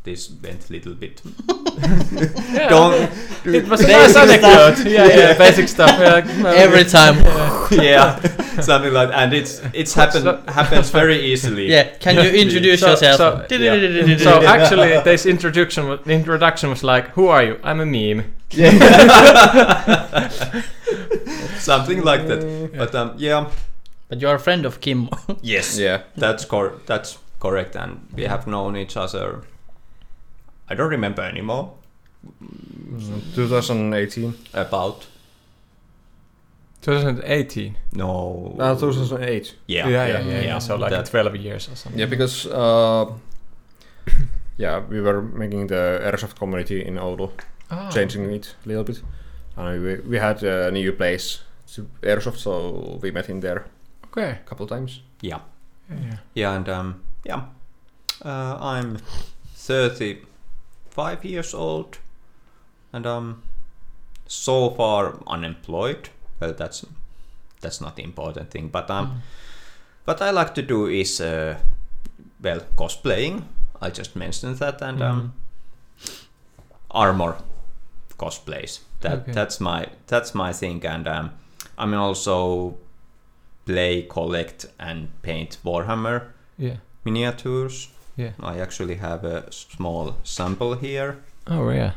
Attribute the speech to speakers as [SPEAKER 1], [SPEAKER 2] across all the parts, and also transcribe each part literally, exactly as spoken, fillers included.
[SPEAKER 1] this went a little bit.
[SPEAKER 2] Yeah.
[SPEAKER 1] Don't.
[SPEAKER 2] It was a
[SPEAKER 3] Basic
[SPEAKER 2] nice
[SPEAKER 3] stuff.
[SPEAKER 2] anecdote. Yeah, yeah, basic stuff. Yeah, no,
[SPEAKER 3] Every time.
[SPEAKER 1] Yeah, something like, and it's it's happen happens very easily.
[SPEAKER 3] Yeah, can you introduce
[SPEAKER 2] So-
[SPEAKER 3] yourself?
[SPEAKER 2] so-
[SPEAKER 1] yeah.
[SPEAKER 2] So actually, this introduction was, introduction was like, "Who are you? I'm a meme."
[SPEAKER 1] Something like that. But um, yeah,
[SPEAKER 3] But you're a friend of Kim.
[SPEAKER 1] yes,
[SPEAKER 4] Yeah.
[SPEAKER 1] that's cor- that's correct, and we have known each other. I don't remember anymore.
[SPEAKER 4] twenty eighteen.
[SPEAKER 1] About
[SPEAKER 2] twenty eighteen.
[SPEAKER 1] no.
[SPEAKER 4] Uh, two thousand eight.
[SPEAKER 1] Yeah,
[SPEAKER 2] Yeah, yeah, yeah. yeah. So like
[SPEAKER 1] That-
[SPEAKER 2] twelve years or something.
[SPEAKER 4] Yeah, because uh, yeah, we were making the Airsoft community in Oulu,
[SPEAKER 2] Oh.
[SPEAKER 4] changing it a little bit, and we we had a new place to Airsoft, so we met in there
[SPEAKER 2] Okay.
[SPEAKER 4] a couple times.
[SPEAKER 1] Yeah,
[SPEAKER 2] Yeah, yeah.
[SPEAKER 1] yeah, and um, yeah, uh, I'm thirty-five years old, and um, so far unemployed. Well, that's that's not the important thing, but um, what I like to do is uh, well, cosplaying. I just mentioned that, and um, armor cosplays. That
[SPEAKER 2] Okay.
[SPEAKER 1] that's my that's my thing, and um, I mean also play, collect, and paint Warhammer
[SPEAKER 2] Yeah.
[SPEAKER 1] miniatures.
[SPEAKER 2] Yeah.
[SPEAKER 1] I actually have a small sample here.
[SPEAKER 2] Oh yeah.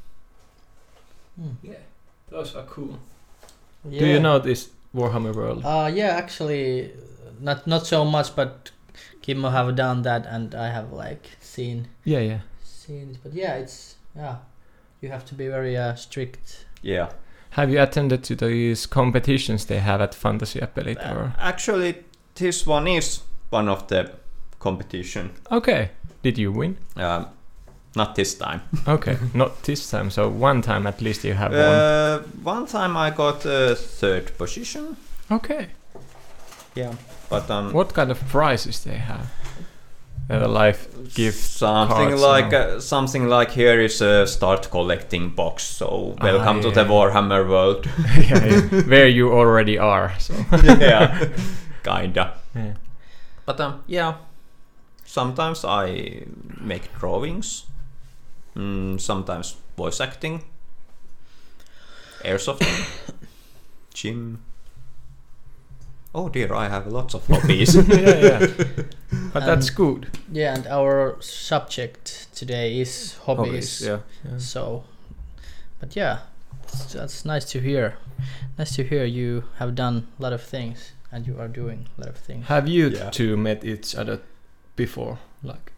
[SPEAKER 3] Hmm.
[SPEAKER 2] Yeah. Those are cool.
[SPEAKER 3] Yeah.
[SPEAKER 2] Do you know this Warhammer world?
[SPEAKER 3] Uh, yeah, actually, not not so much, but Kimmo have done that, and I have like seen
[SPEAKER 2] Yeah, yeah.
[SPEAKER 3] seen it. But yeah, it's yeah, you have to be very uh, strict.
[SPEAKER 1] Yeah.
[SPEAKER 2] Have you attended to these competitions they have at Fantasiapelit? Or
[SPEAKER 1] Uh, actually, this one is one of the competition.
[SPEAKER 2] okay, did you win?
[SPEAKER 1] Um, not this time.
[SPEAKER 2] Okay, not this time. So one time at least you have won.
[SPEAKER 1] Uh, one time I got a third position.
[SPEAKER 2] Okay.
[SPEAKER 1] Yeah. But um,
[SPEAKER 2] What kind of prizes they have? Uh, life gift.
[SPEAKER 1] something
[SPEAKER 2] cards
[SPEAKER 1] like
[SPEAKER 2] and
[SPEAKER 1] uh, something like here is a start collecting box. So welcome
[SPEAKER 2] Ah,
[SPEAKER 1] to
[SPEAKER 2] yeah,
[SPEAKER 1] the
[SPEAKER 2] yeah.
[SPEAKER 1] Warhammer world.
[SPEAKER 2] yeah, yeah. Where you already are. So.
[SPEAKER 1] Yeah, kinda.
[SPEAKER 2] Yeah.
[SPEAKER 1] But um, yeah, sometimes I make drawings. Mm, sometimes voice acting, airsofting, gym. Oh dear, I have lots of hobbies.
[SPEAKER 2] yeah, yeah. But
[SPEAKER 3] And-
[SPEAKER 2] that's good.
[SPEAKER 3] Yeah, and our subject today is hobbies.
[SPEAKER 4] Hobbies, yeah.
[SPEAKER 2] Yeah.
[SPEAKER 3] So, but yeah, it's- that's nice to hear. Nice to hear you have done a lot of things, and you are doing a lot of things.
[SPEAKER 2] Have you
[SPEAKER 1] Yeah.
[SPEAKER 2] two met each other before? Like,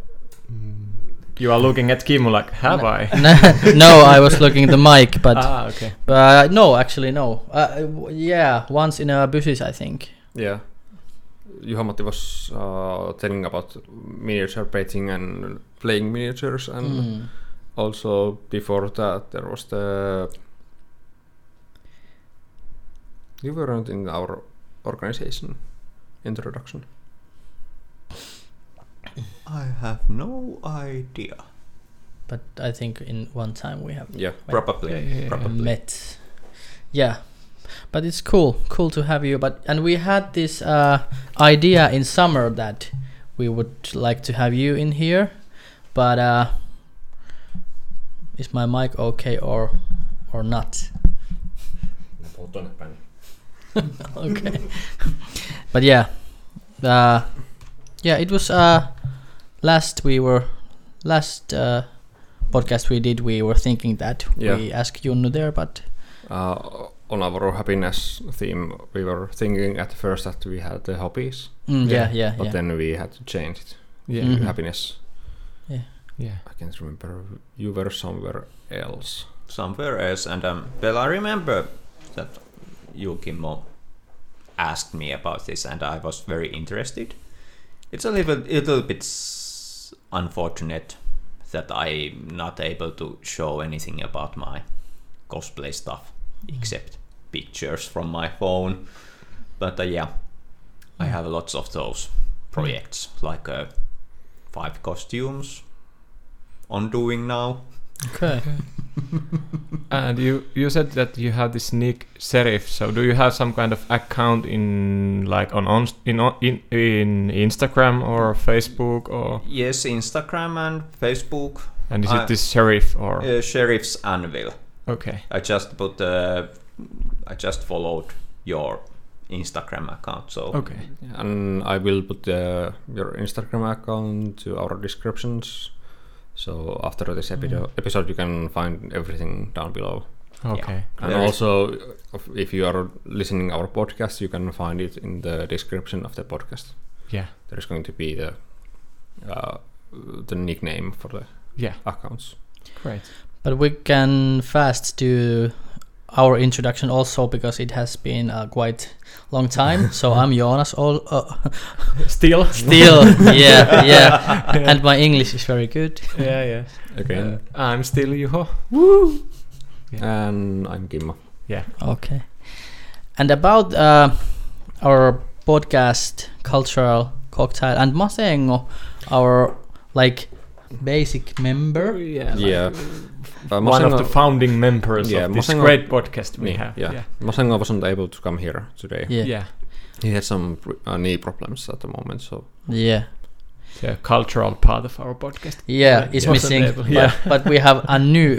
[SPEAKER 2] you are looking at Kimmo like, have
[SPEAKER 3] No.
[SPEAKER 2] I?
[SPEAKER 3] No, I was looking at the mic, but
[SPEAKER 2] ah, okay.
[SPEAKER 3] but uh, no, actually no. Uh, w- yeah, once in a buses, I think.
[SPEAKER 4] Yeah. Juha-Matti was uh, telling about miniature painting and playing miniatures, and
[SPEAKER 3] Mm.
[SPEAKER 4] also before that there was the. You weren't in our organization introduction.
[SPEAKER 1] I have no idea.
[SPEAKER 3] But I think in one time we have
[SPEAKER 4] Yeah.
[SPEAKER 1] Probably,
[SPEAKER 2] Yeah, yeah, yeah.
[SPEAKER 1] probably.
[SPEAKER 3] met. Yeah, but it's cool, cool to have you. But and we had this uh, idea in summer that we would like to have you in here, but uh, is my mic okay or or not? Okay, but yeah, uh, yeah, it was uh, last we were last uh, podcast we did. We were thinking that
[SPEAKER 4] Yeah.
[SPEAKER 3] we asked Junnu there, but.
[SPEAKER 4] Uh, on our happiness theme, we were thinking at first that we had the hobbies,
[SPEAKER 3] Mm, yeah, yeah,
[SPEAKER 4] but
[SPEAKER 3] yeah.
[SPEAKER 4] then we had to change it
[SPEAKER 2] Yeah,
[SPEAKER 3] Mhm.
[SPEAKER 4] to happiness.
[SPEAKER 2] yeah.
[SPEAKER 4] I can't remember. You were somewhere else.
[SPEAKER 1] Somewhere else, and um, well, I remember that you, Kimmo, asked me about this, and I was very interested. It's a little, little bit s- unfortunate that I'm not able to show anything about my cosplay stuff except pictures from my phone. But uh, yeah, I have lots of those projects, like uh, five costumes on doing now.
[SPEAKER 3] Okay.
[SPEAKER 2] And you you said that you have this nick Serif. So do you have some kind of account in like on, on in on- in in Instagram or Facebook or?
[SPEAKER 1] Yes, Instagram and Facebook.
[SPEAKER 2] And is
[SPEAKER 1] I-
[SPEAKER 2] it this Sheriff or?
[SPEAKER 1] Uh, Sheriff's Anvil.
[SPEAKER 2] Okay.
[SPEAKER 1] I just put. Uh, I just followed your Instagram account. So
[SPEAKER 2] Okay.
[SPEAKER 4] And I will put uh, your Instagram account to our descriptions. So after this epido- episode, you can find everything down below.
[SPEAKER 2] Okay.
[SPEAKER 4] And
[SPEAKER 1] There is-
[SPEAKER 4] also, if- if you are listening our podcast, you can find it in the description of the podcast.
[SPEAKER 2] Yeah.
[SPEAKER 4] There is going to be the uh, the nickname for the
[SPEAKER 2] Yeah.
[SPEAKER 4] accounts.
[SPEAKER 2] Great.
[SPEAKER 3] But we can fast do our introduction also because it has been a quite long time. So I'm Jonas. All uh,
[SPEAKER 2] Still.
[SPEAKER 3] still, yeah, yeah. And my English is very good.
[SPEAKER 2] Yeah. Yeah.
[SPEAKER 4] Again,
[SPEAKER 2] Uh, I'm still Juho.
[SPEAKER 4] and I'm Kimmo.
[SPEAKER 2] Yeah.
[SPEAKER 3] Okay. And about uh, our podcast, Cultural Cocktail, and Masengo, our like basic member.
[SPEAKER 2] Yeah. like
[SPEAKER 4] Yeah. Uh,
[SPEAKER 2] One of
[SPEAKER 4] Masengo-
[SPEAKER 2] the founding members
[SPEAKER 4] Yeah,
[SPEAKER 2] of this
[SPEAKER 4] Masengo-
[SPEAKER 2] great podcast we
[SPEAKER 4] Yeah,
[SPEAKER 2] have.
[SPEAKER 4] yeah.
[SPEAKER 2] Yeah.
[SPEAKER 4] Masengo wasn't able to come here today.
[SPEAKER 3] Yeah,
[SPEAKER 2] Yeah.
[SPEAKER 4] He had some uh, knee problems at the moment, so
[SPEAKER 3] yeah,
[SPEAKER 2] The cultural part of our podcast.
[SPEAKER 3] yeah. It's
[SPEAKER 2] wasn't
[SPEAKER 3] missing,
[SPEAKER 2] able-
[SPEAKER 3] but,
[SPEAKER 2] yeah.
[SPEAKER 3] but we have a new.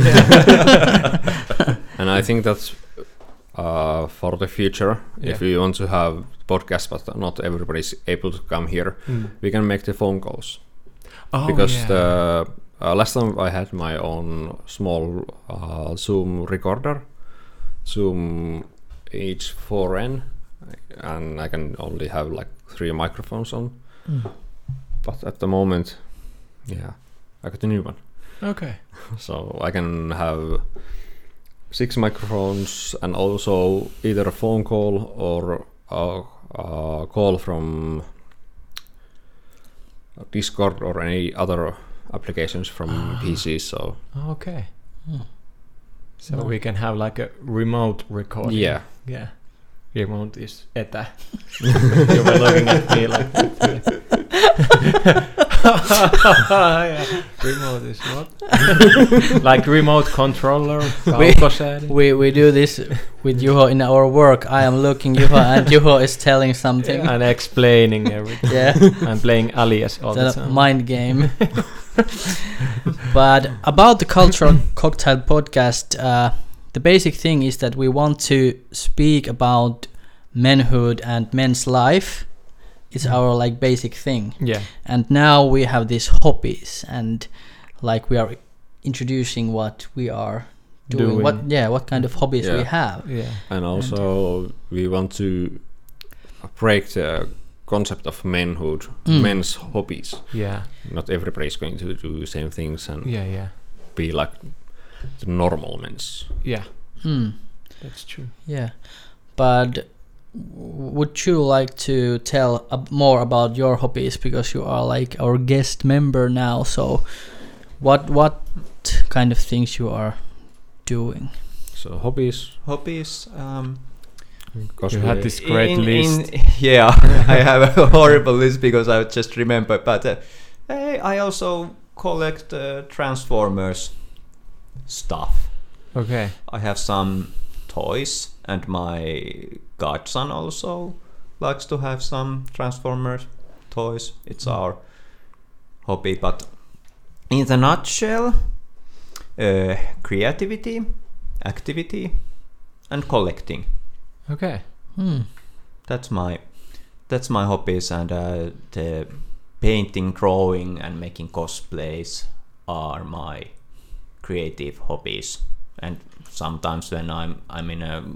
[SPEAKER 4] and I think that's uh, for the future. If
[SPEAKER 2] Yeah.
[SPEAKER 4] we want to have podcast, but not everybody's able to come here,
[SPEAKER 2] Mm.
[SPEAKER 4] we can make the phone calls
[SPEAKER 2] Oh,
[SPEAKER 4] because
[SPEAKER 2] yeah.
[SPEAKER 4] the uh, last time I had my own small uh, Zoom recorder, Zoom H four N, and I can only have like three microphones on.
[SPEAKER 3] Mm.
[SPEAKER 4] But at the moment, yeah, I got a new one.
[SPEAKER 2] Okay.
[SPEAKER 4] So I can have six microphones and also either a phone call or a, a call from Discord or any other applications from P C. So
[SPEAKER 2] Okay.
[SPEAKER 3] Mm.
[SPEAKER 2] So
[SPEAKER 3] No.
[SPEAKER 2] we can have like a remote recording.
[SPEAKER 4] yeah,
[SPEAKER 2] Yeah. Remote is etä. You were looking at me like that. Yeah. Remote is what? Like remote controller.
[SPEAKER 3] We-
[SPEAKER 2] kaukosäädin.
[SPEAKER 3] We we do this with Juho in our work. I am looking Juho, and Juho is telling something.
[SPEAKER 2] And explaining everything.
[SPEAKER 3] Yeah,
[SPEAKER 2] I'm playing Alias all the
[SPEAKER 3] the
[SPEAKER 2] time.
[SPEAKER 3] mind game. But about the Cultural Cocktail podcast, uh, the basic thing is that we want to speak about manhood and men's life. It's
[SPEAKER 2] Mm.
[SPEAKER 3] our like basic thing.
[SPEAKER 2] Yeah.
[SPEAKER 3] And now we have these hobbies, and like we are introducing what we are doing.
[SPEAKER 2] Doing.
[SPEAKER 3] What yeah, what kind of hobbies we
[SPEAKER 4] Yeah.
[SPEAKER 3] have.
[SPEAKER 2] Yeah.
[SPEAKER 4] and also we want to break the concept of manhood,
[SPEAKER 3] Mm.
[SPEAKER 4] men's hobbies.
[SPEAKER 2] Yeah.
[SPEAKER 4] Not everybody is going to do the same things and
[SPEAKER 2] Yeah. Yeah.
[SPEAKER 4] be like the normal men's.
[SPEAKER 2] Yeah.
[SPEAKER 3] Mm.
[SPEAKER 2] That's true.
[SPEAKER 3] Yeah, but w- would you like to tell ab- more about your hobbies, because you are like our guest member now? So, what what kind of things you are doing?
[SPEAKER 4] So hobbies.
[SPEAKER 1] hobbies. Um,
[SPEAKER 4] Because
[SPEAKER 2] You
[SPEAKER 4] we-
[SPEAKER 2] had this great
[SPEAKER 1] in,
[SPEAKER 2] list.
[SPEAKER 1] In, yeah, I have a horrible list because I just remember. But uh, hey, I also collect uh, Transformers stuff.
[SPEAKER 2] Okay.
[SPEAKER 1] I have some toys, and my godson also likes to have some Transformers toys. It's
[SPEAKER 2] Mm.
[SPEAKER 1] our hobby. But in the nutshell, uh, creativity, activity, and collecting.
[SPEAKER 2] Okay.
[SPEAKER 3] Hmm.
[SPEAKER 1] That's my that's my hobbies, and uh, the painting, drawing, and making cosplays are my creative hobbies. And sometimes when I'm I'm in a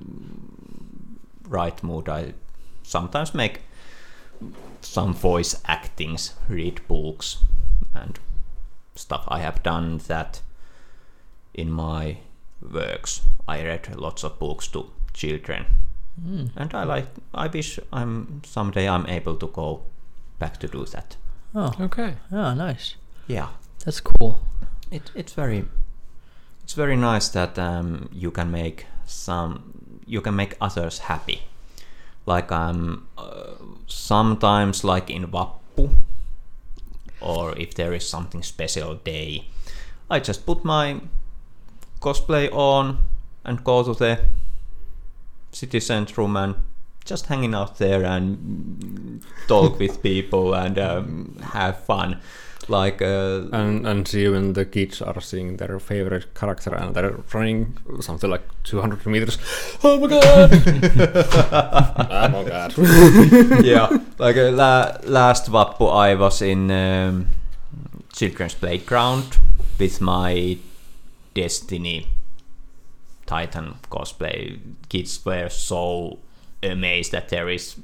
[SPEAKER 1] right mood, I sometimes make some voice actings, read books, and stuff. I have done that in my works. I read lots of books to children.
[SPEAKER 3] Hmm.
[SPEAKER 1] And I like. I wish I'm someday I'm able to go back to do that.
[SPEAKER 3] Oh,
[SPEAKER 2] Okay.
[SPEAKER 3] yeah, nice.
[SPEAKER 1] Yeah,
[SPEAKER 3] That's cool.
[SPEAKER 1] it it's very it's very nice that um, you can make some you can make others happy. Like um uh, sometimes like in Vappu, or if there is something special day, I just put my cosplay on and go to the city centrum and just hanging out there and talk with people and um, have fun. Like uh,
[SPEAKER 4] and and see when the kids are seeing their favorite character and they're running something like two hundred meters. Oh my god! Oh my god!
[SPEAKER 1] Yeah, like uh, la- last Vappu I was in um, children's playground with my Destiny Titan cosplay. Kids were so amazed that there is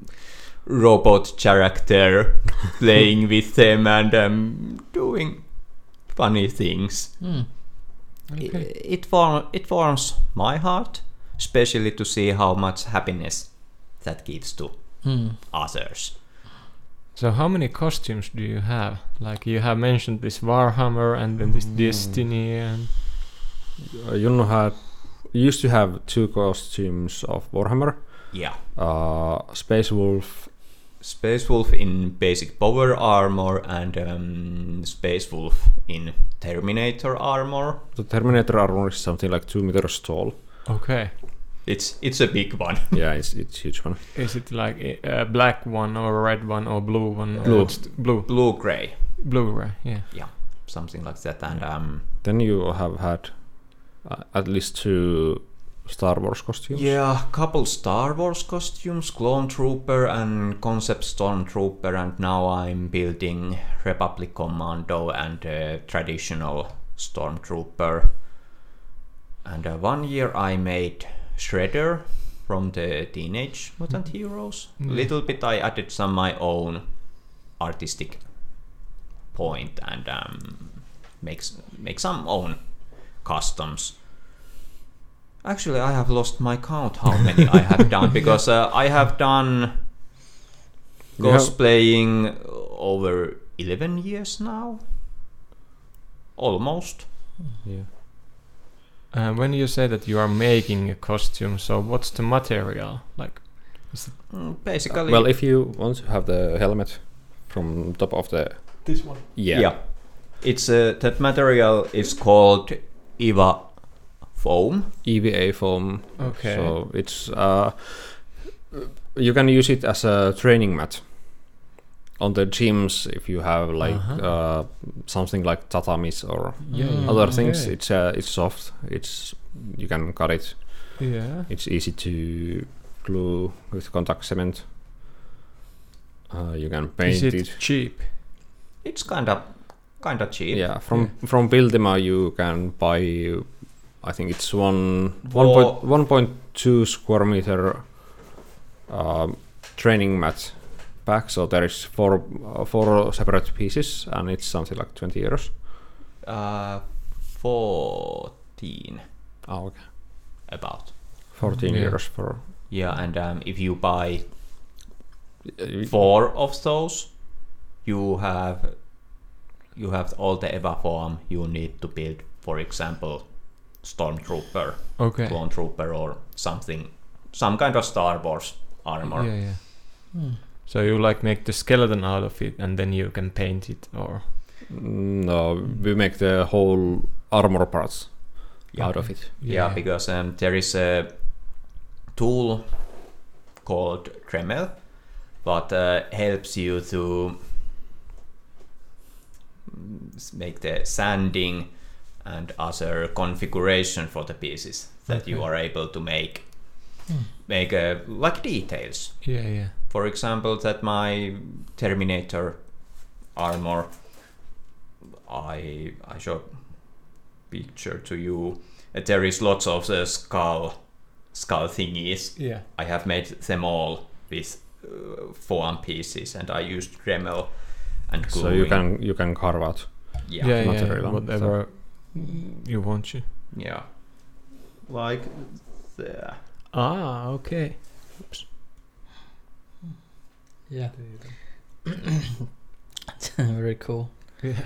[SPEAKER 1] robot character playing with them and um, doing funny things.
[SPEAKER 3] Mm. Okay.
[SPEAKER 1] It it, form, it warms my heart, especially to see how much happiness that gives to
[SPEAKER 3] Mm.
[SPEAKER 1] others.
[SPEAKER 2] So how many costumes do you have? Like you have mentioned this Warhammer and then this
[SPEAKER 4] Mm.
[SPEAKER 2] Destiny and
[SPEAKER 4] Uh, Junno had used to have two costumes of Warhammer.
[SPEAKER 1] Yeah.
[SPEAKER 4] Uh, Space Wolf.
[SPEAKER 1] Space Wolf in basic power armor and um, Space Wolf in Terminator armor.
[SPEAKER 4] The Terminator armor is something like two meters tall.
[SPEAKER 2] okay.
[SPEAKER 1] It's it's a big one.
[SPEAKER 4] Yeah, it's it's huge one.
[SPEAKER 2] Is it like a, a black one or a red one or blue one?
[SPEAKER 4] Blue.
[SPEAKER 2] Or just blue.
[SPEAKER 1] Blue gray,
[SPEAKER 2] Blue, right? Yeah.
[SPEAKER 1] something like that. And um,
[SPEAKER 4] Then you have had uh, at least two Star Wars costumes.
[SPEAKER 1] yeah, couple Star Wars costumes, Clone Trooper and Concept Stormtrooper, and now I'm building Republic Commando and uh, traditional Stormtrooper. And uh, one year I made Shredder from the Teenage Mutant Heroes. A
[SPEAKER 2] Mm.
[SPEAKER 1] little bit I added some my own artistic point and um, makes make some own customs. Actually, I have lost my count how many I have done because uh, I have done
[SPEAKER 4] You have-
[SPEAKER 1] cosplaying over eleven years now. Almost.
[SPEAKER 4] Yeah.
[SPEAKER 2] Uh, when you say that you are making a costume, so what's the material? Like,
[SPEAKER 1] Mm, Basically,
[SPEAKER 4] Well, if you want to have the helmet from top of the
[SPEAKER 2] this one.
[SPEAKER 4] yeah,
[SPEAKER 1] yeah, it's uh, that material is called EVA foam.
[SPEAKER 4] E V A foam.
[SPEAKER 2] Okay.
[SPEAKER 4] So it's uh, you can use it as a training mat on the gyms if you have like
[SPEAKER 2] Uh-huh.
[SPEAKER 4] uh, something like tatamis or
[SPEAKER 2] Yeah,
[SPEAKER 3] Mm.
[SPEAKER 2] yeah.
[SPEAKER 4] other things.
[SPEAKER 2] Okay.
[SPEAKER 4] It's uh, it's soft. It's you can cut it.
[SPEAKER 2] Yeah.
[SPEAKER 4] It's easy to glue with contact cement. Uh, you can paint
[SPEAKER 2] Is it,
[SPEAKER 4] it.
[SPEAKER 2] cheap?
[SPEAKER 1] It's kind of kind of cheap.
[SPEAKER 4] Yeah, from
[SPEAKER 2] Yeah.
[SPEAKER 4] from Buildima you can buy. I think it's one one
[SPEAKER 1] For-
[SPEAKER 4] point one point two square meter um, training mat pack. So there is four uh, four separate pieces, and it's something like twenty euros.
[SPEAKER 1] Uh, fourteen
[SPEAKER 4] Oh, okay.
[SPEAKER 1] about.
[SPEAKER 4] Fourteen
[SPEAKER 2] Yeah.
[SPEAKER 4] euros for.
[SPEAKER 1] Yeah, and um, if you buy
[SPEAKER 4] Uh,
[SPEAKER 1] four of those, you have you have all the EVA form you need to build. For example, Stormtrooper,
[SPEAKER 2] Okay.
[SPEAKER 1] Clone Trooper, or something, some kind of Star Wars armor.
[SPEAKER 2] Yeah, yeah.
[SPEAKER 3] Mm.
[SPEAKER 2] So you like make the skeleton out of it and then you can paint it, or
[SPEAKER 4] No, we make the whole armor parts
[SPEAKER 1] Yeah.
[SPEAKER 4] out of it.
[SPEAKER 1] Yeah, because um, there is a tool called Dremel that uh, helps you to mm, make the sanding and other configuration for the pieces that you
[SPEAKER 2] Okay.
[SPEAKER 1] are able to make
[SPEAKER 3] Hmm.
[SPEAKER 1] make uh, like details.
[SPEAKER 2] yeah, yeah.
[SPEAKER 1] For example, that my Terminator armor, I I show picture to you. Uh, There is lots of the skull skull thingies.
[SPEAKER 2] Yeah.
[SPEAKER 1] I have made them all with uh, foam pieces, and I used Dremel and gluing.
[SPEAKER 4] So you can you can carve out.
[SPEAKER 1] yeah,
[SPEAKER 2] Yeah, yeah,
[SPEAKER 4] material,
[SPEAKER 2] yeah.
[SPEAKER 4] so-
[SPEAKER 2] Whatever you want to.
[SPEAKER 1] yeah. Like there.
[SPEAKER 2] Ah, okay.
[SPEAKER 3] Yeah. Very cool.
[SPEAKER 2] Yeah.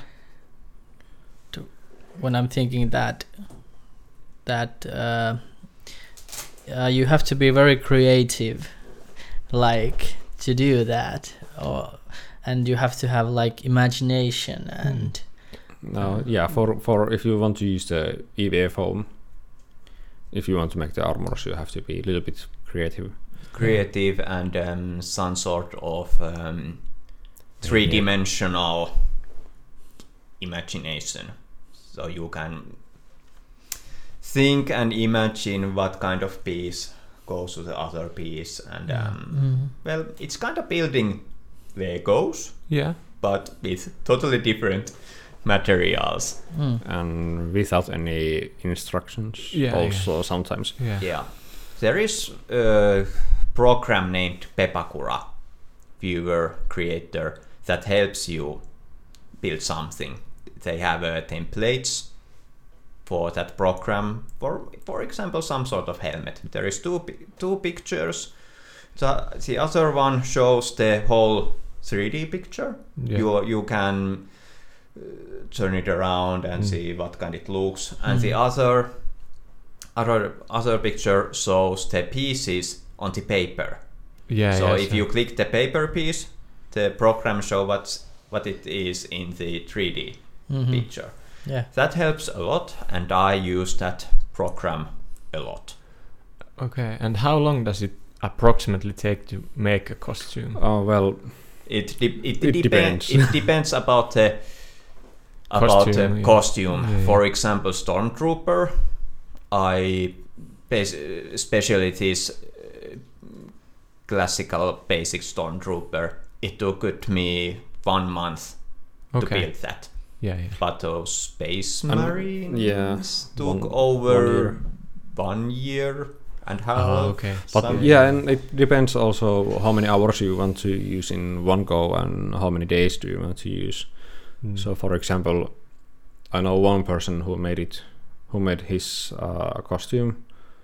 [SPEAKER 3] When I'm thinking that that uh, uh, you have to be very creative, like to do that, or and you have to have like imagination and
[SPEAKER 4] No, yeah, for for if you want to use the E V A foam, if you want to make the armors, you have to be a little bit creative.
[SPEAKER 1] Creative and um, some sort of um, three-dimensional imagination. So you can think and imagine what kind of piece goes to the other piece, and um,
[SPEAKER 3] Mm.
[SPEAKER 1] well, it's kind of building Legos,
[SPEAKER 2] Yeah.
[SPEAKER 1] but with totally different materials.
[SPEAKER 3] Mm.
[SPEAKER 4] And without any instructions,
[SPEAKER 2] Yeah,
[SPEAKER 4] also sometimes.
[SPEAKER 2] Yeah.
[SPEAKER 1] Yeah, there is a program named Pepakura, viewer creator, that helps you build something. They have uh, templates for that program. For for example, some sort of helmet. There is two pi- two pictures. The, the other one shows the whole three D picture.
[SPEAKER 2] Yeah.
[SPEAKER 1] You you can uh, turn it around and
[SPEAKER 2] Mm.
[SPEAKER 1] see what kind it looks. And the other other other picture shows the pieces on the paper.
[SPEAKER 2] Yeah.
[SPEAKER 1] So
[SPEAKER 2] yeah,
[SPEAKER 1] if you click the paper piece, the program show what's what it is in the three D
[SPEAKER 3] Mhm.
[SPEAKER 1] picture.
[SPEAKER 3] Yeah.
[SPEAKER 1] That helps a lot, and I use that program a lot.
[SPEAKER 2] Okay. And how long does it approximately take to make a costume?
[SPEAKER 4] Oh well,
[SPEAKER 1] It de- it,
[SPEAKER 4] It
[SPEAKER 1] depen-
[SPEAKER 4] depends.
[SPEAKER 1] It depends about the about
[SPEAKER 2] Costume,
[SPEAKER 1] the
[SPEAKER 2] yeah.
[SPEAKER 1] costume.
[SPEAKER 2] Yeah, yeah.
[SPEAKER 1] For example, Stormtrooper, I bas- especially this uh, classical basic Stormtrooper. It took it me one month to
[SPEAKER 2] Okay.
[SPEAKER 1] build that.
[SPEAKER 2] Yeah. Yeah.
[SPEAKER 1] But those Space
[SPEAKER 4] And-
[SPEAKER 1] Marines
[SPEAKER 4] yeah,
[SPEAKER 1] took
[SPEAKER 4] one-
[SPEAKER 1] over
[SPEAKER 4] one year.
[SPEAKER 1] one year and a half.
[SPEAKER 2] Oh, okay.
[SPEAKER 4] But
[SPEAKER 1] Some-
[SPEAKER 4] yeah, and it depends also how many hours you want to use in one go and how many days do you want to use.
[SPEAKER 2] Mm.
[SPEAKER 4] So, for example, I know one person who made it, who made his uh, costume,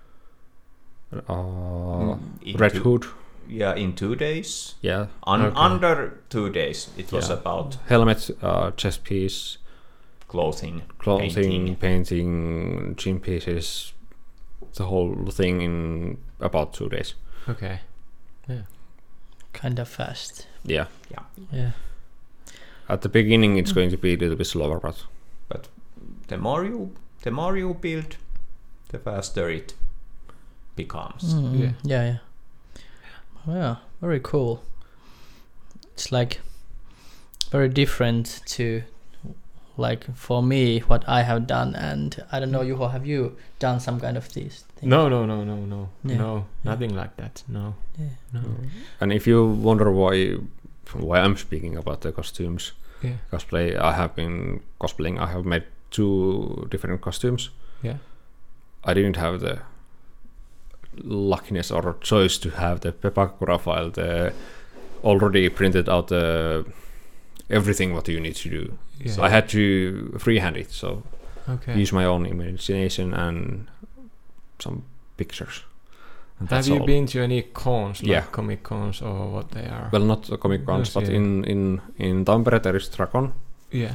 [SPEAKER 4] uh,
[SPEAKER 1] in
[SPEAKER 4] Red
[SPEAKER 1] two-
[SPEAKER 4] Hood,
[SPEAKER 1] Yeah, in two days.
[SPEAKER 4] yeah,
[SPEAKER 1] Un-
[SPEAKER 2] Okay.
[SPEAKER 1] Under two days, it was
[SPEAKER 4] Yeah.
[SPEAKER 1] about
[SPEAKER 4] helmet, uh, chest piece,
[SPEAKER 1] clothing,
[SPEAKER 4] clothing,
[SPEAKER 1] painting.
[SPEAKER 4] painting, gym pieces, the whole thing in about two days.
[SPEAKER 2] Okay.
[SPEAKER 3] Kind of fast.
[SPEAKER 4] Yeah,
[SPEAKER 3] Yeah.
[SPEAKER 4] at the beginning it's going to be a little bit slower, but
[SPEAKER 1] The more you, the more you build, the faster it becomes.
[SPEAKER 3] Mm,
[SPEAKER 2] Yeah.
[SPEAKER 3] Yeah. Yeah. Yeah. Very cool. It's like very different to like for me what I have done, and I don't know, Juho, have you done some kind of these things?
[SPEAKER 2] No, no, no, no, no,
[SPEAKER 3] Yeah.
[SPEAKER 2] no, nothing like that. No,
[SPEAKER 3] Yeah.
[SPEAKER 2] no.
[SPEAKER 4] and if you wonder why why I'm speaking about the costumes
[SPEAKER 2] Yeah.
[SPEAKER 4] cosplay, I have been cosplaying. I have made two different costumes.
[SPEAKER 2] Yeah.
[SPEAKER 4] I didn't have the luckiness or choice to have the Pepakura file, the already printed out the everything what you need to do.
[SPEAKER 2] Yeah.
[SPEAKER 4] So I had to freehand it, so
[SPEAKER 2] Okay.
[SPEAKER 4] use my own imagination and some pictures. And
[SPEAKER 2] Have
[SPEAKER 4] that's
[SPEAKER 2] you
[SPEAKER 4] all.
[SPEAKER 2] been to any cons, like
[SPEAKER 4] Yeah.
[SPEAKER 2] comic cons or what they are?
[SPEAKER 4] Well, not the Comic Cons,
[SPEAKER 2] Yes,
[SPEAKER 4] but
[SPEAKER 2] yeah.
[SPEAKER 4] in in in Tampere there is Dragon.
[SPEAKER 2] Yeah.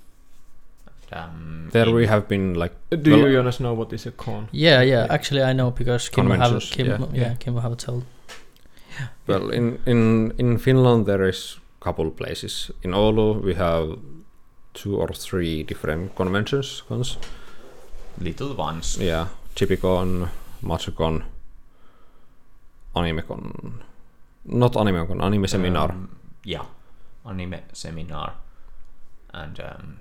[SPEAKER 1] Um,
[SPEAKER 4] There
[SPEAKER 1] in-
[SPEAKER 4] we have been like
[SPEAKER 2] Do
[SPEAKER 4] Well-
[SPEAKER 2] you Jonas know what is a con?
[SPEAKER 3] Yeah, yeah. Actually, I know because Kim have
[SPEAKER 4] Conventions,
[SPEAKER 3] Kim,
[SPEAKER 4] yeah.
[SPEAKER 3] yeah,
[SPEAKER 2] Yeah.
[SPEAKER 3] Kim have told.
[SPEAKER 4] well in in in Finland there is couple places. In Oulu we have two or three different conventions. Cons.
[SPEAKER 1] little ones.
[SPEAKER 4] Yeah, Chipicon, Matsukon, Animecon. Not Animecon, Anime Seminar.
[SPEAKER 1] Um, yeah, anime seminar, and um,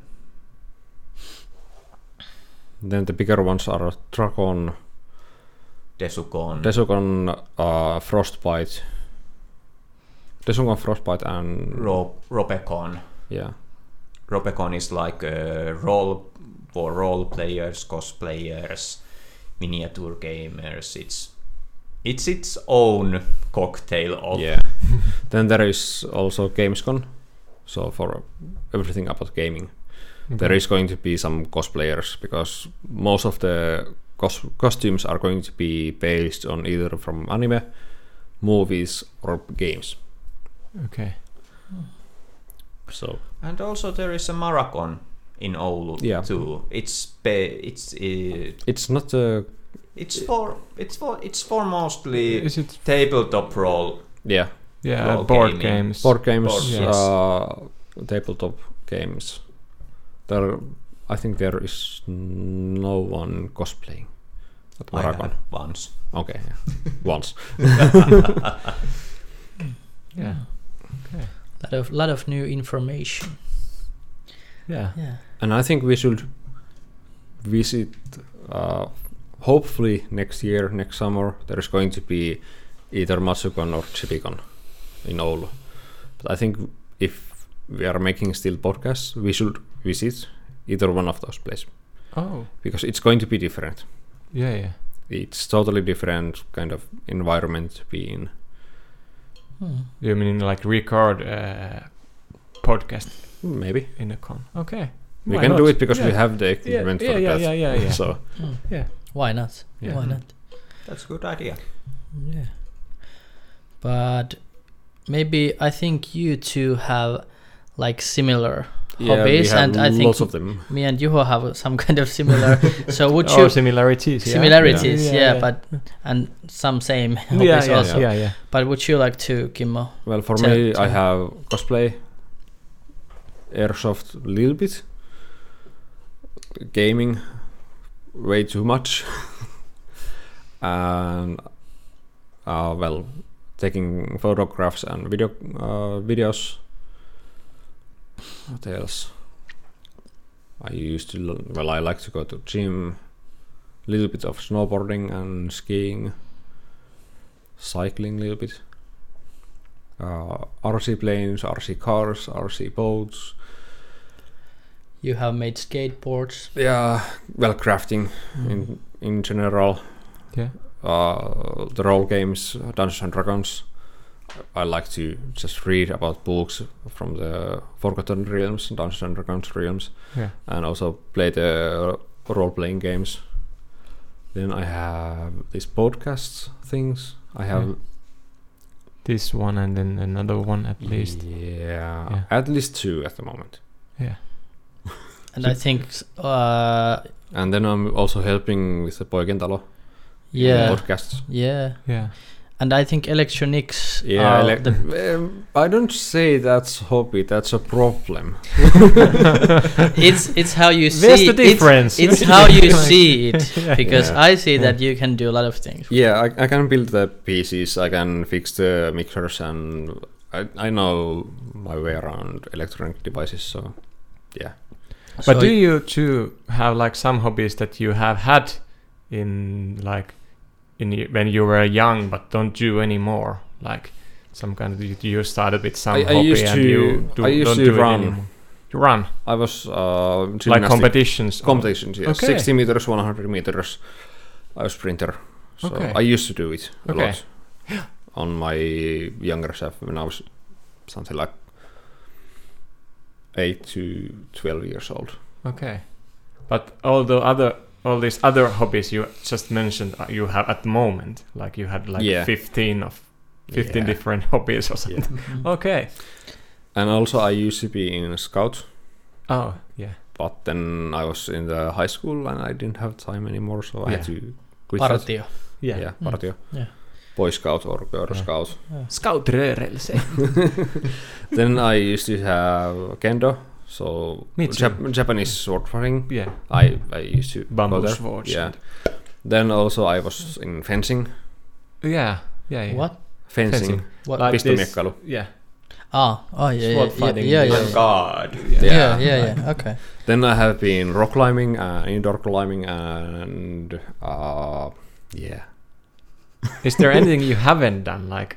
[SPEAKER 4] Then the bigger ones are Dragon,
[SPEAKER 1] Desukon.
[SPEAKER 4] Desukon, uh, Frostbite, Desukon, Frostbite, and
[SPEAKER 1] Ro- Robecon.
[SPEAKER 4] yeah,
[SPEAKER 1] Robecon is like a role for role players, cosplayers, miniature gamers. It's it's its own cocktail of
[SPEAKER 4] yeah. Then there is also Gamescom, so for everything about gaming. There is going to be some cosplayers because most of the cos- costumes are going to be based on either from anime, movies, or games.
[SPEAKER 2] Okay.
[SPEAKER 4] So
[SPEAKER 1] And also there is a marathon in Oulu
[SPEAKER 4] Yeah.
[SPEAKER 1] too. It's pe- it's uh,
[SPEAKER 4] it's not a
[SPEAKER 1] it's for it's for it's for mostly
[SPEAKER 2] Is it?
[SPEAKER 1] tabletop role.
[SPEAKER 4] yeah
[SPEAKER 2] Yeah,
[SPEAKER 1] Role
[SPEAKER 2] board
[SPEAKER 1] gaming.
[SPEAKER 2] games.
[SPEAKER 4] board games,
[SPEAKER 1] Board
[SPEAKER 2] games.
[SPEAKER 4] uh, tabletop games. there, I think there is no one cosplaying at
[SPEAKER 1] I
[SPEAKER 4] Maracon.
[SPEAKER 1] had once.
[SPEAKER 4] Okay, yeah. Once.
[SPEAKER 2] Yeah. Okay.
[SPEAKER 3] Lot of lot of new information.
[SPEAKER 2] Yeah.
[SPEAKER 3] Yeah.
[SPEAKER 4] And I think we should visit, uh, hopefully next year, next summer, there's going to be either Matsukon or Chipicon in Oulu. But I think if we are making still podcasts, we should visit either one of those places.
[SPEAKER 2] Oh.
[SPEAKER 4] Because it's going to be different.
[SPEAKER 2] Yeah. Yeah.
[SPEAKER 4] It's totally different kind of environment to be in.
[SPEAKER 3] Hmm.
[SPEAKER 2] You mean like record uh, podcast
[SPEAKER 4] Maybe.
[SPEAKER 2] in a con? Okay.
[SPEAKER 4] We
[SPEAKER 2] Why
[SPEAKER 4] can
[SPEAKER 2] not?
[SPEAKER 4] do it because
[SPEAKER 2] Yeah.
[SPEAKER 4] we have the
[SPEAKER 2] Yeah.
[SPEAKER 4] equipment
[SPEAKER 2] Yeah.
[SPEAKER 4] for
[SPEAKER 2] Yeah.
[SPEAKER 4] that.
[SPEAKER 2] Yeah. Yeah. Yeah.
[SPEAKER 4] So
[SPEAKER 3] Hmm.
[SPEAKER 2] Yeah.
[SPEAKER 3] Why not?
[SPEAKER 2] Yeah.
[SPEAKER 3] Why not?
[SPEAKER 1] That's a good idea.
[SPEAKER 3] Yeah. But maybe I think you two have like similar
[SPEAKER 4] yeah,
[SPEAKER 3] hobbies,
[SPEAKER 4] we have
[SPEAKER 3] and I think
[SPEAKER 4] lots of them.
[SPEAKER 3] me and Juho have some kind of similar. So would
[SPEAKER 2] Oh,
[SPEAKER 3] you
[SPEAKER 2] similarities. Yeah.
[SPEAKER 3] similarities?
[SPEAKER 2] Yeah,
[SPEAKER 3] Yeah,
[SPEAKER 2] yeah.
[SPEAKER 3] but and some same
[SPEAKER 2] Yeah.
[SPEAKER 3] hobbies
[SPEAKER 2] Yeah.
[SPEAKER 3] also.
[SPEAKER 2] Yeah. Yeah.
[SPEAKER 3] But would you like to, Kimmo?
[SPEAKER 4] Well, for
[SPEAKER 3] Tell-
[SPEAKER 4] me, I
[SPEAKER 3] tell.
[SPEAKER 4] have cosplay, airsoft a little bit, gaming way too much, and uh, well, taking photographs and video uh, videos. What else? I used to l- well, I like to go to gym, little bit of snowboarding and skiing, cycling a little bit. Uh, R C planes, R C cars, R C boats.
[SPEAKER 3] You have made skateboards.
[SPEAKER 4] Yeah, well, crafting
[SPEAKER 3] Mm.
[SPEAKER 4] in in general.
[SPEAKER 2] Yeah.
[SPEAKER 4] Uh, the role games, Dungeons and Dragons. I like to just read about books from the Forgotten Realms, Dungeons and Dragons realms,
[SPEAKER 2] Yeah.
[SPEAKER 4] and also play the role-playing games. Then I have these podcasts things. I have
[SPEAKER 2] Yeah. This one and then another one at least.
[SPEAKER 4] Yeah,
[SPEAKER 2] Yeah.
[SPEAKER 4] at least two at the moment.
[SPEAKER 2] Yeah.
[SPEAKER 3] And I think, uh,
[SPEAKER 4] And then I'm also helping with the Poikentalo
[SPEAKER 3] yeah,
[SPEAKER 4] podcasts.
[SPEAKER 3] yeah.
[SPEAKER 2] Yeah.
[SPEAKER 3] And I think electronics.
[SPEAKER 4] Yeah,
[SPEAKER 3] are
[SPEAKER 4] ele-
[SPEAKER 3] the,
[SPEAKER 4] um, I don't say that's hobby. That's a problem.
[SPEAKER 3] it's it's how you see.
[SPEAKER 2] Where's the
[SPEAKER 3] it's-
[SPEAKER 2] difference?
[SPEAKER 3] It's, how you see it,
[SPEAKER 2] Yeah.
[SPEAKER 3] because
[SPEAKER 4] Yeah.
[SPEAKER 3] I see
[SPEAKER 2] Yeah.
[SPEAKER 3] that you can do a lot of things.
[SPEAKER 4] Yeah, I, I can build the P Cs. I can fix the mixers, and I I know my way around electronic devices. So yeah.
[SPEAKER 3] So
[SPEAKER 2] But do you two have like some hobbies that you have had in like in y- when you were young but don't do anymore? Like some kind of you, you started with some
[SPEAKER 4] I- I
[SPEAKER 2] hobby
[SPEAKER 4] used
[SPEAKER 2] and
[SPEAKER 4] to-
[SPEAKER 2] you do,
[SPEAKER 4] I used
[SPEAKER 2] don't
[SPEAKER 4] to
[SPEAKER 2] do
[SPEAKER 4] run.
[SPEAKER 2] it anymore. You run
[SPEAKER 4] I was uh,
[SPEAKER 2] like
[SPEAKER 4] gymnastic
[SPEAKER 2] competitions. or-
[SPEAKER 4] competitions. Yes,
[SPEAKER 2] Okay.
[SPEAKER 4] sixty meters, one hundred meters. I was sprinter, so
[SPEAKER 2] Okay.
[SPEAKER 4] I used to do it a
[SPEAKER 2] Okay.
[SPEAKER 4] lot on my younger self when I was something like eight to twelve years old.
[SPEAKER 2] Okay, but all the other all these other hobbies you just mentioned uh, you have at the moment, like you had like
[SPEAKER 4] Yeah.
[SPEAKER 2] fifteen of fifteen
[SPEAKER 4] Yeah.
[SPEAKER 2] different hobbies or something.
[SPEAKER 3] Mhm.
[SPEAKER 2] Okay.
[SPEAKER 4] And also, I used to be in a scout,
[SPEAKER 2] Oh yeah.
[SPEAKER 4] but then I was in the high school and I didn't have time anymore, so I had
[SPEAKER 2] Yeah.
[SPEAKER 4] to quit that.
[SPEAKER 3] Partio.
[SPEAKER 2] Yeah.
[SPEAKER 4] Yeah,
[SPEAKER 3] Mm.
[SPEAKER 4] partio.
[SPEAKER 3] Yeah.
[SPEAKER 4] Boy Scout or Girl
[SPEAKER 2] Yeah.
[SPEAKER 4] Scout.
[SPEAKER 2] Scoutrörelse.
[SPEAKER 4] Then I used to have kendo, so
[SPEAKER 2] Me too.
[SPEAKER 4] Jap- Japanese sword fighting.
[SPEAKER 2] Yeah.
[SPEAKER 4] I I used to go
[SPEAKER 2] Bamboo
[SPEAKER 4] there.
[SPEAKER 2] swords.
[SPEAKER 4] Yeah. Then also I was in fencing.
[SPEAKER 2] Yeah. Yeah. Yeah.
[SPEAKER 3] What?
[SPEAKER 4] Fencing.
[SPEAKER 2] Fencing.
[SPEAKER 3] What?
[SPEAKER 2] Like this-
[SPEAKER 4] Pistomiekkailu.
[SPEAKER 2] Yeah.
[SPEAKER 3] Ah, oh yeah, yeah,
[SPEAKER 2] Sword
[SPEAKER 3] yeah,
[SPEAKER 2] fighting.
[SPEAKER 3] yeah, yeah,
[SPEAKER 1] Oh
[SPEAKER 3] yeah,
[SPEAKER 1] God.
[SPEAKER 3] yeah,
[SPEAKER 4] Yeah.
[SPEAKER 3] yeah, yeah. Okay.
[SPEAKER 4] Then I have been rock climbing, uh, indoor climbing, and uh, yeah.
[SPEAKER 2] Is there anything you haven't done? Like.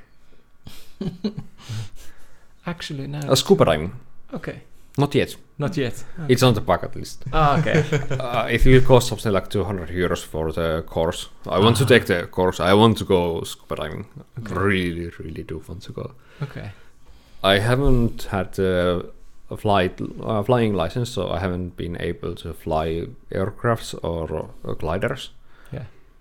[SPEAKER 2] Actually, no.
[SPEAKER 4] Uh, scuba diving.
[SPEAKER 2] Okay.
[SPEAKER 4] Not yet.
[SPEAKER 2] Not yet.
[SPEAKER 4] It's on the bucket list.
[SPEAKER 2] Ah, okay.
[SPEAKER 4] Uh, it will cost something like two hundred euros for the course. I want to
[SPEAKER 2] Ah.
[SPEAKER 4] take the course. I want to go scuba diving.
[SPEAKER 2] Okay.
[SPEAKER 4] Really, really do want to go.
[SPEAKER 2] Okay.
[SPEAKER 4] I haven't had uh, a flight uh, flying license, so I haven't been able to fly aircrafts or uh, gliders.
[SPEAKER 2] Yeah.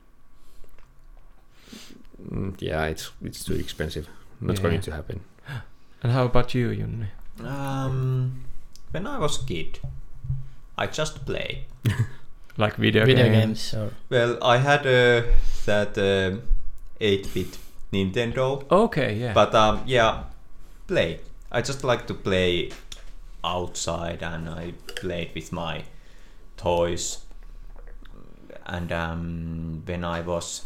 [SPEAKER 4] Mm, yeah, it's it's too expensive. Not
[SPEAKER 2] Yeah.
[SPEAKER 4] going to happen.
[SPEAKER 2] And how about you, Junni?
[SPEAKER 1] Um, when I was kid, I just played.
[SPEAKER 2] Like video,
[SPEAKER 3] Video
[SPEAKER 2] game?
[SPEAKER 3] games. Or
[SPEAKER 1] Well, I had uh, that uh, eight-bit Nintendo,
[SPEAKER 2] Okay. Yeah.
[SPEAKER 1] but um, yeah, play. I just like to play outside and I played with my toys. And um, when I was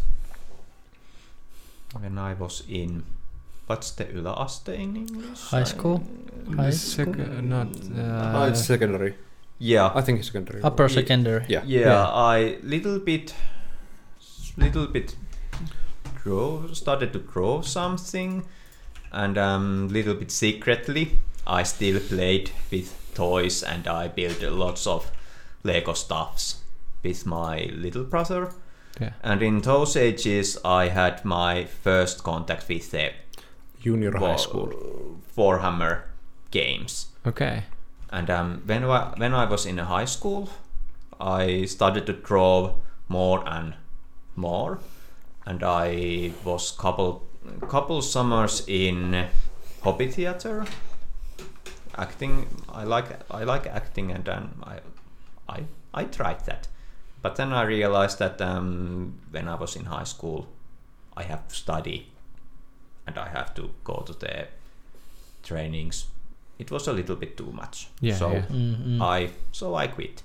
[SPEAKER 1] when I was in what's the yläaste in English?
[SPEAKER 3] High school?
[SPEAKER 2] I,
[SPEAKER 3] High
[SPEAKER 2] sec-
[SPEAKER 3] school?
[SPEAKER 2] not. Uh,
[SPEAKER 4] oh, it's secondary.
[SPEAKER 1] Yeah,
[SPEAKER 4] I think it's secondary.
[SPEAKER 3] Upper
[SPEAKER 1] Ye-
[SPEAKER 3] secondary.
[SPEAKER 4] Yeah.
[SPEAKER 1] yeah,
[SPEAKER 3] Yeah.
[SPEAKER 1] I little bit, little bit draw, started to draw something, and um, little bit secretly, I still played with toys and I built lots of Lego stuffs with my little brother.
[SPEAKER 2] Yeah.
[SPEAKER 1] And in those ages, I had my first contact with the
[SPEAKER 4] Junior high
[SPEAKER 1] Wa-
[SPEAKER 4] school.
[SPEAKER 1] Warhammer games.
[SPEAKER 2] Okay.
[SPEAKER 1] And um, when I, when I was in high school, I started to draw more and more, and I was couple couple summers in hobby theater. Acting, I like I like acting, and um, I I I tried that, but then I realized that um, when I was in high school, I have to study, and I have to go to the trainings. It was a little bit too much.
[SPEAKER 2] Yeah,
[SPEAKER 1] so
[SPEAKER 2] yeah.
[SPEAKER 3] Mm-hmm.
[SPEAKER 1] I so I quit.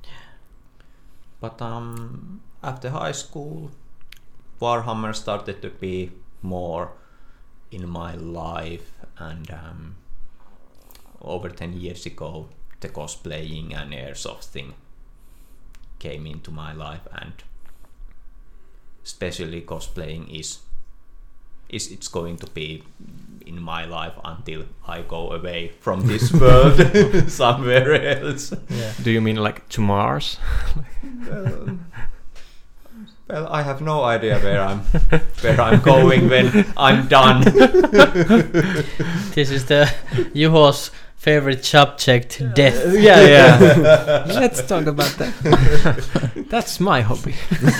[SPEAKER 1] But um, after high school, Warhammer started to be more in my life, and um, over ten years ago, the cosplaying and airsoft thing came into my life, and especially cosplaying is is it's going to be in my life until I go away from this world somewhere else.
[SPEAKER 3] Yeah.
[SPEAKER 2] Do you mean like to Mars?
[SPEAKER 1] well, well, I have no idea where I'm where I'm going when I'm done.
[SPEAKER 3] This is the Juho's favorite subject, death.
[SPEAKER 2] yeah, yeah. Let's talk about that. That's my hobby.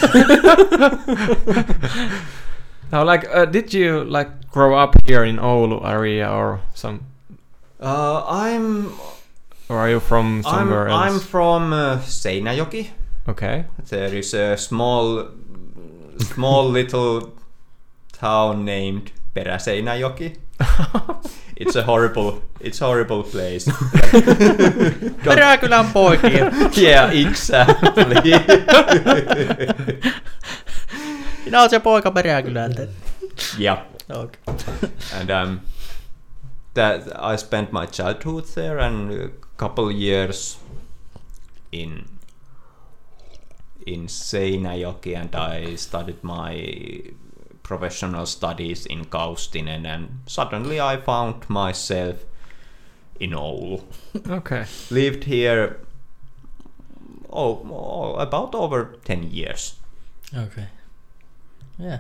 [SPEAKER 2] Now, like, uh, did you like grow up here in Oulu area or some,
[SPEAKER 1] Uh, I'm
[SPEAKER 2] or are you from
[SPEAKER 1] I'm
[SPEAKER 2] somewhere
[SPEAKER 1] I'm
[SPEAKER 2] else?
[SPEAKER 1] from uh, Seinäjoki.
[SPEAKER 2] Okay.
[SPEAKER 1] There is a small small little town named Peräseinäjoki. It's a horrible it's a horrible place.
[SPEAKER 3] Peräkylän poikia.
[SPEAKER 1] Yeah, exactly.
[SPEAKER 3] Minä oon se poika Peräkylältä.
[SPEAKER 1] Yeah.
[SPEAKER 3] Okay.
[SPEAKER 1] And um, that I spent my childhood there and a couple years in in Seinäjoki, and I started my professional studies in Kaustinen, and suddenly I found myself in Oulu.
[SPEAKER 2] Okay.
[SPEAKER 1] Lived here oh, oh, about over ten years.
[SPEAKER 3] Okay. Yeah.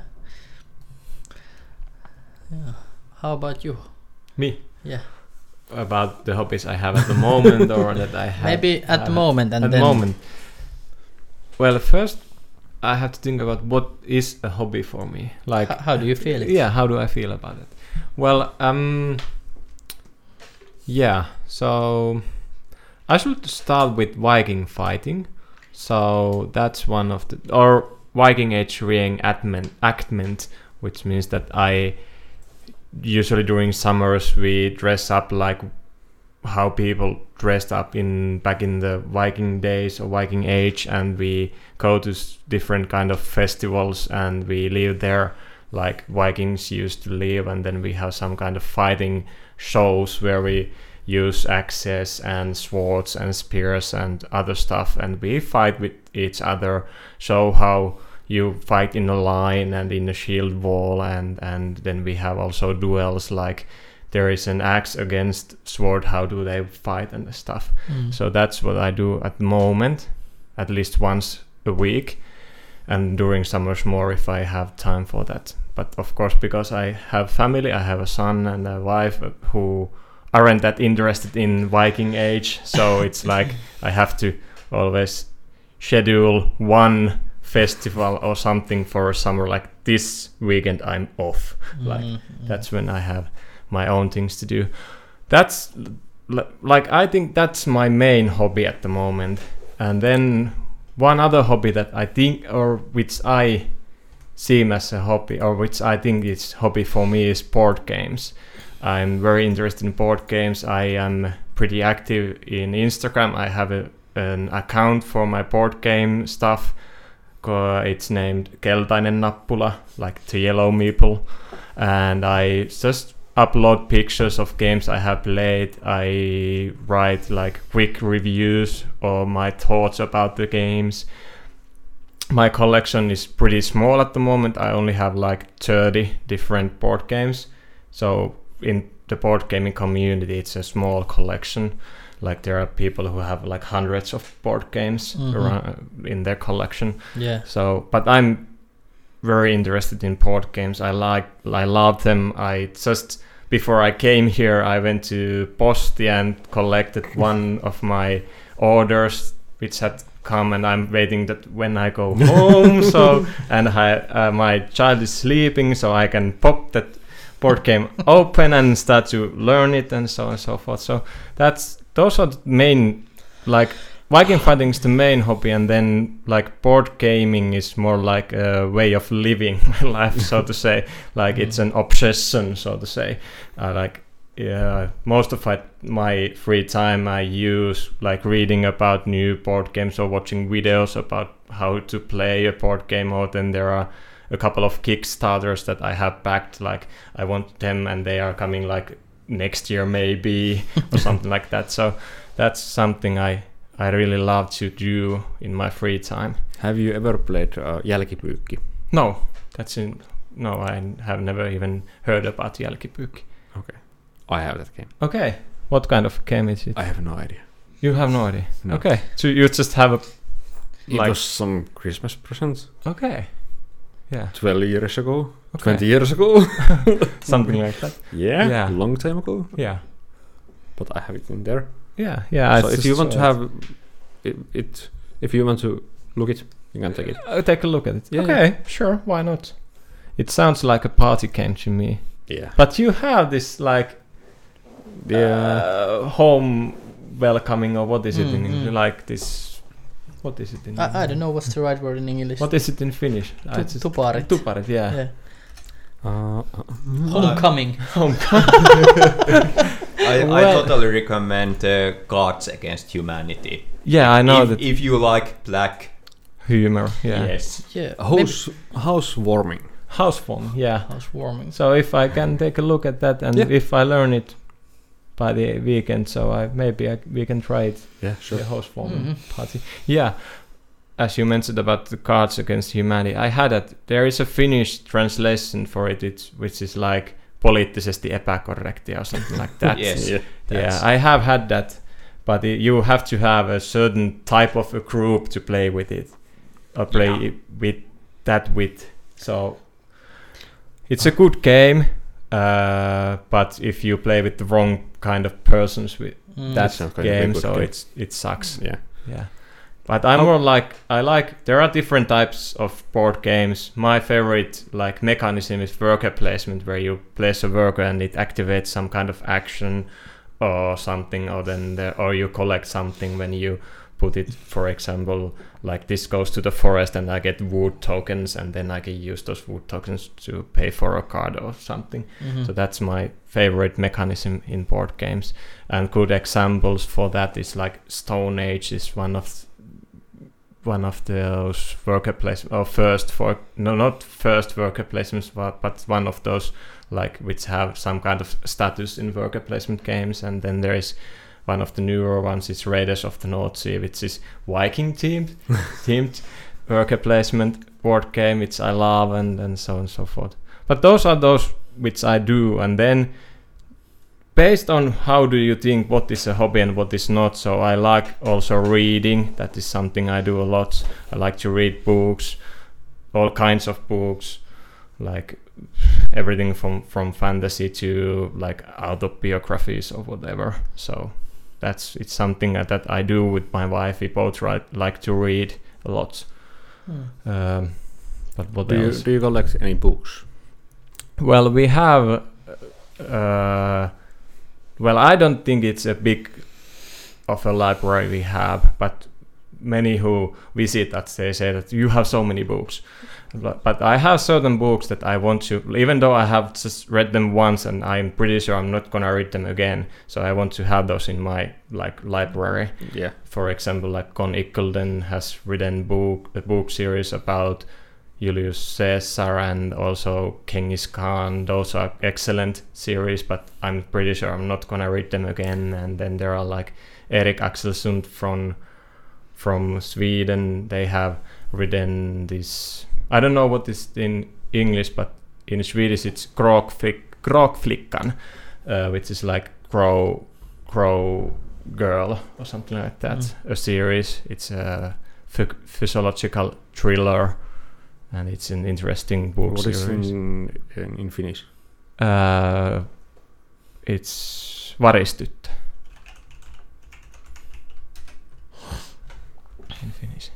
[SPEAKER 3] Yeah. How about you?
[SPEAKER 2] Me.
[SPEAKER 3] Yeah.
[SPEAKER 2] About the hobbies I have at the moment, or that I have.
[SPEAKER 3] Maybe at the
[SPEAKER 2] have
[SPEAKER 3] moment and
[SPEAKER 2] at
[SPEAKER 3] then.
[SPEAKER 2] the moment. Well, first I have to think about what is a hobby for me. Like,
[SPEAKER 3] H- how do you feel it?
[SPEAKER 2] yeah, how do I feel about it? Well, um, yeah. So I should start with Viking fighting. So that's one of the or Viking Age reenactment, which means that I usually during summers we dress up like how people dressed up in back in the Viking days or Viking Age, and we go to s- different kind of festivals and we live there like Vikings used to live, and then we have some kind of fighting shows where we use axes and swords and spears and other stuff, and we fight with each other, show how you fight in a line and in a shield wall, and and then we have also duels, like there is an axe against sword, how do they fight and stuff.
[SPEAKER 3] Mm.
[SPEAKER 2] So that's what I do at the moment, at least once a week, and during summers more if I have time for that. But of course, because I have family, I have a son and a wife who aren't that interested in Viking Age, so it's like I have to always schedule one festival or something for summer, like this weekend I'm off. Like
[SPEAKER 3] Mm,
[SPEAKER 2] that's when I have my own things to do. That's l- like I think that's my main hobby at the moment. And then one other hobby that I think, or which I seem as a hobby, or which I think is hobby for me, is board games. I'm very interested in board games. I am pretty active in Instagram. I have a, an account for my board game stuff. Uh, it's named Keltainen Nappula, like the yellow meeple. And I just upload pictures of games I have played. I write like quick reviews or my thoughts about the games. My collection is pretty small at the moment. I only have like thirty different board games. So in the board gaming community, it's a small collection. Like there are people who have like hundreds of board games
[SPEAKER 3] Mhm.
[SPEAKER 2] around in their collection.
[SPEAKER 3] Yeah.
[SPEAKER 2] So, but I'm very interested in board games. I like, I love them. I just before I came here, I went to Posti and collected one of my orders, which had come, and I'm waiting that when I go home. So, and I, uh, my child is sleeping, so I can pop that board game open and start to learn it, and so on and so forth. So that's those are the main, like Viking fighting is the main hobby, and then like board gaming is more like a way of living my life, so to say. Like it's an obsession, so to say. I like yeah, most of it, my free time I use like reading about new board games or watching videos about how to play a board game. Or then there are a couple of Kickstarters that I have backed, like I want them and they are coming like next year maybe or something like that. So that's something I I really love to do in my free time.
[SPEAKER 4] Have you ever played uh, Jälkipyykki?
[SPEAKER 2] No, that's in no, I have never even heard about Jälkipyykki.
[SPEAKER 4] Okay, I have that game.
[SPEAKER 2] Okay, what kind of game is it?
[SPEAKER 4] I have no idea.
[SPEAKER 2] You have no idea.
[SPEAKER 4] No.
[SPEAKER 2] Okay, so you just have a
[SPEAKER 4] It
[SPEAKER 2] like
[SPEAKER 4] was some Christmas present
[SPEAKER 2] okay, yeah,
[SPEAKER 4] twelve years ago,
[SPEAKER 2] okay.
[SPEAKER 4] twenty years ago.
[SPEAKER 2] something like that.
[SPEAKER 4] Yeah,
[SPEAKER 2] Yeah.
[SPEAKER 4] a long time ago.
[SPEAKER 2] Yeah,
[SPEAKER 4] But I have it in there.
[SPEAKER 2] yeah, yeah.
[SPEAKER 4] So
[SPEAKER 2] I
[SPEAKER 4] if
[SPEAKER 2] just
[SPEAKER 4] you want to
[SPEAKER 2] saw it.
[SPEAKER 4] have it, it, if you want to look it, you can take it.
[SPEAKER 2] Uh, take a look at it.
[SPEAKER 4] Yeah,
[SPEAKER 2] okay, sure, why not? It sounds like a party game to me.
[SPEAKER 4] Yeah.
[SPEAKER 2] But you have this like
[SPEAKER 4] Yeah.
[SPEAKER 2] uh, home welcoming, or what is it in
[SPEAKER 3] Mm,
[SPEAKER 2] English?
[SPEAKER 3] mm.
[SPEAKER 2] Like this. What is it in?
[SPEAKER 3] I, I don't know what's the right word in English.
[SPEAKER 2] What is it in Finnish? I
[SPEAKER 3] Tu-
[SPEAKER 2] just-
[SPEAKER 3] tuparit.
[SPEAKER 2] Tuparit, yeah.
[SPEAKER 3] Yeah.
[SPEAKER 4] Uh, uh,
[SPEAKER 3] Homecoming.
[SPEAKER 1] I, I
[SPEAKER 2] Well-
[SPEAKER 1] totally recommend uh, Cards Against Humanity.
[SPEAKER 2] Yeah, I know
[SPEAKER 1] if,
[SPEAKER 2] that
[SPEAKER 1] if you like black,
[SPEAKER 2] humor. Yeah.
[SPEAKER 1] yes.
[SPEAKER 3] Yeah.
[SPEAKER 4] house housewarming.
[SPEAKER 2] Housewarming. Yeah.
[SPEAKER 3] Housewarming.
[SPEAKER 2] So if I can take a look at that, and
[SPEAKER 4] Yeah.
[SPEAKER 2] if I learn it by the weekend, so I maybe I, we can try it.
[SPEAKER 4] Yeah, sure.
[SPEAKER 2] The housewarming
[SPEAKER 3] Mhm.
[SPEAKER 2] party. Yeah. As you mentioned about the Cards Against Humanity, I had that. There is a Finnish translation for it, it's, which is like poliittisesti epäkorrektia or something like that.
[SPEAKER 1] Yes.
[SPEAKER 4] Yeah.
[SPEAKER 1] That's-
[SPEAKER 2] Yeah, I have had that, but it, you have to have a certain type of a group to play with it, or play
[SPEAKER 1] Yeah.
[SPEAKER 2] it with that with. So it's a good game, uh, but if you play with the wrong kind of persons with
[SPEAKER 3] Mm.
[SPEAKER 2] that
[SPEAKER 4] sounds kind of a
[SPEAKER 2] game,
[SPEAKER 4] good
[SPEAKER 2] so
[SPEAKER 4] game.
[SPEAKER 2] it's it sucks.
[SPEAKER 4] Yeah.
[SPEAKER 2] Yeah. But I'm
[SPEAKER 4] How-
[SPEAKER 2] more like I like there are different types of board games. My favorite like mechanism is worker placement, where you place a worker and it activates some kind of action or something, or then the, or you collect something when you put it. For example, like this goes to the forest and I get wood tokens, and then I can use those wood tokens to pay for a card or something.
[SPEAKER 3] Mhm.
[SPEAKER 2] So that's my favorite mechanism in board games. And good examples for that is like Stone Age is one of one of those worker placement or first for no not first worker placements, but, but one of those like which have some kind of status in worker placement games. And then there is one of the newer ones is Raiders of the North Sea, which is Viking themed themed worker placement board game, which I love, and and so on and so forth. But those are those which I do. And then based on how do you think what is a hobby and what is not, so I like also reading. That is something I do a lot. I like to read books, all kinds of books, like everything from from fantasy to like autobiographies or whatever. So that's it's something that I do with my wife. We both write, like to read a lot.
[SPEAKER 3] Mm.
[SPEAKER 2] Um, but what
[SPEAKER 4] Do you,
[SPEAKER 2] else?
[SPEAKER 4] do you collect any books?
[SPEAKER 2] Well, we have. Uh, well, I don't think it's a big of a library we have, but many who visit us, they say that you have so many books. But, but I have certain books that I want to, even though I have just read them once and I'm pretty sure I'm not gonna read them again. So I want to have those in my like library.
[SPEAKER 4] Yeah.
[SPEAKER 2] For example, like Con Ickledon has written book a book series about Julius Caesar and also Genghis Khan. Those are excellent series, but I'm pretty sure I'm not gonna read them again. And then there are like Erik Axelsund from from Sweden. They have written this. I don't know what is in English, but in Swedish it's Kråkflickan, uh, which is like crow, crow girl or something like that. Mm. A series. It's a ph- physiological thriller, and it's an interesting book
[SPEAKER 4] what
[SPEAKER 2] series.
[SPEAKER 4] What is in, in, in Finnish?
[SPEAKER 2] Uh, it's Varistyttö. In Finnish.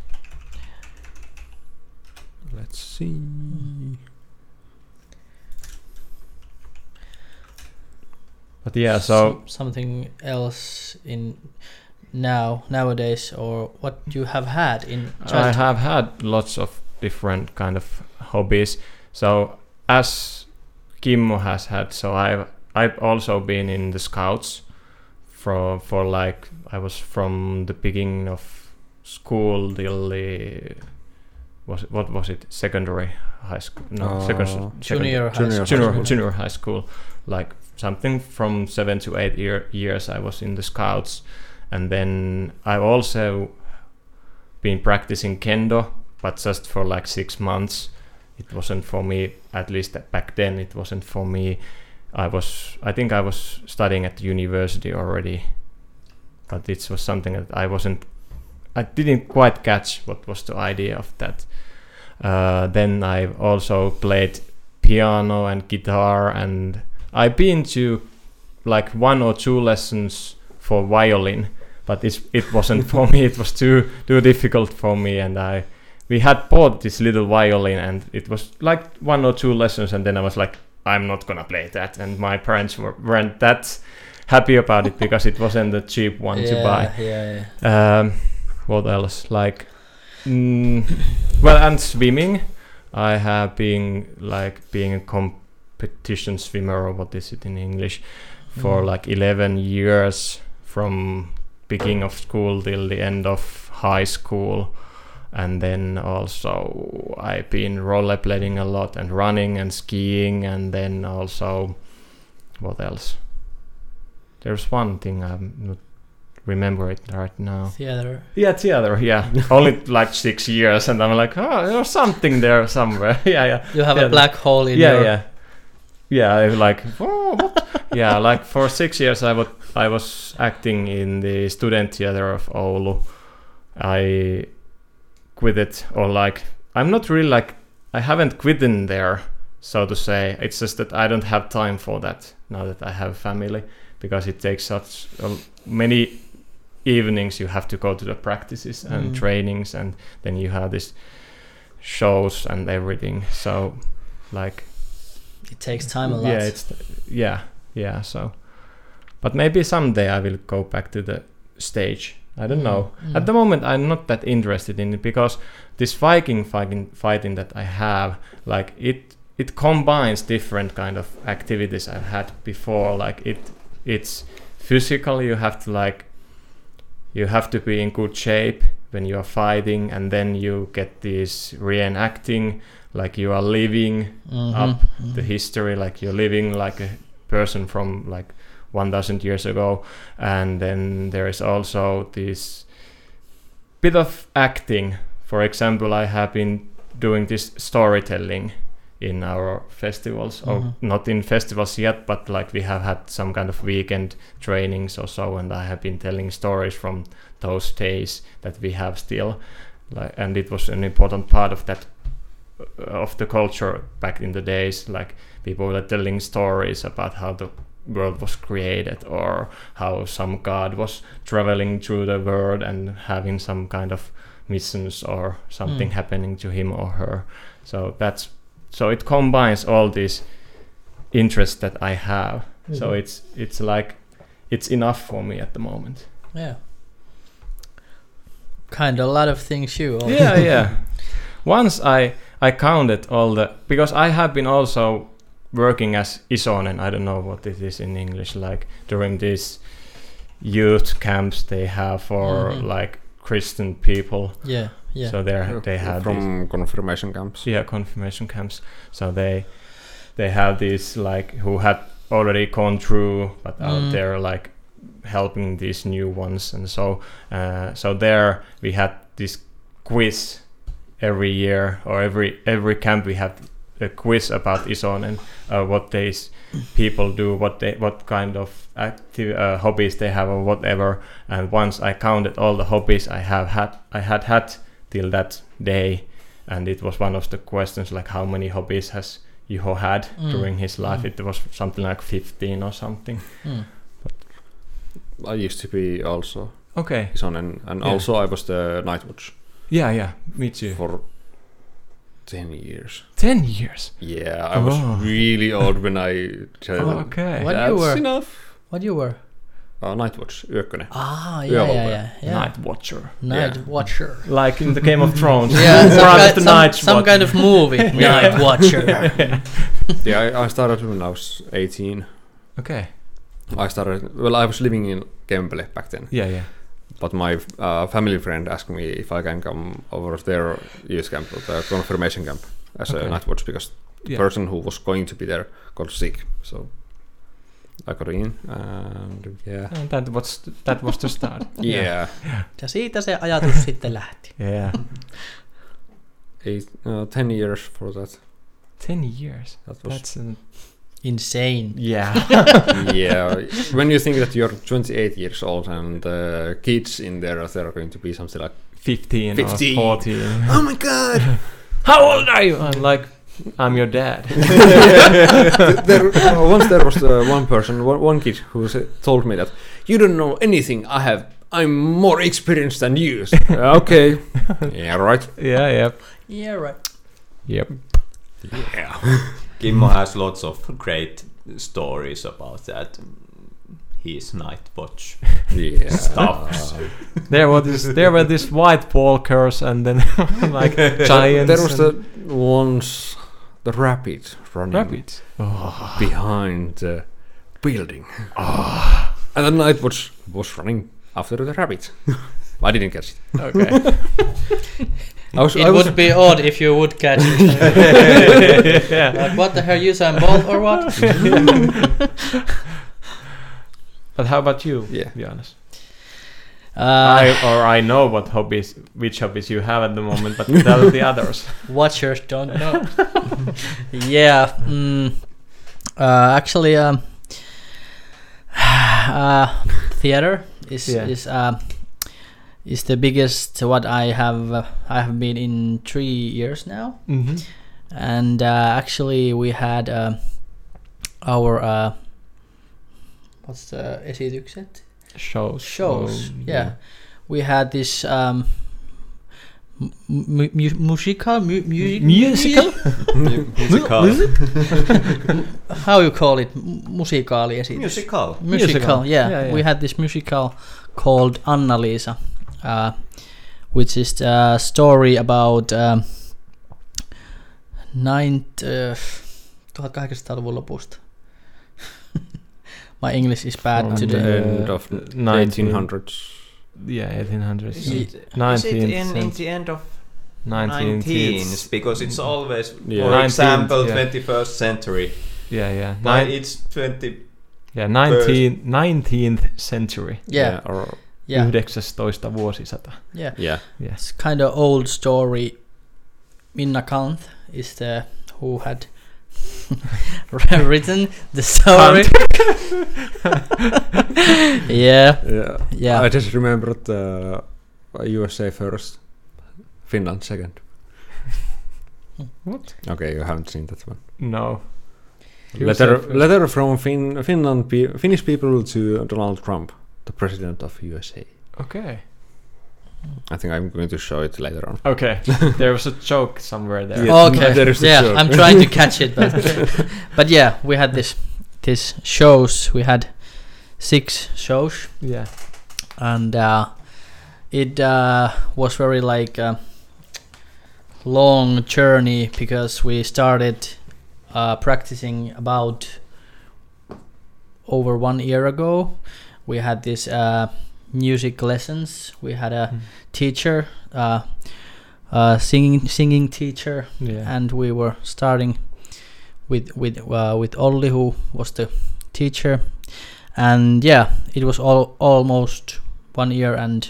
[SPEAKER 4] Let's see.
[SPEAKER 2] But yeah, so
[SPEAKER 3] S- something else in now nowadays, or what you have had in childhood?
[SPEAKER 2] I have had lots of different kind of hobbies. So as Kimmo has had, so I've I've also been in the Scouts for for like I was from the beginning of school till the was it, what was it secondary high school no
[SPEAKER 4] uh,
[SPEAKER 2] second,
[SPEAKER 3] junior,
[SPEAKER 2] second,
[SPEAKER 3] high
[SPEAKER 2] junior,
[SPEAKER 3] school.
[SPEAKER 2] junior, junior high school, like something from seven to eight year, years I was in the Scouts. And then I've also been practicing kendo, but just for like six months. It wasn't for me, at least back then it wasn't for me. I was I think I was studying at the university already, but it was something that I wasn't I didn't quite catch what was the idea of that. Uh, then I've also played piano and guitar, and I've been to like one or two lessons for violin, but it's, it wasn't for me. It was too too difficult for me, and I we had bought this little violin, and it was like one or two lessons, and then I was like, I'm not gonna play that, and my parents were, weren't that happy about it because it wasn't a cheap one
[SPEAKER 3] yeah,
[SPEAKER 2] to buy.
[SPEAKER 3] Yeah, yeah.
[SPEAKER 2] Um, what else? Like, mm, well, and swimming. I have been like being a competition swimmer, or what is it in English, for
[SPEAKER 3] Mm.
[SPEAKER 2] like eleven years, from beginning of school till the end of high school. And then also I've been rollerblading a lot and running and skiing, and then also what else? There's one thing I'm not remember it right now.
[SPEAKER 3] Theater.
[SPEAKER 2] Yeah, theater. Yeah, only like six years, and I'm like, oh, there's something there somewhere. yeah, yeah.
[SPEAKER 3] You have
[SPEAKER 2] yeah,
[SPEAKER 3] a black hole in
[SPEAKER 2] yeah,
[SPEAKER 3] your.
[SPEAKER 2] yeah, yeah. I like, oh, what? yeah, like for six years I was I was acting in the student theater of Oulu. I quit it, or like I'm not really like I haven't quit in there, so to say. It's just that I don't have time for that now that I have family, because it takes such uh, many evenings. You have to go to the practices and
[SPEAKER 3] Mm.
[SPEAKER 2] trainings, and then you have this shows and everything. So like
[SPEAKER 3] It takes time a lot.
[SPEAKER 2] yeah, it's yeah, yeah. So, but maybe someday I will go back to the stage. I don't
[SPEAKER 3] Mm,
[SPEAKER 2] know.
[SPEAKER 3] mm.
[SPEAKER 2] At the moment, I'm not that interested in it, because this Viking fighting, fighting that I have, like it, it combines different kind of activities I've had before. Like it, it's physical. You have to like, you have to be in good shape when you are fighting, and then you get this reenacting, like you are living
[SPEAKER 3] Mhm,
[SPEAKER 2] up
[SPEAKER 3] mhm.
[SPEAKER 2] the history, like you're living like a person from like one thousand years ago. And then there is also this bit of acting. For example, I have been doing this storytelling in our festivals, or
[SPEAKER 3] Mhm.
[SPEAKER 2] not in festivals yet, but like we have had some kind of weekend trainings or so, and I have been telling stories from those days that we have still, like, and it was an important part of that of the culture back in the days. Like people were telling stories about how the world was created, or how some god was traveling through the world and having some kind of missions or something
[SPEAKER 3] Mm.
[SPEAKER 2] happening to him or her. So that's so it combines all these interests that I have. So
[SPEAKER 3] Mhm.
[SPEAKER 2] it's it's like it's enough for me at the moment.
[SPEAKER 3] Yeah. kind of a lot of things you. Also.
[SPEAKER 2] Yeah, yeah. Once I I counted all the, because I have been also working as isonen. I don't know what it is in English. Like during these youth camps they have for
[SPEAKER 3] Mhm.
[SPEAKER 2] like Christian people.
[SPEAKER 3] Yeah, yeah.
[SPEAKER 2] So there they have
[SPEAKER 4] from
[SPEAKER 2] these,
[SPEAKER 4] confirmation camps.
[SPEAKER 2] yeah, confirmation camps. So they they have these like who had already gone through, but out
[SPEAKER 3] Mm.
[SPEAKER 2] there like helping these new ones, and so uh, so there we had this quiz every year, or every every camp we had a quiz about isonen, uh, what these people do, what they what kind of active uh, hobbies they have or whatever. And once I counted all the hobbies I have had I had had till that day, and it was one of the questions like how many hobbies has Juho had
[SPEAKER 3] Mm.
[SPEAKER 2] during his life.
[SPEAKER 3] Mm.
[SPEAKER 2] It was something like fifteen or something.
[SPEAKER 3] Mm.
[SPEAKER 4] I used to be also
[SPEAKER 2] Okay.
[SPEAKER 4] Ison, and, and
[SPEAKER 2] Yeah.
[SPEAKER 4] also I was the night watch
[SPEAKER 2] Yeah, yeah, me too.
[SPEAKER 4] for ten years.
[SPEAKER 2] Ten years.
[SPEAKER 4] Yeah, I was
[SPEAKER 2] Oh.
[SPEAKER 4] really old when I said
[SPEAKER 2] Oh, okay.
[SPEAKER 3] What
[SPEAKER 4] that's
[SPEAKER 3] you were?
[SPEAKER 4] enough.
[SPEAKER 3] What you were?
[SPEAKER 4] Uh, night watch, Yökkönen.
[SPEAKER 3] Ah, yeah,
[SPEAKER 4] Yeah,
[SPEAKER 3] yeah,
[SPEAKER 4] well,
[SPEAKER 3] yeah, yeah.
[SPEAKER 2] Night Watcher.
[SPEAKER 3] Night
[SPEAKER 4] Yeah.
[SPEAKER 3] Watcher.
[SPEAKER 2] Like in the Game of Thrones.
[SPEAKER 3] Yeah, some,
[SPEAKER 2] Brother
[SPEAKER 3] kind,
[SPEAKER 2] the
[SPEAKER 3] some,
[SPEAKER 2] Night
[SPEAKER 3] some
[SPEAKER 2] Watcher.
[SPEAKER 3] kind of movie. Night Watcher.
[SPEAKER 4] Yeah, I, I started when I was eighteen.
[SPEAKER 2] Okay.
[SPEAKER 4] I started, well, I was living in Kempele back then.
[SPEAKER 2] Yeah, yeah.
[SPEAKER 4] But my uh, family friend asked me if I can come over their youth camp, the confirmation camp, as
[SPEAKER 2] Okay.
[SPEAKER 4] a night watch, because the
[SPEAKER 2] Yeah.
[SPEAKER 4] person who was going to be there got sick. So I got in, and yeah.
[SPEAKER 2] And that was that was the start.
[SPEAKER 4] Yeah.
[SPEAKER 3] Ja siitä se ajatus sitten lähti.
[SPEAKER 2] Yeah.
[SPEAKER 4] Eight, uh, ten years for that.
[SPEAKER 2] Ten years.
[SPEAKER 4] That was
[SPEAKER 2] That's an,
[SPEAKER 3] Insane.
[SPEAKER 2] yeah.
[SPEAKER 4] yeah. When you think that you're twenty-eight years old and the kids in there, they're going to be something like,
[SPEAKER 2] Fifteen,
[SPEAKER 4] Fifteen.
[SPEAKER 2] or fourteen.
[SPEAKER 4] oh my god!
[SPEAKER 2] How old are you? I'm like, I'm your dad.
[SPEAKER 4] there, uh, once there was uh, one person, one, one kid who sa- told me that you don't know anything. I have, I'm more experienced than you. So, uh, okay, yeah, right.
[SPEAKER 2] Yeah, yep.
[SPEAKER 3] Yeah, right.
[SPEAKER 2] Yep.
[SPEAKER 4] Yeah,
[SPEAKER 1] Kimmo has lots of great stories about that. His night watch
[SPEAKER 4] yeah.
[SPEAKER 1] stuff.
[SPEAKER 2] There were this there were these white walkers and then like giants.
[SPEAKER 4] There was
[SPEAKER 2] and
[SPEAKER 4] the once the rabbit running
[SPEAKER 2] rabbits. Oh.
[SPEAKER 4] behind the building, and the night watch was running after the rabbit. I didn't catch it.
[SPEAKER 2] Okay.
[SPEAKER 4] I was,
[SPEAKER 3] It
[SPEAKER 4] I was
[SPEAKER 3] would be odd if you would catch it.
[SPEAKER 2] Yeah.
[SPEAKER 3] Like, what the hell, Usain Bolt or what?
[SPEAKER 2] But how about you?
[SPEAKER 4] Yeah.
[SPEAKER 2] To be honest.
[SPEAKER 3] Uh,
[SPEAKER 2] I or I know what hobbies, which hobbies you have at the moment, but tell the others.
[SPEAKER 3] Watchers don't know. Yeah. Mm, uh, actually, um, uh, theater is
[SPEAKER 2] Yeah.
[SPEAKER 3] is uh, is the biggest what I have. Uh, I have been in three years now,
[SPEAKER 2] Mm-hmm.
[SPEAKER 3] and uh, actually we had uh, our uh, what's the esitykset?
[SPEAKER 2] Shows.
[SPEAKER 3] Shows.
[SPEAKER 2] Oh,
[SPEAKER 3] Yeah. We had this um, mu- mu- musical mu- music
[SPEAKER 2] Musical?
[SPEAKER 1] Musical.
[SPEAKER 3] How you call it? M- Musikaali esitys.
[SPEAKER 1] Musical.
[SPEAKER 3] Musical.
[SPEAKER 2] Musical.
[SPEAKER 3] Yeah.
[SPEAKER 2] Yeah, yeah.
[SPEAKER 3] We had this musical called Anna-Liisa, uh, which is a story about um, ninth, uh, tuhatkahdeksansataaluvun lopusta. My English is bad
[SPEAKER 2] From
[SPEAKER 3] today.
[SPEAKER 4] the
[SPEAKER 2] Uh,
[SPEAKER 4] end of
[SPEAKER 2] nineteen
[SPEAKER 4] eighteen hundreds.
[SPEAKER 2] Yeah, eighteen hundreds.
[SPEAKER 1] Is it, is it
[SPEAKER 2] nineteenth
[SPEAKER 1] in, in
[SPEAKER 2] century.
[SPEAKER 1] the end of
[SPEAKER 2] nineteenth.
[SPEAKER 1] nineteens? Because it's always,
[SPEAKER 4] Yeah.
[SPEAKER 1] for
[SPEAKER 2] nineteenth,
[SPEAKER 1] example,
[SPEAKER 2] yeah.
[SPEAKER 1] twenty-first century.
[SPEAKER 2] Yeah, yeah.
[SPEAKER 1] But
[SPEAKER 2] Nine,
[SPEAKER 1] it's twenty.
[SPEAKER 2] yeah, nineteen, nineteenth century.
[SPEAKER 3] Yeah.
[SPEAKER 4] Or
[SPEAKER 3] Yeah.
[SPEAKER 2] yhdeksästoista vuosisata.
[SPEAKER 3] Yeah.
[SPEAKER 4] yeah.
[SPEAKER 2] Yeah.
[SPEAKER 3] It's kind of old story. Minna Kanth is the who had written the story. yeah,
[SPEAKER 4] Yeah.
[SPEAKER 3] yeah.
[SPEAKER 4] I just remembered the U S A first, Finland second.
[SPEAKER 2] What?
[SPEAKER 4] Okay, you haven't seen that one.
[SPEAKER 2] No.
[SPEAKER 4] Letter,
[SPEAKER 2] U S A first.
[SPEAKER 4] letter from fin- Finland, pe- Finnish people to Donald Trump, the president of U S A.
[SPEAKER 2] Okay.
[SPEAKER 4] I think I'm going to show it later on.
[SPEAKER 2] Okay. There was a joke somewhere there.
[SPEAKER 4] Yeah.
[SPEAKER 3] Okay.
[SPEAKER 4] There is the
[SPEAKER 3] Yeah,
[SPEAKER 4] joke.
[SPEAKER 3] I'm trying to catch it, but but yeah, we had this this shows. We had six shows,
[SPEAKER 2] Yeah.
[SPEAKER 3] and uh, it uh, was very like a long journey because we started uh, practicing about over one year ago. We had this uh, music lessons. We had a
[SPEAKER 2] Mm.
[SPEAKER 3] teacher, uh, uh, singing singing teacher,
[SPEAKER 2] Yeah.
[SPEAKER 3] and we were starting with with uh, with Olli, who was the teacher, and yeah, it was all almost one year and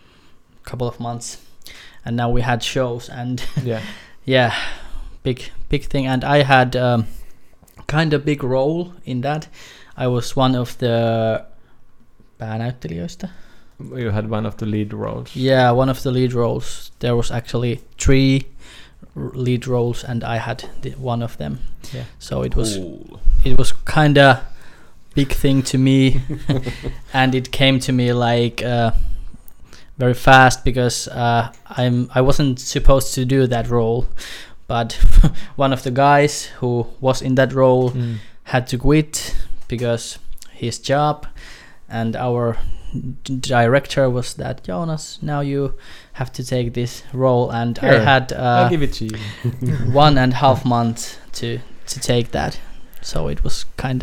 [SPEAKER 3] a couple of months, and now we had shows, and
[SPEAKER 2] Yeah.
[SPEAKER 3] yeah, big big thing, and I had um, kind of big role in that. I was one of the päänäyttelijöistä.
[SPEAKER 2] You had one of the lead roles.
[SPEAKER 3] Yeah, one of the lead roles. There was actually three r- lead roles, and I had the, one of them.
[SPEAKER 2] Yeah.
[SPEAKER 3] So it was
[SPEAKER 1] Cool.
[SPEAKER 3] it was kind of big thing to me, and it came to me like uh, very fast because uh, I'm I wasn't supposed to do that role, but one of the guys who was in that role
[SPEAKER 2] Mm.
[SPEAKER 3] had to quit because his job, and our d- director was that, Jonas, now you have to take this role, and I
[SPEAKER 2] Here,
[SPEAKER 3] had
[SPEAKER 2] I'll
[SPEAKER 3] uh,
[SPEAKER 2] give it to you.
[SPEAKER 3] one and a half months to to take that, so it was kind of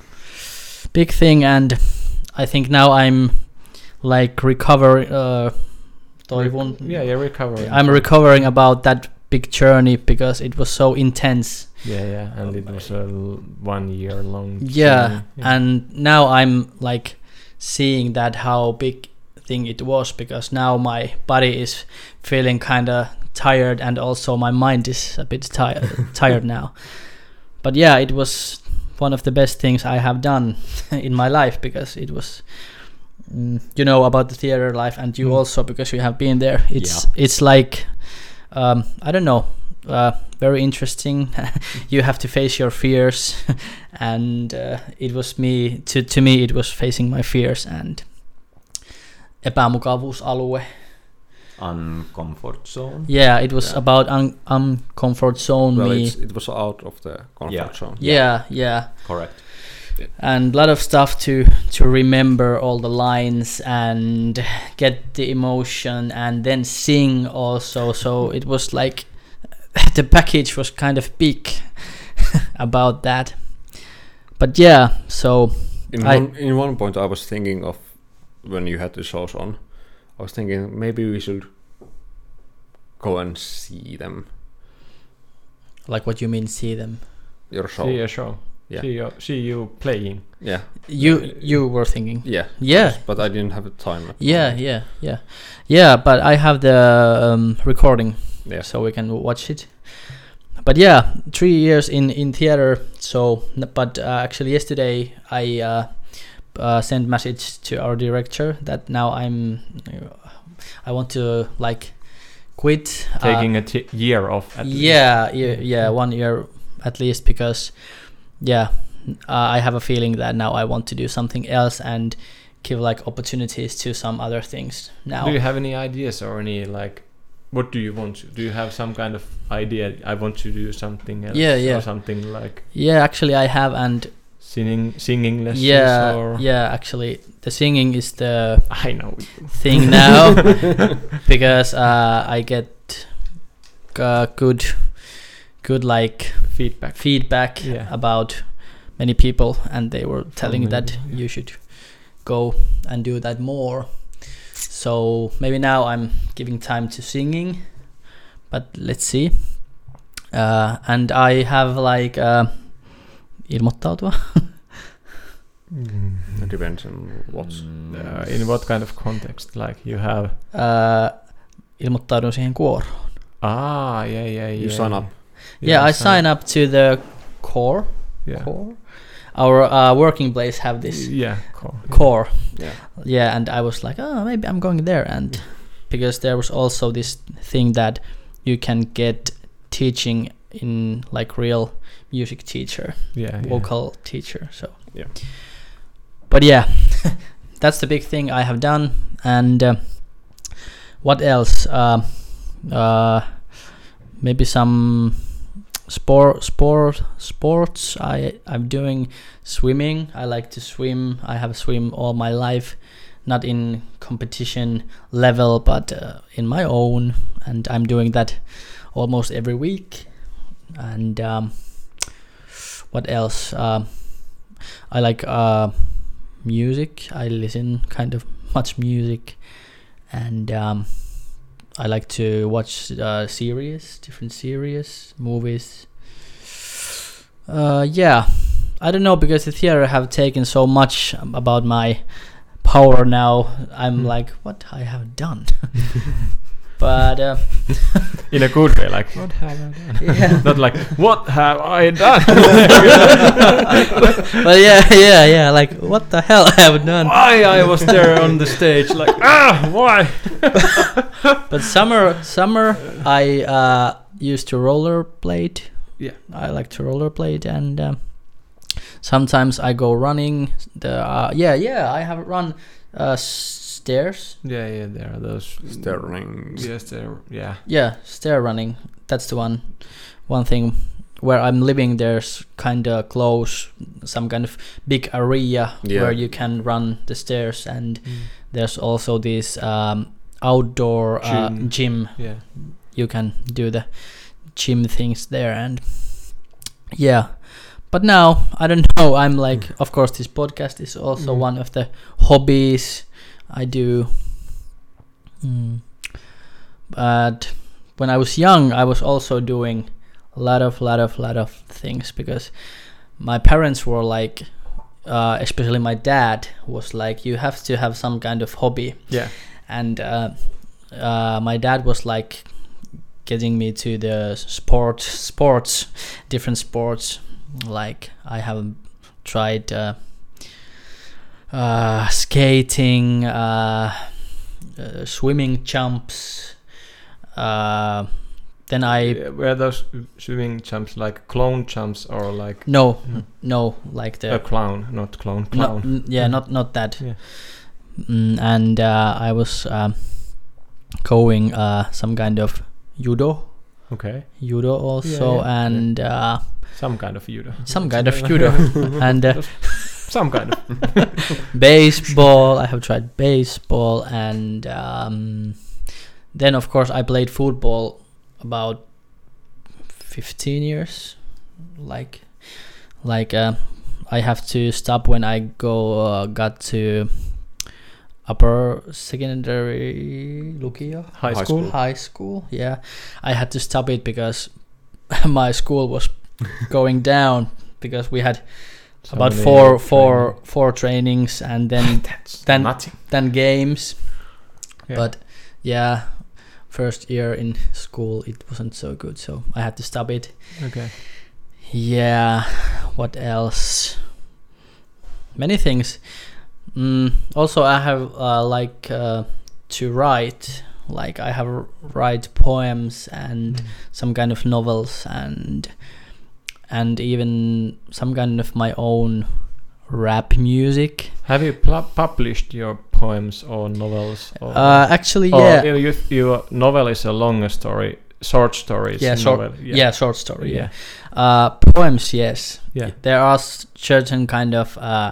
[SPEAKER 3] big thing, and I think now I'm like recover uh toivon
[SPEAKER 2] Yeah, you're recovering.
[SPEAKER 3] I'm recovering about that big journey because it was so intense.
[SPEAKER 2] Yeah, yeah, and it was a l- one year long.
[SPEAKER 3] Yeah,
[SPEAKER 2] journey.
[SPEAKER 3] and now I'm like seeing that how big thing it was, because now my body is feeling kind of tired, and also my mind is a bit tired tired now. But yeah, it was one of the best things I have done in my life, because it was mm, you know about the theater life, and you
[SPEAKER 2] Mm.
[SPEAKER 3] also, because you have been there. It's it's like um, I don't know, uh, very interesting. You have to face your fears, and uh, it was me to to me it was facing my fears and epämukavuusalue.
[SPEAKER 1] Uncomfort zone.
[SPEAKER 3] Yeah, it was
[SPEAKER 4] Yeah.
[SPEAKER 3] about un- uncomfort zone
[SPEAKER 4] Well,
[SPEAKER 3] me.
[SPEAKER 4] it's, it was out of the comfort
[SPEAKER 1] Yeah.
[SPEAKER 4] zone.
[SPEAKER 3] Yeah, yeah,
[SPEAKER 1] Correct.
[SPEAKER 3] and a lot of stuff to to remember all the lines and get the emotion, and then sing also. So it was like the package was kind of big about that. But yeah, so
[SPEAKER 4] In
[SPEAKER 3] I-
[SPEAKER 4] one in one point, I was thinking of when you had the shows on. I was thinking maybe we should go and see them.
[SPEAKER 3] like, what you mean see them?
[SPEAKER 4] Your show.
[SPEAKER 2] See a show.
[SPEAKER 4] Yeah.
[SPEAKER 2] See you, see you playing.
[SPEAKER 4] Yeah.
[SPEAKER 3] You you were thinking?
[SPEAKER 4] Yeah.
[SPEAKER 3] Yeah.
[SPEAKER 4] But I didn't have the time. at the
[SPEAKER 3] Yeah,
[SPEAKER 4] moment.
[SPEAKER 3] yeah, yeah, yeah. But I have the um, recording,
[SPEAKER 4] Yeah.
[SPEAKER 3] so we can watch it. But yeah, three years in in theater. So, n- but uh, actually yesterday I uh, uh, sent message to our director that now I'm I want to like quit. uh,
[SPEAKER 2] Taking a t- year off. At least.
[SPEAKER 3] yeah, yeah, yeah, one year at least, because yeah, uh, I have a feeling that now I want to do something else and give like opportunities to some other things now.
[SPEAKER 2] Do you have any ideas or any like? What do you want to? Do you have some kind of idea? I want to do something else.
[SPEAKER 3] Yeah, yeah.
[SPEAKER 2] Or something like
[SPEAKER 3] Yeah, actually I have, and
[SPEAKER 2] singing, singing lessons.
[SPEAKER 3] yeah,
[SPEAKER 2] Or
[SPEAKER 3] yeah, actually the singing is the
[SPEAKER 2] I know.
[SPEAKER 3] thing now, because uh, I get uh, good, good like
[SPEAKER 2] Feedback.
[SPEAKER 3] feedback
[SPEAKER 2] Yeah.
[SPEAKER 3] about many people, and they were telling
[SPEAKER 2] many,
[SPEAKER 3] that
[SPEAKER 2] yeah.
[SPEAKER 3] you should go and do that more. So maybe now I'm giving time to singing, but let's see. Uh, and I have like uh, ilmoittautua.
[SPEAKER 2] Mm.
[SPEAKER 4] It depends on what's.
[SPEAKER 1] Mm,
[SPEAKER 2] Uh, in what kind of context? Like you have.
[SPEAKER 3] Uh, ilmoittaudun siihen kuoroon.
[SPEAKER 2] Ah, yeah, yeah, yeah.
[SPEAKER 4] You sign up.
[SPEAKER 3] Yeah, I sign up to the core.
[SPEAKER 2] Yeah.
[SPEAKER 3] Core. Our uh, working place have this
[SPEAKER 2] Yeah. Core.
[SPEAKER 3] core.
[SPEAKER 4] Yeah.
[SPEAKER 3] Yeah, and I was like, oh, maybe I'm going there, and because there was also this thing that you can get teaching in like real music teacher,
[SPEAKER 2] Yeah. yeah.
[SPEAKER 3] vocal teacher. So
[SPEAKER 4] Yeah.
[SPEAKER 3] but yeah, that's the big thing I have done. And uh, what else? Uh, uh, maybe some sport, sport, sports. I I'm doing swimming. I like to swim. I have swim all my life. not in competition level, but uh, in my own, and I'm doing that almost every week. And um, what else? Uh, I like uh, music. I listen kind of much music, and um, I like to watch uh, series, different series, movies. Uh, yeah, I don't know, because the theater have taken so much about my power now. I'm
[SPEAKER 2] Mm.
[SPEAKER 3] like, what I have done? But uh,
[SPEAKER 2] In a good way, like, what have I done?
[SPEAKER 3] yeah.
[SPEAKER 2] Not like, what have I done?
[SPEAKER 3] But yeah, yeah, yeah. Like, what the hell I have done?
[SPEAKER 2] Why I was there on the stage, like, ah, why?
[SPEAKER 3] But summer, summer, I uh, used to rollerblade.
[SPEAKER 2] Yeah.
[SPEAKER 3] I like to rollerblade, and um, sometimes I go running. The uh, yeah, yeah, I have run uh, stairs.
[SPEAKER 2] Yeah, yeah, there are those
[SPEAKER 4] Sterling.
[SPEAKER 2] Yes, there. Yeah.
[SPEAKER 3] Yeah, stair running. That's the one. One thing where I'm living, there's kind of close some kind of big area
[SPEAKER 4] Yeah.
[SPEAKER 3] where you can run the stairs, and
[SPEAKER 2] Mm.
[SPEAKER 3] there's also this um, outdoor uh,
[SPEAKER 2] Gym.
[SPEAKER 3] gym.
[SPEAKER 2] Yeah.
[SPEAKER 3] You can do the gym things there, and yeah. But now I don't know. I'm like, of course, this podcast is also
[SPEAKER 2] Mm.
[SPEAKER 3] one of the hobbies I do. Mm. But when I was young, I was also doing a lot of, lot of, lot of things, because my parents were like, uh, especially my dad was like, you have to have some kind of hobby.
[SPEAKER 2] Yeah.
[SPEAKER 3] And uh, uh, my dad was like getting me to the sport, sports, different sports. Like I have tried uh, uh, skating, uh, uh, swimming jumps. Uh, then I
[SPEAKER 2] Yeah, were those swimming jumps like clone jumps or like
[SPEAKER 3] no
[SPEAKER 2] Mm.
[SPEAKER 3] no like the
[SPEAKER 2] a clown, not clone,
[SPEAKER 3] no,
[SPEAKER 2] clown?
[SPEAKER 3] n- yeah not not that.
[SPEAKER 2] Yeah.
[SPEAKER 3] Mm, and uh, I was um, going uh, some kind of judo.
[SPEAKER 2] Okay.
[SPEAKER 3] Judo also,
[SPEAKER 2] Yeah, yeah,
[SPEAKER 3] and uh,
[SPEAKER 2] Some kind of judo.
[SPEAKER 3] some kind of judo, and uh,
[SPEAKER 2] Some kind of.
[SPEAKER 3] baseball. I have tried baseball, and um, then of course I played football about fifteen years. Like, like uh, I have to stop when I go uh, got to upper secondary lukio.
[SPEAKER 2] High,
[SPEAKER 4] High
[SPEAKER 2] school.
[SPEAKER 4] school.
[SPEAKER 3] High school, yeah. I had to stop it because my school was going down, because we had
[SPEAKER 2] So
[SPEAKER 3] about
[SPEAKER 2] many
[SPEAKER 3] four,
[SPEAKER 2] training.
[SPEAKER 3] four, four trainings, and then
[SPEAKER 2] That's
[SPEAKER 3] then
[SPEAKER 2] nothing.
[SPEAKER 3] then games.
[SPEAKER 2] Yeah.
[SPEAKER 3] But yeah, first year in school it wasn't so good, so I had to stop it.
[SPEAKER 2] Okay.
[SPEAKER 3] Yeah, what else? Many things. Mm, also, I have uh, like uh, to write. Like I have r- write poems and
[SPEAKER 2] Mm.
[SPEAKER 3] some kind of novels, and and even some kind of my own rap music.
[SPEAKER 2] Have you pl- published your poems or novels? Or
[SPEAKER 3] Uh, actually,
[SPEAKER 2] or
[SPEAKER 3] yeah,
[SPEAKER 2] you, your novel is a longer story, short stories.
[SPEAKER 3] yeah, short,
[SPEAKER 2] novel.
[SPEAKER 3] yeah. short story.
[SPEAKER 2] Yeah.
[SPEAKER 3] Yeah, uh, poems. Yes,
[SPEAKER 2] Yeah.
[SPEAKER 3] there are s- certain kind of uh,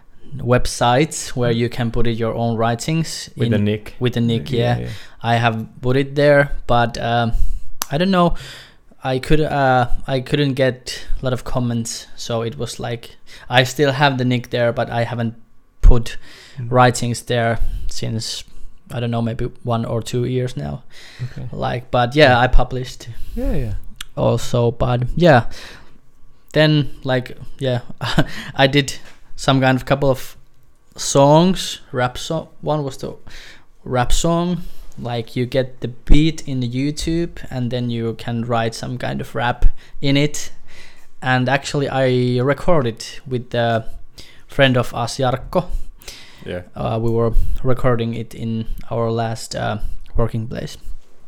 [SPEAKER 3] websites where you can put it your own writings
[SPEAKER 2] With
[SPEAKER 3] in,
[SPEAKER 2] the nick.
[SPEAKER 3] with the nick. Yeah, I have put it there, but um, I don't know. I could uh, I couldn't get a lot of comments, so it was like I still have the nick there, but I haven't put
[SPEAKER 2] Mm.
[SPEAKER 3] writings there since I don't know, maybe one or two years now.
[SPEAKER 2] Okay.
[SPEAKER 3] Like, but yeah, I published
[SPEAKER 2] Yeah, yeah.
[SPEAKER 3] also, but yeah, then like yeah, I did some kind of couple of songs, rap song. One was the rap song. Like you get the beat in the YouTube, and then you can write some kind of rap in it. And actually, I recorded with the friend of us, Jarkko.
[SPEAKER 4] Yeah.
[SPEAKER 3] Uh, we were recording it in our last uh, working place.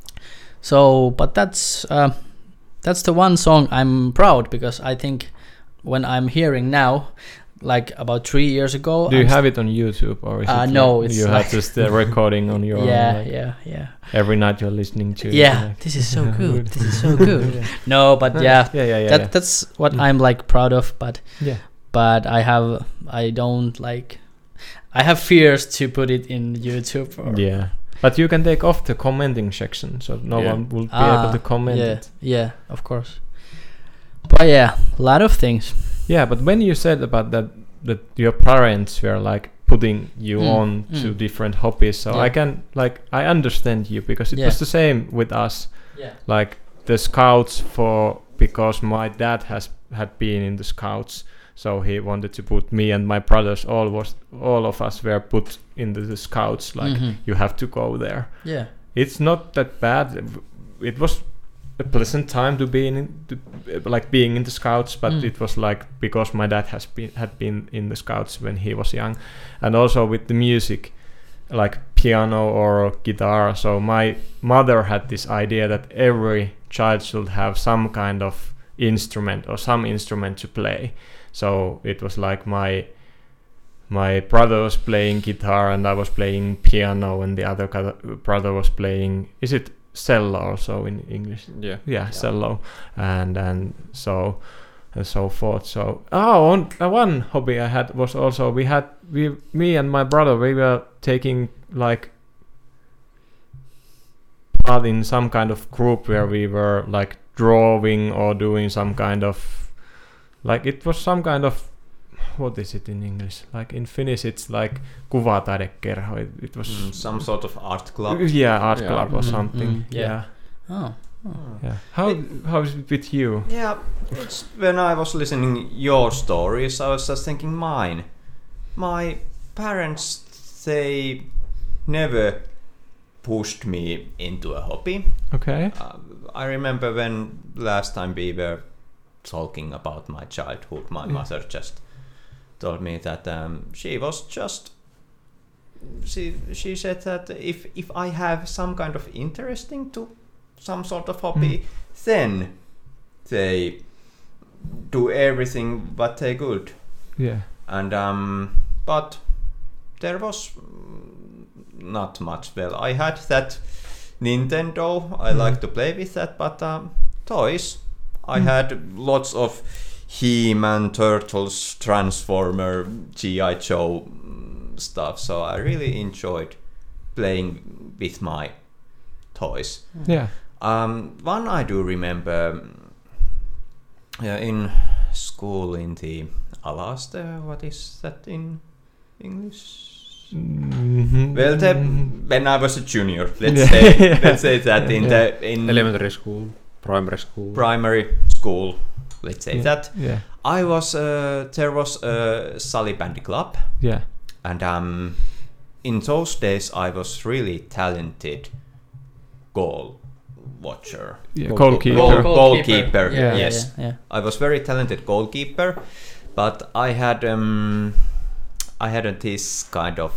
[SPEAKER 3] So, but that's uh, that's the one song I'm proud, because I think when I'm hearing now, like about three years ago.
[SPEAKER 2] Do you
[SPEAKER 3] I'm
[SPEAKER 2] have it on YouTube or is
[SPEAKER 3] Uh,
[SPEAKER 2] it
[SPEAKER 3] no,
[SPEAKER 2] like
[SPEAKER 3] it's
[SPEAKER 2] you
[SPEAKER 3] like-
[SPEAKER 2] have just the recording on your
[SPEAKER 3] yeah,
[SPEAKER 2] own, like
[SPEAKER 3] yeah, yeah,
[SPEAKER 2] every night you're listening to it,
[SPEAKER 3] yeah.
[SPEAKER 2] like-
[SPEAKER 3] This is so good. This is so good.
[SPEAKER 2] yeah.
[SPEAKER 3] No, but yeah,
[SPEAKER 2] yeah, yeah, yeah.
[SPEAKER 3] that
[SPEAKER 2] yeah.
[SPEAKER 3] that's what
[SPEAKER 2] Mm.
[SPEAKER 3] I'm like proud of. But
[SPEAKER 2] yeah.
[SPEAKER 3] but I have I don't like I have fears to put it in YouTube. Or
[SPEAKER 2] Yeah. But you can take off the commenting section, so no
[SPEAKER 4] Yeah.
[SPEAKER 2] one will be
[SPEAKER 3] Ah,
[SPEAKER 2] able to comment
[SPEAKER 3] yeah,
[SPEAKER 2] it.
[SPEAKER 3] yeah, of course. But yeah, a lot of things.
[SPEAKER 2] Yeah, but when you said about that, that your parents were like putting you
[SPEAKER 3] Mm,
[SPEAKER 2] on to
[SPEAKER 3] mm.
[SPEAKER 2] different hobbies, so
[SPEAKER 3] Yeah.
[SPEAKER 2] I can like I understand you because it
[SPEAKER 3] Yeah.
[SPEAKER 2] was the same with us.
[SPEAKER 3] Yeah.
[SPEAKER 2] Like the scouts for because my dad has had been in the scouts, so he wanted to put me and my brothers all was all of us were put into the scouts. Like
[SPEAKER 3] Mhm.
[SPEAKER 2] you have to go there.
[SPEAKER 3] Yeah.
[SPEAKER 2] It's not that bad. It was a pleasant time to be in, to, like being in the scouts, but
[SPEAKER 3] Mm.
[SPEAKER 2] it was like because my dad has been had been in the scouts when he was young, and also with the music, like piano or guitar. So my mother had this idea that every child should have some kind of instrument or some instrument to play. So it was like my my brother was playing guitar and I was playing piano, and the other co- brother was playing, is it cello also in English?
[SPEAKER 4] Yeah.
[SPEAKER 2] Yeah, cello, and and so and so forth. So oh, on, uh, one hobby I had was also we had we me and my brother we were taking like part in some kind of group where we were like drawing or doing some kind of like it was some kind of what is it in English? Like in Finnish it's like kuvataidekerho. It, it was
[SPEAKER 1] Mm, some sort of art club.
[SPEAKER 2] yeah, art
[SPEAKER 4] Yeah.
[SPEAKER 2] club or
[SPEAKER 3] Mm,
[SPEAKER 2] something.
[SPEAKER 3] mm, yeah.
[SPEAKER 2] yeah.
[SPEAKER 3] Oh.
[SPEAKER 2] Yeah. How how is it with you?
[SPEAKER 1] Yeah, it's when I was listening your stories, I was just thinking mine. My parents, they never pushed me into a hobby.
[SPEAKER 2] Okay.
[SPEAKER 1] Uh, I remember when last time we were talking about my childhood, my
[SPEAKER 2] Mm.
[SPEAKER 1] mother just told me that um, she was just she she said that if if I have some kind of interesting to some sort of hobby,
[SPEAKER 2] Mm.
[SPEAKER 1] then they do everything what they could.
[SPEAKER 2] Yeah.
[SPEAKER 1] And um, but there was mm, not much. Well, I had that Nintendo. I
[SPEAKER 2] Mm.
[SPEAKER 1] like to play with that, but um, toys. I
[SPEAKER 2] Mm.
[SPEAKER 1] had lots of He-Man, Turtles, Transformer, G I. Joe mm, stuff. So I really enjoyed playing with my toys.
[SPEAKER 2] Yeah.
[SPEAKER 1] Um, one I do remember um, yeah, in school in the Alaste. What is that in English?
[SPEAKER 2] Mm-hmm.
[SPEAKER 1] Well, the, when I was a junior, let's
[SPEAKER 2] Yeah.
[SPEAKER 1] say
[SPEAKER 2] Yeah.
[SPEAKER 1] let's say that in
[SPEAKER 2] Yeah.
[SPEAKER 1] the in
[SPEAKER 4] Elementary school, primary school.
[SPEAKER 1] primary school, let's say
[SPEAKER 2] Yeah.
[SPEAKER 1] that
[SPEAKER 2] Yeah.
[SPEAKER 1] I was uh, there was a Sally Bandy Club,
[SPEAKER 2] Yeah.
[SPEAKER 1] and um, in those days I was really talented goal watcher.
[SPEAKER 2] Yeah.
[SPEAKER 4] Goalkeeper.
[SPEAKER 2] Goalkeeper.
[SPEAKER 1] Goal- goalkeeper,
[SPEAKER 3] Yeah,
[SPEAKER 1] yes.
[SPEAKER 3] Yeah, yeah.
[SPEAKER 1] I was very talented goalkeeper, but I had um, I had a, this kind of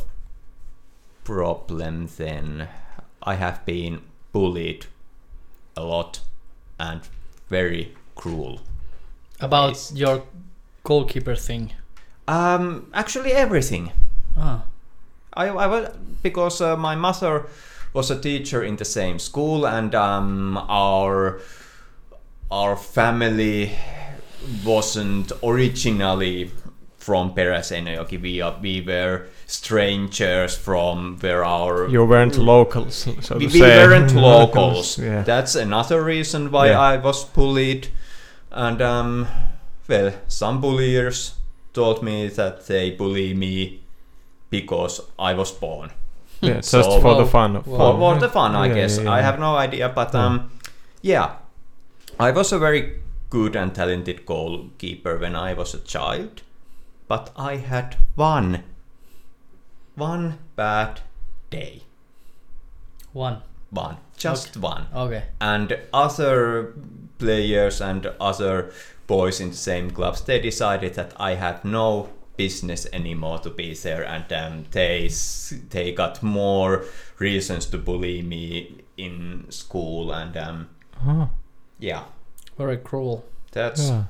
[SPEAKER 1] problem then. I have been bullied a lot and very cruel.
[SPEAKER 3] About
[SPEAKER 1] Yes.
[SPEAKER 3] your goalkeeper thing.
[SPEAKER 1] Um, actually everything.
[SPEAKER 3] Ah.
[SPEAKER 1] I, I was because uh, my mother was a teacher in the same school, and um, our our family wasn't originally from Peräseinäjoki. We are, we were strangers from where our
[SPEAKER 2] You weren't locals, so to
[SPEAKER 1] we, we
[SPEAKER 2] say.
[SPEAKER 1] weren't locals.
[SPEAKER 2] Yeah.
[SPEAKER 1] That's another reason why
[SPEAKER 2] Yeah.
[SPEAKER 1] I was bullied. And um, well, some bulliers told me that they bully me because I was born.
[SPEAKER 2] Yeah, just
[SPEAKER 1] So-
[SPEAKER 2] for the
[SPEAKER 3] Wow.
[SPEAKER 2] fun of
[SPEAKER 3] Wow.
[SPEAKER 1] For, for the fun, I
[SPEAKER 2] Yeah,
[SPEAKER 1] guess.
[SPEAKER 2] yeah, yeah.
[SPEAKER 1] I have no idea, but
[SPEAKER 2] Yeah.
[SPEAKER 1] um, yeah, I was a very good and talented goalkeeper when I was a child, but I had one, one bad day,
[SPEAKER 3] One.
[SPEAKER 1] one, just one,
[SPEAKER 3] Okay.
[SPEAKER 1] and other players and other boys in the same clubs, they decided that I had no business anymore to be there, and um, they s- they got more reasons to bully me in school, and um,
[SPEAKER 2] Oh,
[SPEAKER 1] yeah,
[SPEAKER 3] Very cruel.
[SPEAKER 1] that's
[SPEAKER 2] yeah.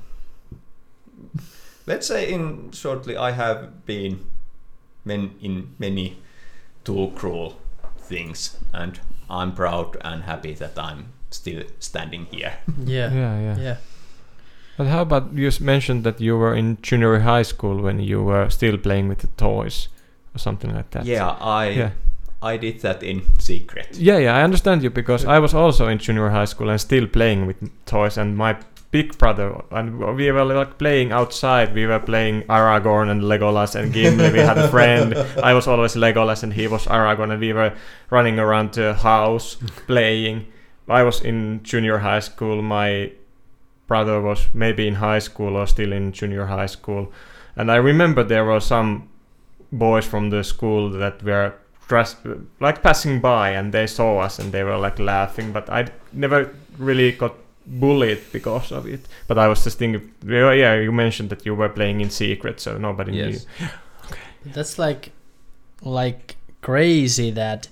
[SPEAKER 1] let's say in shortly I have been men in many too cruel things, and I'm proud and happy that I'm still standing here.
[SPEAKER 3] Yeah.
[SPEAKER 2] Yeah, yeah.
[SPEAKER 3] Yeah.
[SPEAKER 2] But how about you s- mentioned that you were in junior high school when you were still playing with the toys? or something like that.
[SPEAKER 1] Yeah, I
[SPEAKER 2] Yeah.
[SPEAKER 1] I did that in secret.
[SPEAKER 2] Yeah, yeah, I understand you because I was also in junior high school and still playing with toys, and my big brother and we were like playing outside. We were playing Aragorn and Legolas and Gimli. We had a friend. I was always Legolas and he was Aragorn, and we were running around the house playing. I was in junior high school. My brother was maybe in high school or still in junior high school, and I remember there were some boys from the school that were dressed like passing by, and they saw us and they were like laughing, but I never really got bullied because of it. But I was just thinking, yeah, yeah, you mentioned that you were playing in secret, so nobody
[SPEAKER 4] Yes.
[SPEAKER 2] knew.
[SPEAKER 3] That's like like crazy that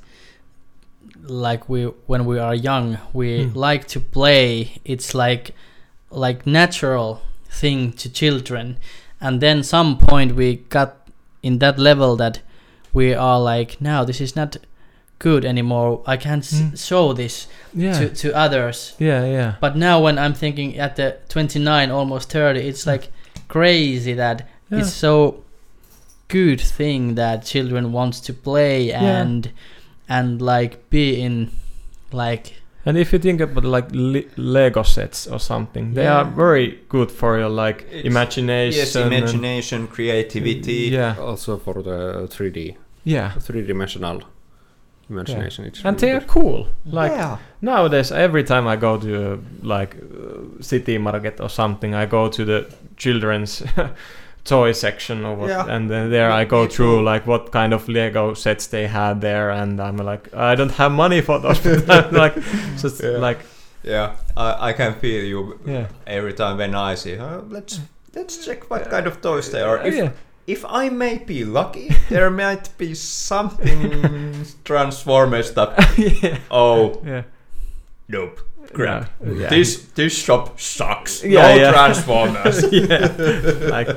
[SPEAKER 3] like we when we are young we
[SPEAKER 2] Hmm.
[SPEAKER 3] like to play. It's like like natural thing to children, and then some point we got in that level that we are like, now this is not good anymore. I can't s-
[SPEAKER 2] Mm.
[SPEAKER 3] show this
[SPEAKER 2] Yeah,
[SPEAKER 3] to, to others.
[SPEAKER 2] yeah, yeah.
[SPEAKER 3] But now when I'm thinking at the twenty-nine, almost thirty, it's like crazy that
[SPEAKER 2] Yeah.
[SPEAKER 3] it's so good thing that children wants to play
[SPEAKER 2] Yeah.
[SPEAKER 3] and and like be in like
[SPEAKER 2] And if you think about like le- Lego sets or something, they
[SPEAKER 3] Yeah.
[SPEAKER 2] are very good for your like
[SPEAKER 1] It's-
[SPEAKER 2] imagination.
[SPEAKER 1] Yes,
[SPEAKER 2] and-
[SPEAKER 1] imagination, creativity.
[SPEAKER 2] Yeah,
[SPEAKER 4] Also for the three D,
[SPEAKER 2] yeah.
[SPEAKER 4] three-dimensional imagination. It's
[SPEAKER 2] And
[SPEAKER 4] really
[SPEAKER 2] they are
[SPEAKER 4] good.
[SPEAKER 2] cool. Like
[SPEAKER 1] yeah.
[SPEAKER 2] nowadays, every time I go to uh, like uh, city market or something, I go to the children's toy section or what,
[SPEAKER 1] Yeah.
[SPEAKER 2] and then there
[SPEAKER 1] Me-
[SPEAKER 2] I go
[SPEAKER 1] me
[SPEAKER 2] through
[SPEAKER 1] too.
[SPEAKER 2] like what kind of Lego sets they had there, and I'm like, I don't have money for those. But I'm like, just
[SPEAKER 1] Yeah.
[SPEAKER 2] like,
[SPEAKER 1] Yeah, I, I can feel you
[SPEAKER 2] yeah,
[SPEAKER 1] every time when I see. Oh, let's let's check what kind of toys they are. If
[SPEAKER 2] yeah,
[SPEAKER 1] if I may be lucky, there might be something Transformers stuff.
[SPEAKER 2] yeah,
[SPEAKER 1] Oh,
[SPEAKER 2] yeah.
[SPEAKER 1] nope. Crap.
[SPEAKER 2] Yeah. Yeah.
[SPEAKER 1] This this shop sucks.
[SPEAKER 2] Yeah,
[SPEAKER 1] no
[SPEAKER 2] yeah.
[SPEAKER 1] Transformers.
[SPEAKER 2] Yeah, like,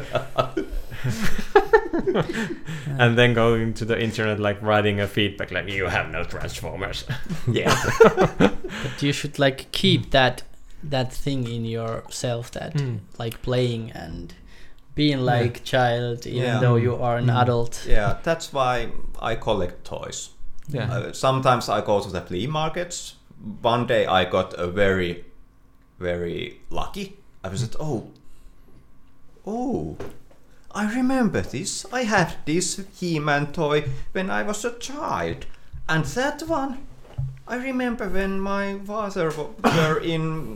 [SPEAKER 2] and then going to the internet, like writing a feedback, like you have no Transformers.
[SPEAKER 1] yeah.
[SPEAKER 3] but you should like keep that that thing in yourself that
[SPEAKER 2] Mm.
[SPEAKER 3] like playing and being like child even
[SPEAKER 1] Yeah.
[SPEAKER 3] though you are an
[SPEAKER 2] Mm.
[SPEAKER 3] adult.
[SPEAKER 1] Yeah, that's why I collect toys.
[SPEAKER 2] Yeah,
[SPEAKER 1] Uh, sometimes I go to the flea markets. One day I got a very, very lucky. I was like, oh, oh, I remember this. I had this He-Man toy when I was a child. And that one, I remember when my father w- were in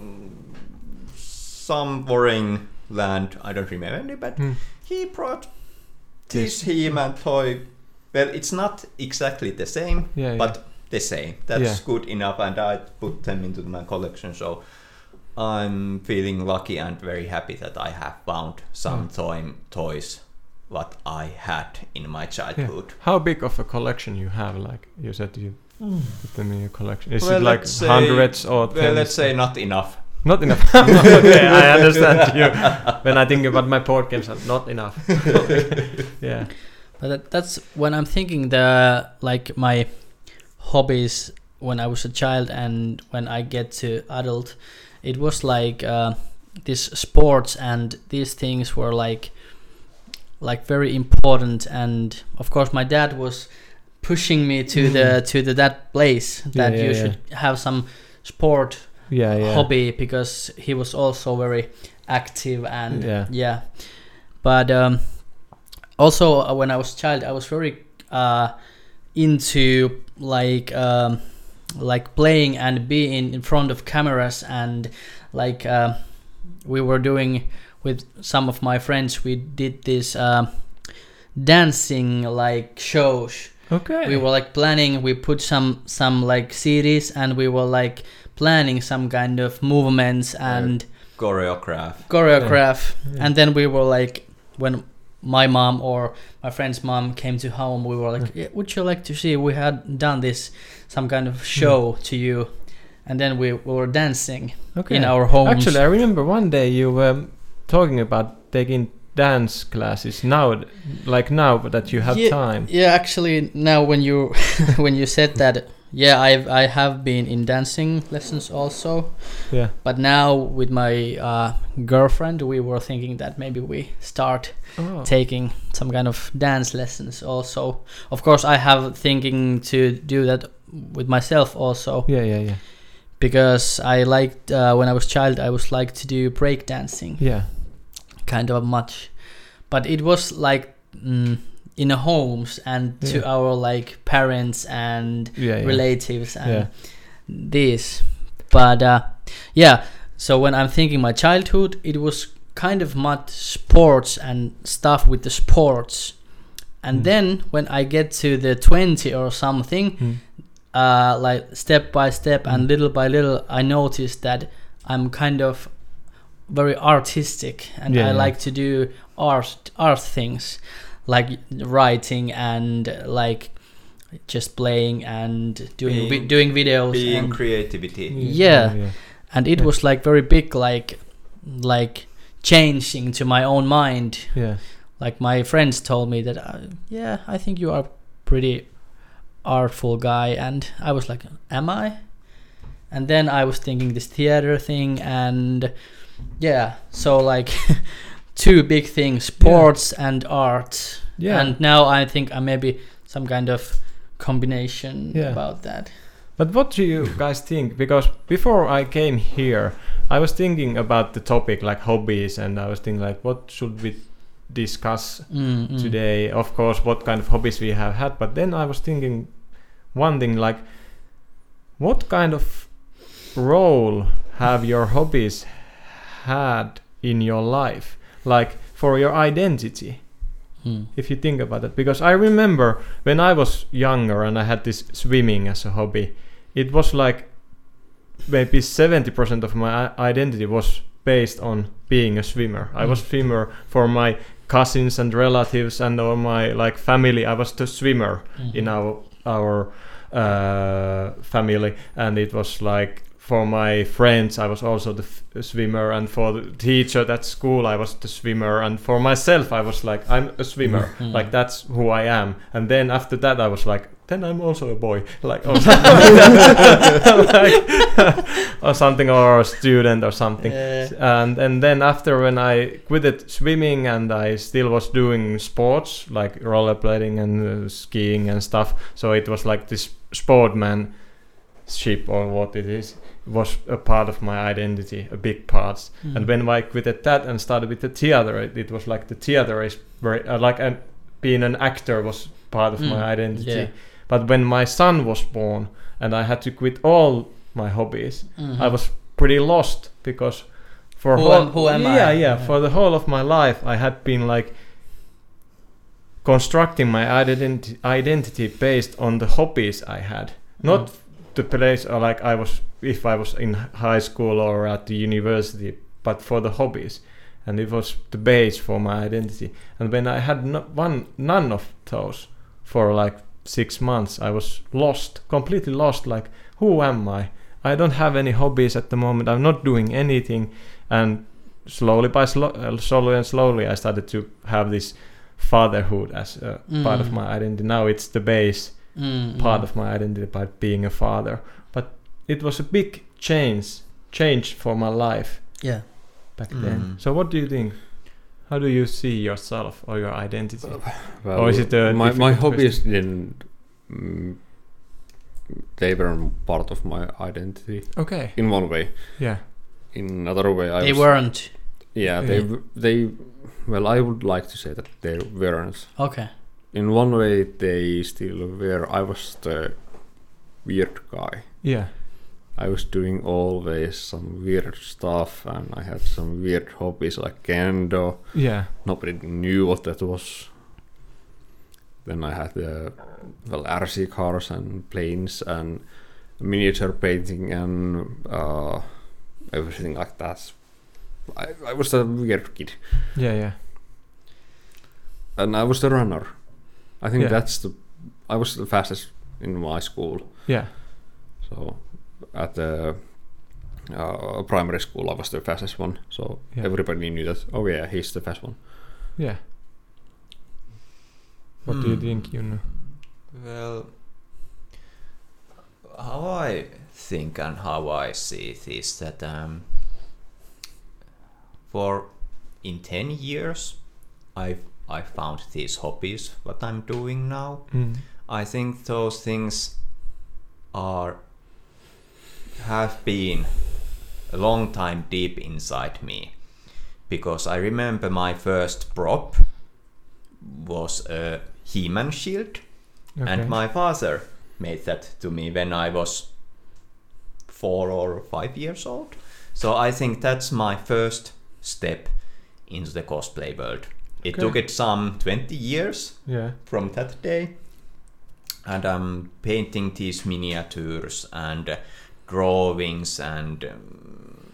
[SPEAKER 1] some foreign land. I don't remember any, but
[SPEAKER 2] Mm.
[SPEAKER 1] he brought this He-Man toy. Well, it's not exactly the same,
[SPEAKER 2] Yeah,
[SPEAKER 1] but the same. That's
[SPEAKER 2] Yeah.
[SPEAKER 1] good enough, and I put them into my collection. So I'm feeling lucky and very happy that I have found some
[SPEAKER 2] Mm.
[SPEAKER 1] toy toys what I had in my
[SPEAKER 2] yeah.
[SPEAKER 1] childhood.
[SPEAKER 2] How big of a collection you have? Like you said, you put them in your collection. Is
[SPEAKER 1] Well,
[SPEAKER 2] it like
[SPEAKER 1] let's say-
[SPEAKER 2] hundreds or
[SPEAKER 1] Well,
[SPEAKER 2] tens?
[SPEAKER 1] let's say not enough.
[SPEAKER 2] Not enough. Okay, I understand you. When I think about my board games, are not enough. Yeah.
[SPEAKER 3] But that, that's when I'm thinking the like my hobbies when I was a child and when I get to adult, it was like uh, this sports and these things were like like very important, and of course my dad was pushing me to the to the that place that
[SPEAKER 2] Yeah, yeah,
[SPEAKER 3] you
[SPEAKER 2] yeah.
[SPEAKER 3] should have some sport
[SPEAKER 2] Yeah, yeah.
[SPEAKER 3] hobby because he was also very active and
[SPEAKER 2] Yeah.
[SPEAKER 3] yeah. But um, also uh, when I was a child, I was very uh, into like um, like playing and being in front of cameras, and like uh, we were doing with some of my friends. We did this uh, dancing like shows.
[SPEAKER 2] Okay.
[SPEAKER 3] We were like planning. We put some some like C Ds, and we were like planning some kind of movements and
[SPEAKER 1] Choreograph.
[SPEAKER 3] choreograph.
[SPEAKER 2] Yeah.
[SPEAKER 3] And then we were like, when my mom or my friend's mom came to home, we were like, yeah, would you like to see? We had done this some kind of show to you, and then we, we were dancing
[SPEAKER 2] Okay.
[SPEAKER 3] in our homes.
[SPEAKER 2] Actually, I remember one day you were talking about taking dance classes now, like now that you have
[SPEAKER 3] Yeah,
[SPEAKER 2] time.
[SPEAKER 3] Yeah, actually, now when you when you said that, yeah, I've I have been in dancing lessons also,
[SPEAKER 2] Yeah.
[SPEAKER 3] but now with my uh, girlfriend, we were thinking that maybe we start
[SPEAKER 2] Oh.
[SPEAKER 3] taking some kind of dance lessons also. Of course, I have thinking to do that with myself also,
[SPEAKER 2] Yeah, yeah, yeah.
[SPEAKER 3] because I liked uh, when I was child, I was like to do break dancing
[SPEAKER 2] Yeah.
[SPEAKER 3] kind of much, but it was like mm, in a homes and to
[SPEAKER 2] Yeah.
[SPEAKER 3] our like parents and
[SPEAKER 2] Yeah, yeah.
[SPEAKER 3] relatives and
[SPEAKER 2] Yeah.
[SPEAKER 3] this. But uh, yeah, so when I'm thinking my childhood, it was kind of much sports and stuff with the sports. And
[SPEAKER 2] Mm.
[SPEAKER 3] then when I get to the twenty or something,
[SPEAKER 2] Mm.
[SPEAKER 3] uh, like step by step and
[SPEAKER 2] Mm.
[SPEAKER 3] little by little, I noticed that I'm kind of very artistic and
[SPEAKER 2] Yeah,
[SPEAKER 3] I
[SPEAKER 2] yeah.
[SPEAKER 3] like to do art art things like writing and uh, like just playing and doing vi-
[SPEAKER 1] Being-
[SPEAKER 3] doing videos
[SPEAKER 1] Being
[SPEAKER 3] and,
[SPEAKER 1] creativity.
[SPEAKER 3] Yeah.
[SPEAKER 2] yeah.
[SPEAKER 3] and it
[SPEAKER 2] Yeah.
[SPEAKER 3] was like very big like like changing to my own mind.
[SPEAKER 2] Yeah.
[SPEAKER 3] Like my friends told me that uh, yeah, I think you are pretty artful guy, and I was like, am I? And then I was thinking this theater thing, and yeah, so like two big things, sports and art.
[SPEAKER 2] Yeah.
[SPEAKER 3] And now I think I maybe some kind of combination
[SPEAKER 2] Yeah.
[SPEAKER 3] about that.
[SPEAKER 2] But what do you guys think? Because before I came here, I was thinking about the topic like hobbies, and I was thinking like, what should we discuss
[SPEAKER 3] Mm, mm.
[SPEAKER 2] today? Of course, what kind of hobbies we have had. But then I was thinking one thing like, what kind of role have your hobbies had in your life? Like for your identity?
[SPEAKER 3] Mm.
[SPEAKER 2] If you think about it, because I remember when I was younger and I had this swimming as a hobby, it was like maybe seventy percent of my i- identity was based on being a swimmer. I was
[SPEAKER 3] Mm.
[SPEAKER 2] swimmer for my cousins and relatives and all my like family. I was the swimmer
[SPEAKER 3] Mhm.
[SPEAKER 2] in our our uh, family, and it was like for my friends I was also the f- swimmer, and for the teacher at school I was the swimmer, and for myself I was like, I'm a swimmer.
[SPEAKER 3] Mhm.
[SPEAKER 2] Like that's who I am. And then after that I was like, then I'm also a boy, like or something like that. Like, or something, or a student or something.
[SPEAKER 3] Yeah.
[SPEAKER 2] And and then after when I quitted swimming and I still was doing sports like rollerblading and uh, skiing and stuff, so it was like this sportmanship or what it is was a part of my identity, a big part.
[SPEAKER 3] Mm.
[SPEAKER 2] And when I quitted that and started with the theater, it, it was like the theater is very uh, like uh, being an actor was part of
[SPEAKER 3] Mm,
[SPEAKER 2] my identity.
[SPEAKER 3] yeah.
[SPEAKER 2] But when my son was born and I had to quit all my hobbies,
[SPEAKER 3] Mhm.
[SPEAKER 2] I was pretty lost, because for
[SPEAKER 3] Who
[SPEAKER 2] whole,
[SPEAKER 3] am- who am I?
[SPEAKER 2] yeah, yeah,
[SPEAKER 3] Yeah.
[SPEAKER 2] for the whole of my life I had been like constructing my identity identity based on the hobbies I had, not
[SPEAKER 3] Mm.
[SPEAKER 2] the place or like I was if I was in high school or at the university, but for the hobbies, and it was the base for my identity. And when I had no, one none of those for like six months, I was lost, completely lost. Like, who am I? I don't have any hobbies at the moment. I'm not doing anything. And slowly by slo- uh, slowly and slowly, I started to have this fatherhood as a
[SPEAKER 3] Mm.
[SPEAKER 2] part of my identity. Now it's the base
[SPEAKER 3] Mm,
[SPEAKER 2] part
[SPEAKER 3] mm.
[SPEAKER 2] of my identity by being a father. But it was a big change, change for my life
[SPEAKER 3] Yeah.
[SPEAKER 2] back
[SPEAKER 1] Mm.
[SPEAKER 2] then. So what do you think? How do you see yourself or your identity?
[SPEAKER 4] Well,
[SPEAKER 2] Or is it a
[SPEAKER 4] my my
[SPEAKER 2] difficult
[SPEAKER 4] hobbies didn't? Mm, they were part of my identity
[SPEAKER 2] Okay.
[SPEAKER 4] in one way.
[SPEAKER 2] Yeah.
[SPEAKER 4] In another way, I
[SPEAKER 3] They
[SPEAKER 4] was,
[SPEAKER 3] weren't.
[SPEAKER 4] Yeah, they w- they. Well, I would like to say that they weren't.
[SPEAKER 3] Okay.
[SPEAKER 4] In one way, they still were. I was the weird guy.
[SPEAKER 2] Yeah.
[SPEAKER 4] I was doing always some weird stuff, and I had some weird hobbies like kendo.
[SPEAKER 2] Yeah.
[SPEAKER 4] Nobody knew what that was. Then I had the well R C cars and planes and miniature painting and uh, everything like that. I, I was a weird kid,
[SPEAKER 2] Yeah. Yeah.
[SPEAKER 4] and I was the runner. I think
[SPEAKER 2] Yeah.
[SPEAKER 4] that's the. I was the fastest in my school.
[SPEAKER 2] Yeah.
[SPEAKER 4] So at the uh, primary school, I was the fastest one. So
[SPEAKER 2] Yeah.
[SPEAKER 4] everybody knew that. Oh yeah, he's the fast one.
[SPEAKER 2] Yeah. What do you
[SPEAKER 1] Hmm.
[SPEAKER 2] think, you know?
[SPEAKER 1] Well, how I think and how I see it is that um, for in ten years I've I found these hobbies what I'm doing now.
[SPEAKER 2] Mm.
[SPEAKER 1] I think those things are have been a long time deep inside me, because I remember my first prop was a He-Man shield,
[SPEAKER 2] Okay.
[SPEAKER 1] and my father made that to me when I was four or five years old. So I think that's my first step into the cosplay world. It
[SPEAKER 2] Okay.
[SPEAKER 1] took it some twenty years
[SPEAKER 2] Yeah.
[SPEAKER 1] from that day, and I'm painting these miniatures and uh, drawings, and um,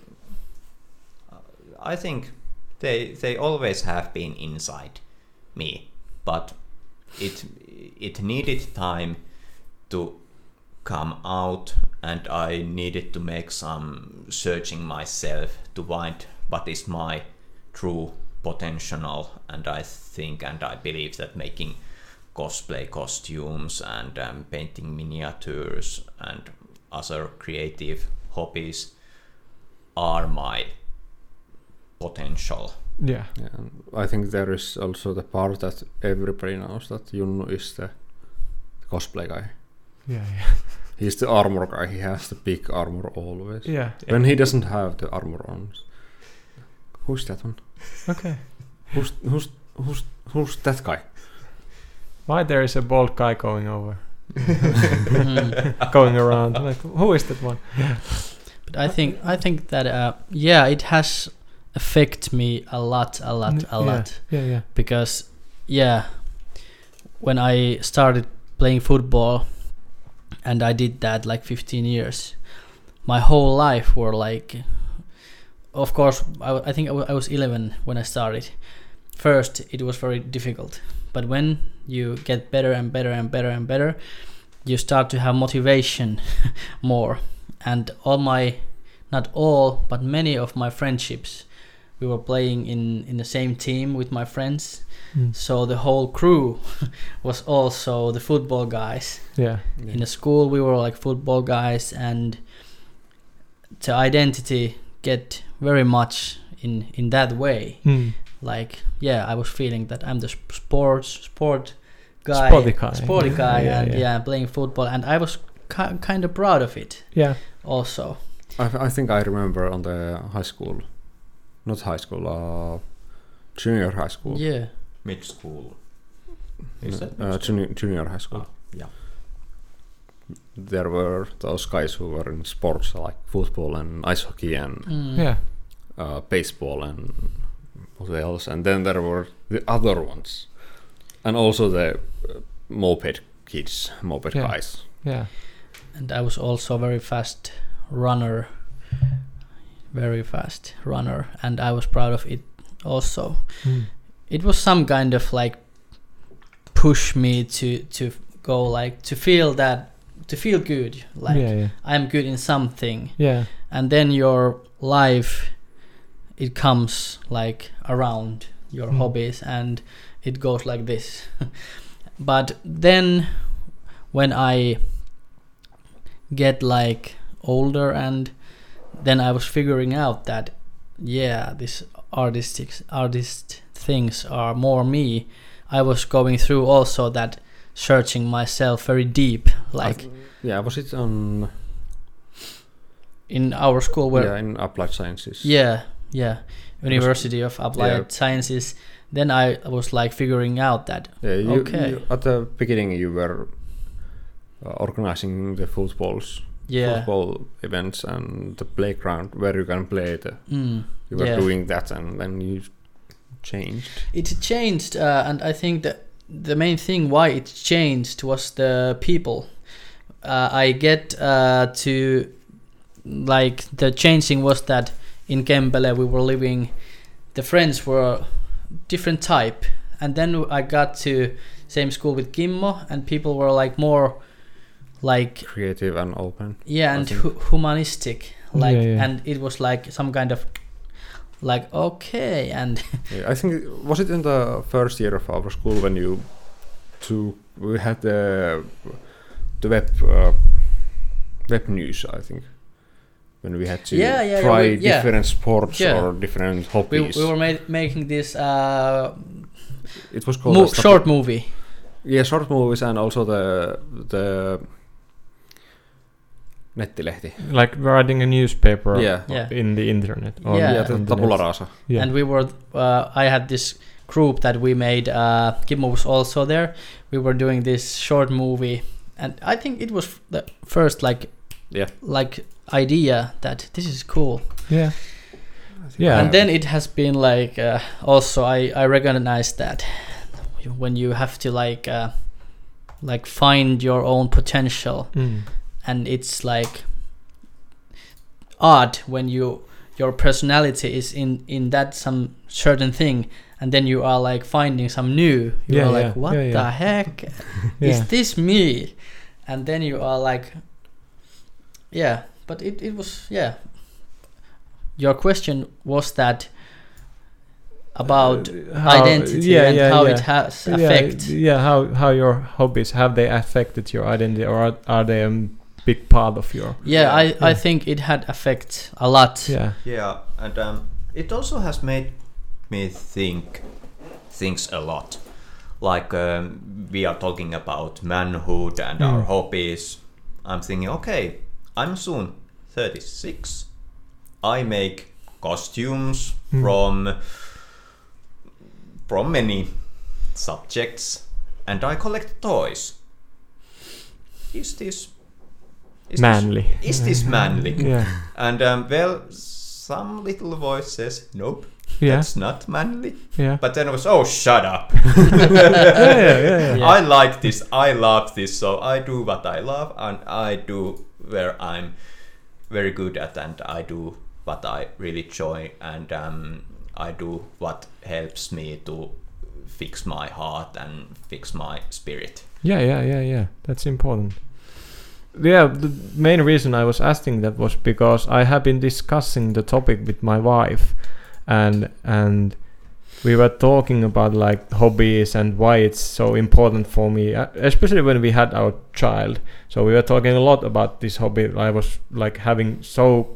[SPEAKER 1] I think they they always have been inside me, but it it needed time to come out, and I needed to make some searching myself to find what is my true potential. And I think and I believe that making cosplay costumes and um, painting miniatures and other creative hobbies are my potential.
[SPEAKER 2] Yeah.
[SPEAKER 4] Yeah, and I think there is also the part that everybody knows that Junnu is the cosplay guy.
[SPEAKER 2] Yeah. Yeah.
[SPEAKER 4] He's the armor guy. He has the big armor always.
[SPEAKER 2] Yeah.
[SPEAKER 4] When he doesn't have the armor on. Who's that one?
[SPEAKER 2] Okay.
[SPEAKER 4] Who's who's who's who's that guy?
[SPEAKER 2] Why there is a bald guy going over,
[SPEAKER 3] Mhm.
[SPEAKER 2] going around? Like, who is that one?
[SPEAKER 3] But I think I think that uh, yeah, it has affected me a lot, a lot, a
[SPEAKER 2] yeah.
[SPEAKER 3] lot.
[SPEAKER 2] Yeah. Yeah.
[SPEAKER 3] Because yeah, when I started playing football, and I did that like fifteen years, my whole life were like, of course, I, w- I think I, w- I was eleven when I started. First, it was very difficult, but when you get better and better and better and better, you start to have motivation more. And all my, not all, but many of my friendships, we were playing in, in the same team with my friends.
[SPEAKER 2] Mm.
[SPEAKER 3] So the whole crew was also the football guys.
[SPEAKER 2] Yeah.
[SPEAKER 3] In the school, we were like football guys, and the identity get very much in, in that way.
[SPEAKER 2] Mm.
[SPEAKER 3] Like, yeah, I was feeling that I'm the sp- sports sport guy,
[SPEAKER 2] Sporty guy.
[SPEAKER 3] sporty guy,
[SPEAKER 2] Yeah,
[SPEAKER 3] and
[SPEAKER 2] yeah.
[SPEAKER 3] yeah. playing football, and I was ki- kind of proud of it
[SPEAKER 2] Yeah.
[SPEAKER 3] also.
[SPEAKER 4] I, I think I remember on the high school, not high school, uh, junior high school.
[SPEAKER 3] Yeah,
[SPEAKER 1] Mid school. Is that
[SPEAKER 4] Uh, junior, junior high school.
[SPEAKER 1] Ah, yeah.
[SPEAKER 4] There were those guys who were in sports like football and ice hockey and
[SPEAKER 3] Mm.
[SPEAKER 2] Yeah.
[SPEAKER 4] uh, baseball and what else. And then there were the other ones, and also the uh, moped kids, moped
[SPEAKER 2] Yeah.
[SPEAKER 4] guys.
[SPEAKER 2] Yeah.
[SPEAKER 3] And I was also a very fast runner, very fast runner, and I was proud of it also.
[SPEAKER 2] Mm.
[SPEAKER 3] It was some kind of like push me to to go like to feel that to feel good, like
[SPEAKER 2] yeah. Yeah.
[SPEAKER 3] I'm good in something,
[SPEAKER 2] Yeah.
[SPEAKER 3] and then your life it comes like around your
[SPEAKER 2] Mm.
[SPEAKER 3] hobbies, and it goes like this. But then when I get like older, and then I was figuring out that yeah, this artistic artist things are more me. I was going through also that searching myself very deep, like
[SPEAKER 4] Yeah, was it on?
[SPEAKER 3] in our school where
[SPEAKER 4] yeah, in applied sciences.
[SPEAKER 3] yeah yeah University of Applied
[SPEAKER 4] Yeah.
[SPEAKER 3] Sciences. Then I was like figuring out that
[SPEAKER 4] Yeah, you,
[SPEAKER 3] Okay.
[SPEAKER 4] you- at the beginning, you were uh, organizing the footballs,
[SPEAKER 3] yeah
[SPEAKER 4] football events, and the playground where you can play. The,
[SPEAKER 3] mm,
[SPEAKER 4] you were
[SPEAKER 3] Yeah.
[SPEAKER 4] doing that, and then you changed.
[SPEAKER 3] it changed, uh, and I think that the main thing why it changed was the people. uh, I get uh, to like the changing was that in Kempele we were living, the friends were different type, and then I got to same school with Kimmo, and people were like more like
[SPEAKER 4] Creative and open.
[SPEAKER 3] yeah
[SPEAKER 4] I
[SPEAKER 3] and
[SPEAKER 4] think.
[SPEAKER 3] hu- humanistic, like
[SPEAKER 2] Yeah, yeah.
[SPEAKER 3] and it was like some kind of like okay and
[SPEAKER 4] Yeah, I think it- was it in the first year of our school when you took we had the the web uh, web news, I think, when we had to
[SPEAKER 3] Yeah, yeah, yeah,
[SPEAKER 4] try
[SPEAKER 3] we- yeah.
[SPEAKER 4] different sports
[SPEAKER 3] Yeah.
[SPEAKER 4] or different
[SPEAKER 3] We,
[SPEAKER 4] hobbies.
[SPEAKER 3] we were ma- making this uh,
[SPEAKER 4] It was called
[SPEAKER 3] mo-
[SPEAKER 4] a stop-
[SPEAKER 3] short movie.
[SPEAKER 4] Yeah, short movies and also the the nettilehti.
[SPEAKER 2] Like writing a newspaper
[SPEAKER 4] Yeah.
[SPEAKER 3] Yeah.
[SPEAKER 2] in the internet. or
[SPEAKER 3] Yeah.
[SPEAKER 4] Yeah, the
[SPEAKER 2] on the
[SPEAKER 4] tabula
[SPEAKER 2] net.
[SPEAKER 4] rasa.
[SPEAKER 2] Yeah.
[SPEAKER 3] And we were uh, I had this group that we made. uh Kimmo was also there. We were doing this short movie, and I think it was the first like
[SPEAKER 4] Yeah.
[SPEAKER 3] like idea that this is cool.
[SPEAKER 2] yeah. Yeah.
[SPEAKER 3] And then it has been like uh, also I I recognize that when you have to like uh like find your own potential,
[SPEAKER 2] Mm.
[SPEAKER 3] and it's like odd when you your personality is in in that some certain thing, and then you are like finding some new. You
[SPEAKER 2] Yeah,
[SPEAKER 3] are
[SPEAKER 2] yeah,
[SPEAKER 3] like, what
[SPEAKER 2] yeah,
[SPEAKER 3] the
[SPEAKER 2] yeah.
[SPEAKER 3] heck
[SPEAKER 2] Yeah.
[SPEAKER 3] is this me? And then you are like, yeah. But it it was yeah. Your question was that about
[SPEAKER 2] Uh, how-
[SPEAKER 3] identity
[SPEAKER 2] yeah,
[SPEAKER 3] and
[SPEAKER 2] yeah,
[SPEAKER 3] how
[SPEAKER 2] yeah.
[SPEAKER 3] it has
[SPEAKER 2] Yeah,
[SPEAKER 3] effect.
[SPEAKER 2] Yeah, how how your hobbies have they affected your identity, or are, are they a big part of your?
[SPEAKER 3] Yeah, I, I
[SPEAKER 2] Yeah.
[SPEAKER 3] think it had effect a lot.
[SPEAKER 2] Yeah.
[SPEAKER 1] Yeah, and um, it also has made me think things a lot. Like um, we are talking about manhood and our
[SPEAKER 2] Mm.
[SPEAKER 1] hobbies. I'm thinking, okay, I'm soon thirty-six. I make costumes
[SPEAKER 2] Mm.
[SPEAKER 1] from from many subjects, and I collect toys. Is this is
[SPEAKER 2] Manly.
[SPEAKER 1] This, is this manly?
[SPEAKER 2] Yeah.
[SPEAKER 1] And um, well, some little voice says, nope,
[SPEAKER 2] Yeah.
[SPEAKER 1] that's not manly.
[SPEAKER 2] Yeah.
[SPEAKER 1] But then it was, oh, shut up.
[SPEAKER 2] yeah, yeah, yeah, yeah.
[SPEAKER 3] Yeah.
[SPEAKER 1] I like this, I love this, so I do what I love, and I do where I'm very good at, and I do what I really enjoy, and um, I do what helps me to fix my heart and fix my spirit.
[SPEAKER 2] Yeah, yeah, yeah, yeah. That's important. Yeah, the main reason I was asking that was because I have been discussing the topic with my wife, and and we were talking about like hobbies and why it's so important for me, uh, especially when we had our child. So we were talking a lot about this hobby. I was like having so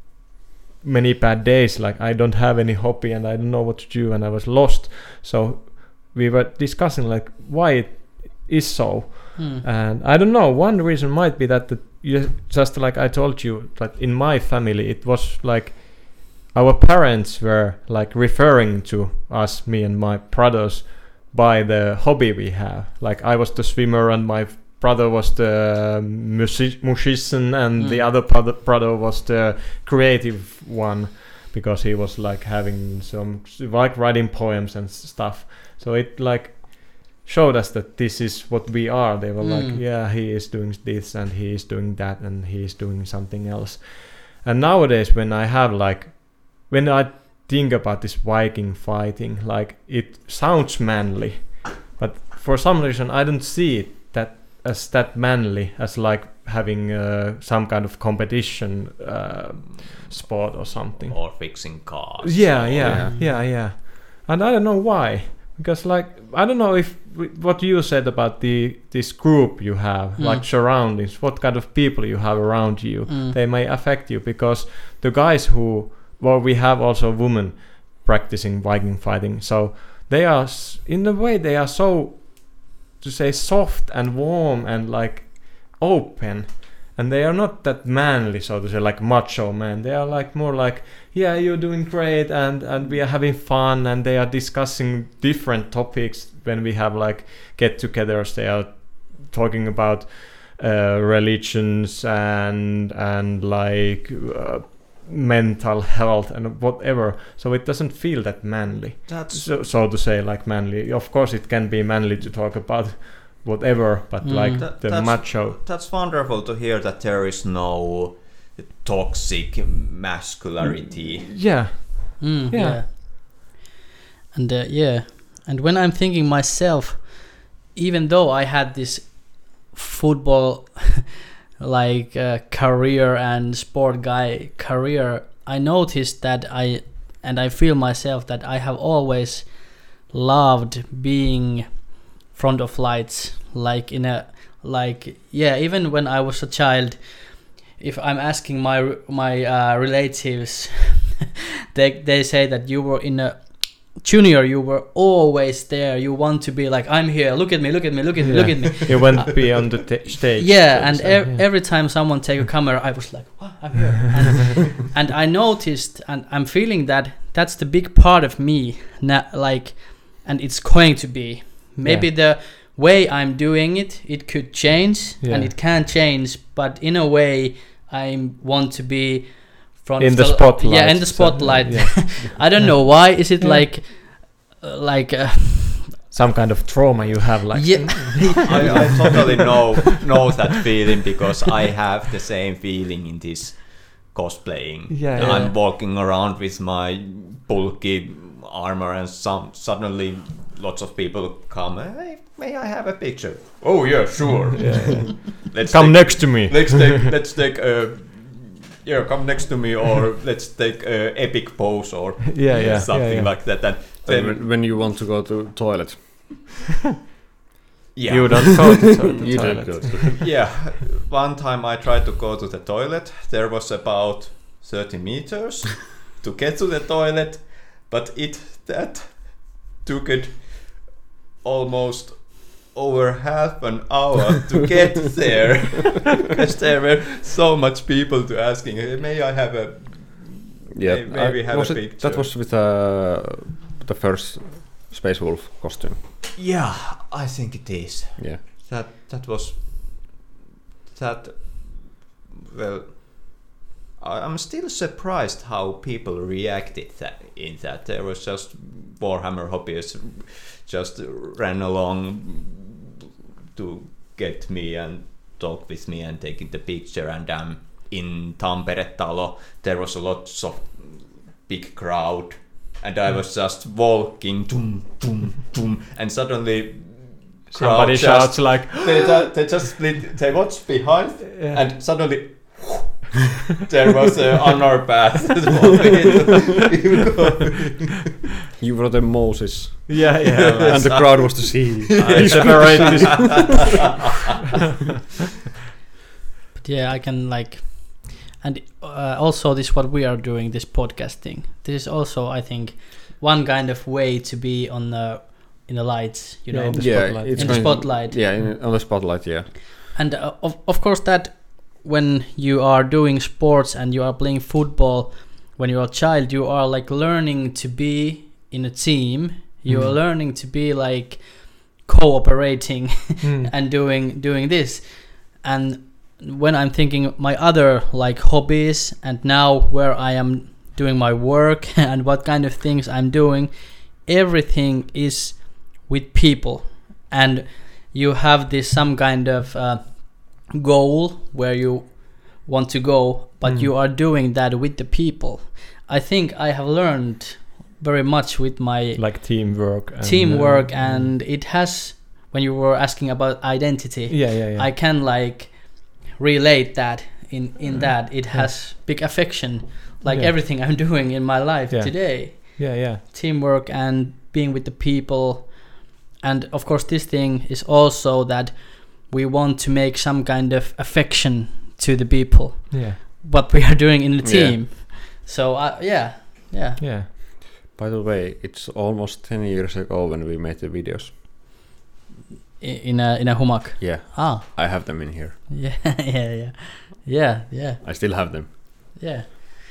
[SPEAKER 2] many bad days, like I don't have any hobby and I don't know what to do, and I was lost. So we were discussing like why it is so.
[SPEAKER 3] Hmm.
[SPEAKER 2] And I don't know, one reason might be that the, you, just like I told you, that in my family it was like our parents were like referring to us, me and my brothers, by the hobby we have. Like I was the swimmer and my brother was the music- musician, and
[SPEAKER 3] Mm.
[SPEAKER 2] the other brother, brother was the creative one, because he was like having some like writing poems and stuff. So it like showed us that this is what we are. They were like,
[SPEAKER 3] Mm.
[SPEAKER 2] yeah, he is doing this and he is doing that and he is doing something else. And nowadays when I have like, when I think about this Viking fighting, like it sounds manly, but for some reason I don't see it that as that manly as like having uh, some kind of competition uh, sport or something.
[SPEAKER 1] Or fixing cars.
[SPEAKER 2] Yeah,
[SPEAKER 1] or-
[SPEAKER 2] yeah,
[SPEAKER 4] Yeah.
[SPEAKER 2] yeah, yeah. And I don't know why, because like I don't know if w- what you said about the this group you have,
[SPEAKER 3] Mm.
[SPEAKER 2] like surroundings, what kind of people you have around you,
[SPEAKER 3] Mm.
[SPEAKER 2] they may affect you, because the guys who, well, we have also women practicing Viking fighting, so they are s- in a way they are so, to say, soft and warm and like open, and they are not that manly, so to say, like macho man. They are like more like, yeah, you're doing great, and and we are having fun, and they are discussing different topics when we have like get-togethers. They are talking about uh, religions and and like uh, mental health and whatever. So it doesn't feel that manly,
[SPEAKER 1] That's
[SPEAKER 2] so, so to say, like manly. Of course it can be manly to talk about whatever, but
[SPEAKER 3] Mm.
[SPEAKER 2] like
[SPEAKER 1] That-
[SPEAKER 2] the
[SPEAKER 1] that's-
[SPEAKER 2] macho.
[SPEAKER 1] That's wonderful to hear that there is no toxic masculinity.
[SPEAKER 2] Yeah,
[SPEAKER 3] Mm,
[SPEAKER 2] Yeah.
[SPEAKER 3] yeah. And uh, yeah, and when I'm thinking myself, even though I had this football like uh, career and sport guy career, I noticed that I and I feel myself that I have always loved being front of lights, like in a like yeah, even when I was a child, if I'm asking my my uh, relatives, they they say that you were in a junior, you were always there. You want to be like, I'm here. Look at me. Look at me. Look at me. Look at me.
[SPEAKER 2] You want to be on the t- stage.
[SPEAKER 3] Yeah,
[SPEAKER 2] so
[SPEAKER 3] and
[SPEAKER 2] to say,
[SPEAKER 3] ev-
[SPEAKER 2] yeah.
[SPEAKER 3] every time someone take a camera, I was like, "What? I'm here." And, and I noticed, and I'm feeling that that's the big part of me, na- like, and it's going to be. Maybe
[SPEAKER 2] Yeah.
[SPEAKER 3] the way I'm doing it, it could change,
[SPEAKER 2] Yeah.
[SPEAKER 3] and it can change. But in a way, I want to be front
[SPEAKER 2] In
[SPEAKER 3] of
[SPEAKER 2] the spotlight.
[SPEAKER 3] Yeah, in the
[SPEAKER 2] So,
[SPEAKER 3] spotlight.
[SPEAKER 2] yeah.
[SPEAKER 3] I don't know why. Is it
[SPEAKER 2] Yeah.
[SPEAKER 3] like, uh, like? Uh,
[SPEAKER 2] Some kind of trauma you have, like.
[SPEAKER 3] yeah.
[SPEAKER 1] I, I totally know know that feeling because I have the same feeling in this cosplaying.
[SPEAKER 2] Yeah, yeah.
[SPEAKER 1] I'm walking around with my bulky armor, and some suddenly lots of people come. Hey, may I have a picture? Oh yeah, sure.
[SPEAKER 2] Yeah, yeah.
[SPEAKER 1] Let's
[SPEAKER 2] Come
[SPEAKER 1] take,
[SPEAKER 2] next to me.
[SPEAKER 1] Let's take. Let's take. Uh, yeah, come next to me, or let's take a epic pose, or
[SPEAKER 2] Yeah, yeah,
[SPEAKER 1] something
[SPEAKER 2] yeah, yeah.
[SPEAKER 1] like that. And
[SPEAKER 4] Then
[SPEAKER 1] then
[SPEAKER 4] when, when you want to go to toilet,
[SPEAKER 1] yeah.
[SPEAKER 2] You don't go to to-
[SPEAKER 4] you
[SPEAKER 2] toilet.
[SPEAKER 4] don't go to.
[SPEAKER 1] Yeah, one time I tried to go to the toilet. There was about thirty meters to get to the toilet, but it that took it almost over half an hour to get there because there were so much people to asking, "Hey, may I have a
[SPEAKER 4] Yeah,
[SPEAKER 1] May- maybe
[SPEAKER 4] I-
[SPEAKER 1] have
[SPEAKER 4] was
[SPEAKER 1] a
[SPEAKER 4] it-
[SPEAKER 1] picture."
[SPEAKER 4] That was with uh, the first Space Wolf costume.
[SPEAKER 1] Yeah, I think it is.
[SPEAKER 4] Yeah.
[SPEAKER 1] That that was that. Well, I- I'm still surprised how people reacted that in that. There was just Warhammer hobbyists just ran along to get me and talk with me and taking the picture. And um, in Tampere Talo, there was a lot of big crowd, and I was just walking, boom, boom, boom, and suddenly
[SPEAKER 2] Somebody
[SPEAKER 1] crowd
[SPEAKER 2] shouts
[SPEAKER 1] just,
[SPEAKER 2] like,
[SPEAKER 1] they, ju- they just split. They watched behind,
[SPEAKER 2] Yeah.
[SPEAKER 1] and suddenly there was an honor path.
[SPEAKER 4] You were the Moses,
[SPEAKER 2] yeah, yeah.
[SPEAKER 4] and the crowd was to see.
[SPEAKER 2] I separate this.
[SPEAKER 3] But yeah, I can like, and uh, also this what we are doing, this podcasting. This is also, I think, one kind of way to be on the in the lights, you
[SPEAKER 2] Yeah,
[SPEAKER 3] know,
[SPEAKER 2] in the
[SPEAKER 4] Yeah,
[SPEAKER 2] spotlight.
[SPEAKER 4] it's
[SPEAKER 3] in the
[SPEAKER 4] going-
[SPEAKER 3] spotlight.
[SPEAKER 4] Yeah, in, on the spotlight. Yeah.
[SPEAKER 3] And uh, of of course that when you are doing sports and you are playing football, when you are a child, you are like learning to be in a team. You are
[SPEAKER 2] Mhm.
[SPEAKER 3] learning to be like cooperating
[SPEAKER 2] Hmm.
[SPEAKER 3] and doing doing this. And when I'm thinking my other like hobbies and now where I am doing my work and what kind of things I'm doing, everything is with people, and you have this some kind of uh, goal where you want to go, but
[SPEAKER 2] Mm.
[SPEAKER 3] you are doing that with the people. I think I have learned very much with my
[SPEAKER 2] Like teamwork. And,
[SPEAKER 3] teamwork,
[SPEAKER 2] uh,
[SPEAKER 3] and it has, when you were asking about identity,
[SPEAKER 2] Yeah, yeah, yeah.
[SPEAKER 3] I can like relate that in in
[SPEAKER 2] Mm.
[SPEAKER 3] that it
[SPEAKER 2] Yeah.
[SPEAKER 3] has big affection, like
[SPEAKER 2] Yeah.
[SPEAKER 3] everything I'm doing in my life
[SPEAKER 2] Yeah.
[SPEAKER 3] today.
[SPEAKER 2] yeah, yeah.
[SPEAKER 3] Teamwork and being with the people, and of course this thing is also that we want to make some kind of affection to the people,
[SPEAKER 2] Yeah,
[SPEAKER 3] what we are doing in the
[SPEAKER 4] Yeah.
[SPEAKER 3] team. So uh, yeah, yeah.
[SPEAKER 2] yeah.
[SPEAKER 4] By the way, it's almost ten years ago when we made the videos.
[SPEAKER 3] I- In a in a hummock.
[SPEAKER 4] Yeah,
[SPEAKER 3] Ah,
[SPEAKER 4] I have them in here.
[SPEAKER 3] yeah, yeah, yeah, yeah, yeah,
[SPEAKER 4] I still have them.
[SPEAKER 3] yeah.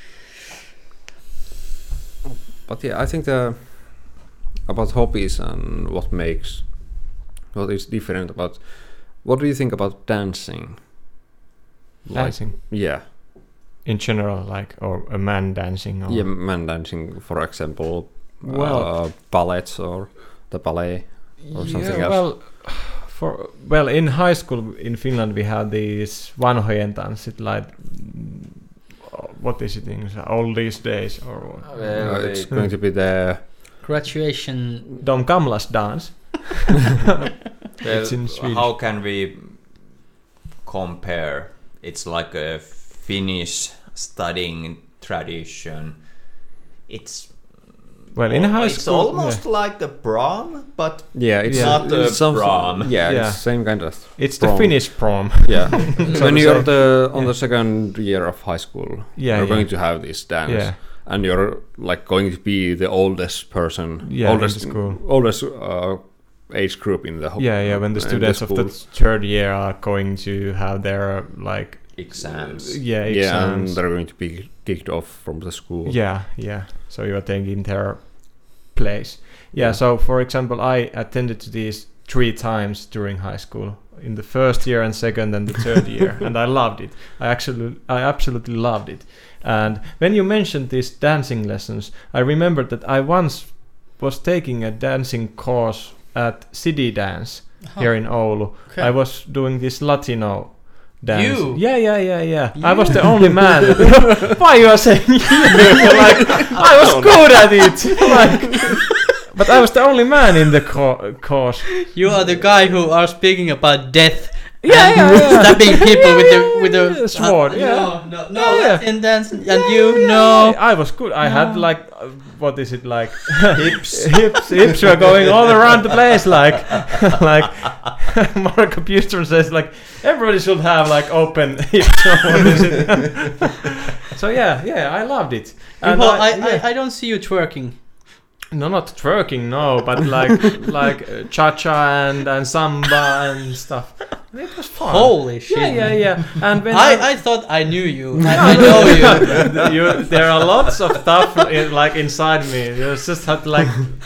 [SPEAKER 4] But yeah, I think the about hobbies and what makes what is different about. What do you think about dancing? Like,
[SPEAKER 2] Dancing.
[SPEAKER 4] yeah,
[SPEAKER 2] In general, like, or a man dancing. Or
[SPEAKER 4] yeah, man dancing, for example.
[SPEAKER 2] Well-
[SPEAKER 4] uh, ballets or the ballet or something
[SPEAKER 2] yeah,
[SPEAKER 4] else.
[SPEAKER 2] Well, for well, in high school in Finland we had these vanhojen tanssit, like mm, what is it in all these days or what?
[SPEAKER 4] Uh, it's going to be the
[SPEAKER 3] Graduation.
[SPEAKER 2] Dom Kamlas dance.
[SPEAKER 1] Well,
[SPEAKER 2] It's in Swedish.
[SPEAKER 1] how can we compare? It's like a Finnish studying tradition. It's
[SPEAKER 2] Well, in high
[SPEAKER 1] It's
[SPEAKER 2] school,
[SPEAKER 1] almost like the prom, but
[SPEAKER 4] Yeah, it's,
[SPEAKER 1] Not
[SPEAKER 4] it's
[SPEAKER 1] the
[SPEAKER 4] some-
[SPEAKER 1] prom.
[SPEAKER 4] Yeah,
[SPEAKER 2] Yeah.
[SPEAKER 4] it's same kind of.
[SPEAKER 2] yeah. It's the
[SPEAKER 4] prom.
[SPEAKER 2] Finnish prom.
[SPEAKER 4] Yeah,
[SPEAKER 2] So
[SPEAKER 4] when
[SPEAKER 2] to
[SPEAKER 4] you're
[SPEAKER 2] say.
[SPEAKER 4] the on
[SPEAKER 2] Yeah.
[SPEAKER 4] the second year of high school,
[SPEAKER 2] Yeah,
[SPEAKER 4] you're
[SPEAKER 2] yeah.
[SPEAKER 4] going to have this dance,
[SPEAKER 2] Yeah.
[SPEAKER 4] and you're like going to be the oldest person,
[SPEAKER 2] Yeah, in
[SPEAKER 4] oldest
[SPEAKER 2] the school.
[SPEAKER 4] oldest uh, age group in the whole.
[SPEAKER 2] Yeah, yeah. When the
[SPEAKER 4] in
[SPEAKER 2] students of the
[SPEAKER 4] school.
[SPEAKER 2] third year are going to have their like
[SPEAKER 1] exams.
[SPEAKER 2] yeah
[SPEAKER 4] Yeah, and
[SPEAKER 2] exams.
[SPEAKER 4] they're going to be kicked off from the school.
[SPEAKER 2] Yeah, yeah. So you are taking their place. Yeah,
[SPEAKER 4] Yeah.
[SPEAKER 2] so for example, I attended to these three times during high school. In the first year and second and the third year, and I loved it. I actually, I absolutely loved it. And when you mentioned these dancing lessons, I remembered that I once was taking a dancing course at City Dance here in Oulu.
[SPEAKER 3] Okay.
[SPEAKER 2] I was doing this Latino dance.
[SPEAKER 3] You?
[SPEAKER 2] Yeah, yeah, yeah, yeah. I was the only man. Why you are saying you? Like I was good at it. Like, but I was the only man in the co- course.
[SPEAKER 3] You are the guy who are speaking about death.
[SPEAKER 2] Yeah,
[SPEAKER 3] and
[SPEAKER 2] yeah, yeah.
[SPEAKER 3] stabbing people
[SPEAKER 2] Yeah,
[SPEAKER 3] with
[SPEAKER 2] yeah,
[SPEAKER 3] the with
[SPEAKER 2] yeah,
[SPEAKER 3] the
[SPEAKER 2] sword,
[SPEAKER 3] uh,
[SPEAKER 2] yeah.
[SPEAKER 3] No, no, no.
[SPEAKER 2] Yeah, yeah.
[SPEAKER 3] Latin dance, and
[SPEAKER 2] Yeah,
[SPEAKER 3] you
[SPEAKER 2] yeah,
[SPEAKER 3] no.
[SPEAKER 2] I was good. I had
[SPEAKER 3] No.
[SPEAKER 2] like, uh, what is it like?
[SPEAKER 1] Hips.
[SPEAKER 2] hips, hips were going all around the place. Like, like Marco Bustron says, like everybody should have like open hips. Or what is it? So yeah, yeah, I loved it. And
[SPEAKER 3] Well, I,
[SPEAKER 2] yeah.
[SPEAKER 3] I, I don't see you twerking.
[SPEAKER 2] No, not twerking, no, but like like uh, cha-cha and, and samba and stuff. It was fun.
[SPEAKER 3] Holy shit!
[SPEAKER 2] Yeah, yeah, yeah. And when
[SPEAKER 3] I, I thought I knew you. I, I know you.
[SPEAKER 2] you, there are lots of stuff in, like inside me. You just have to like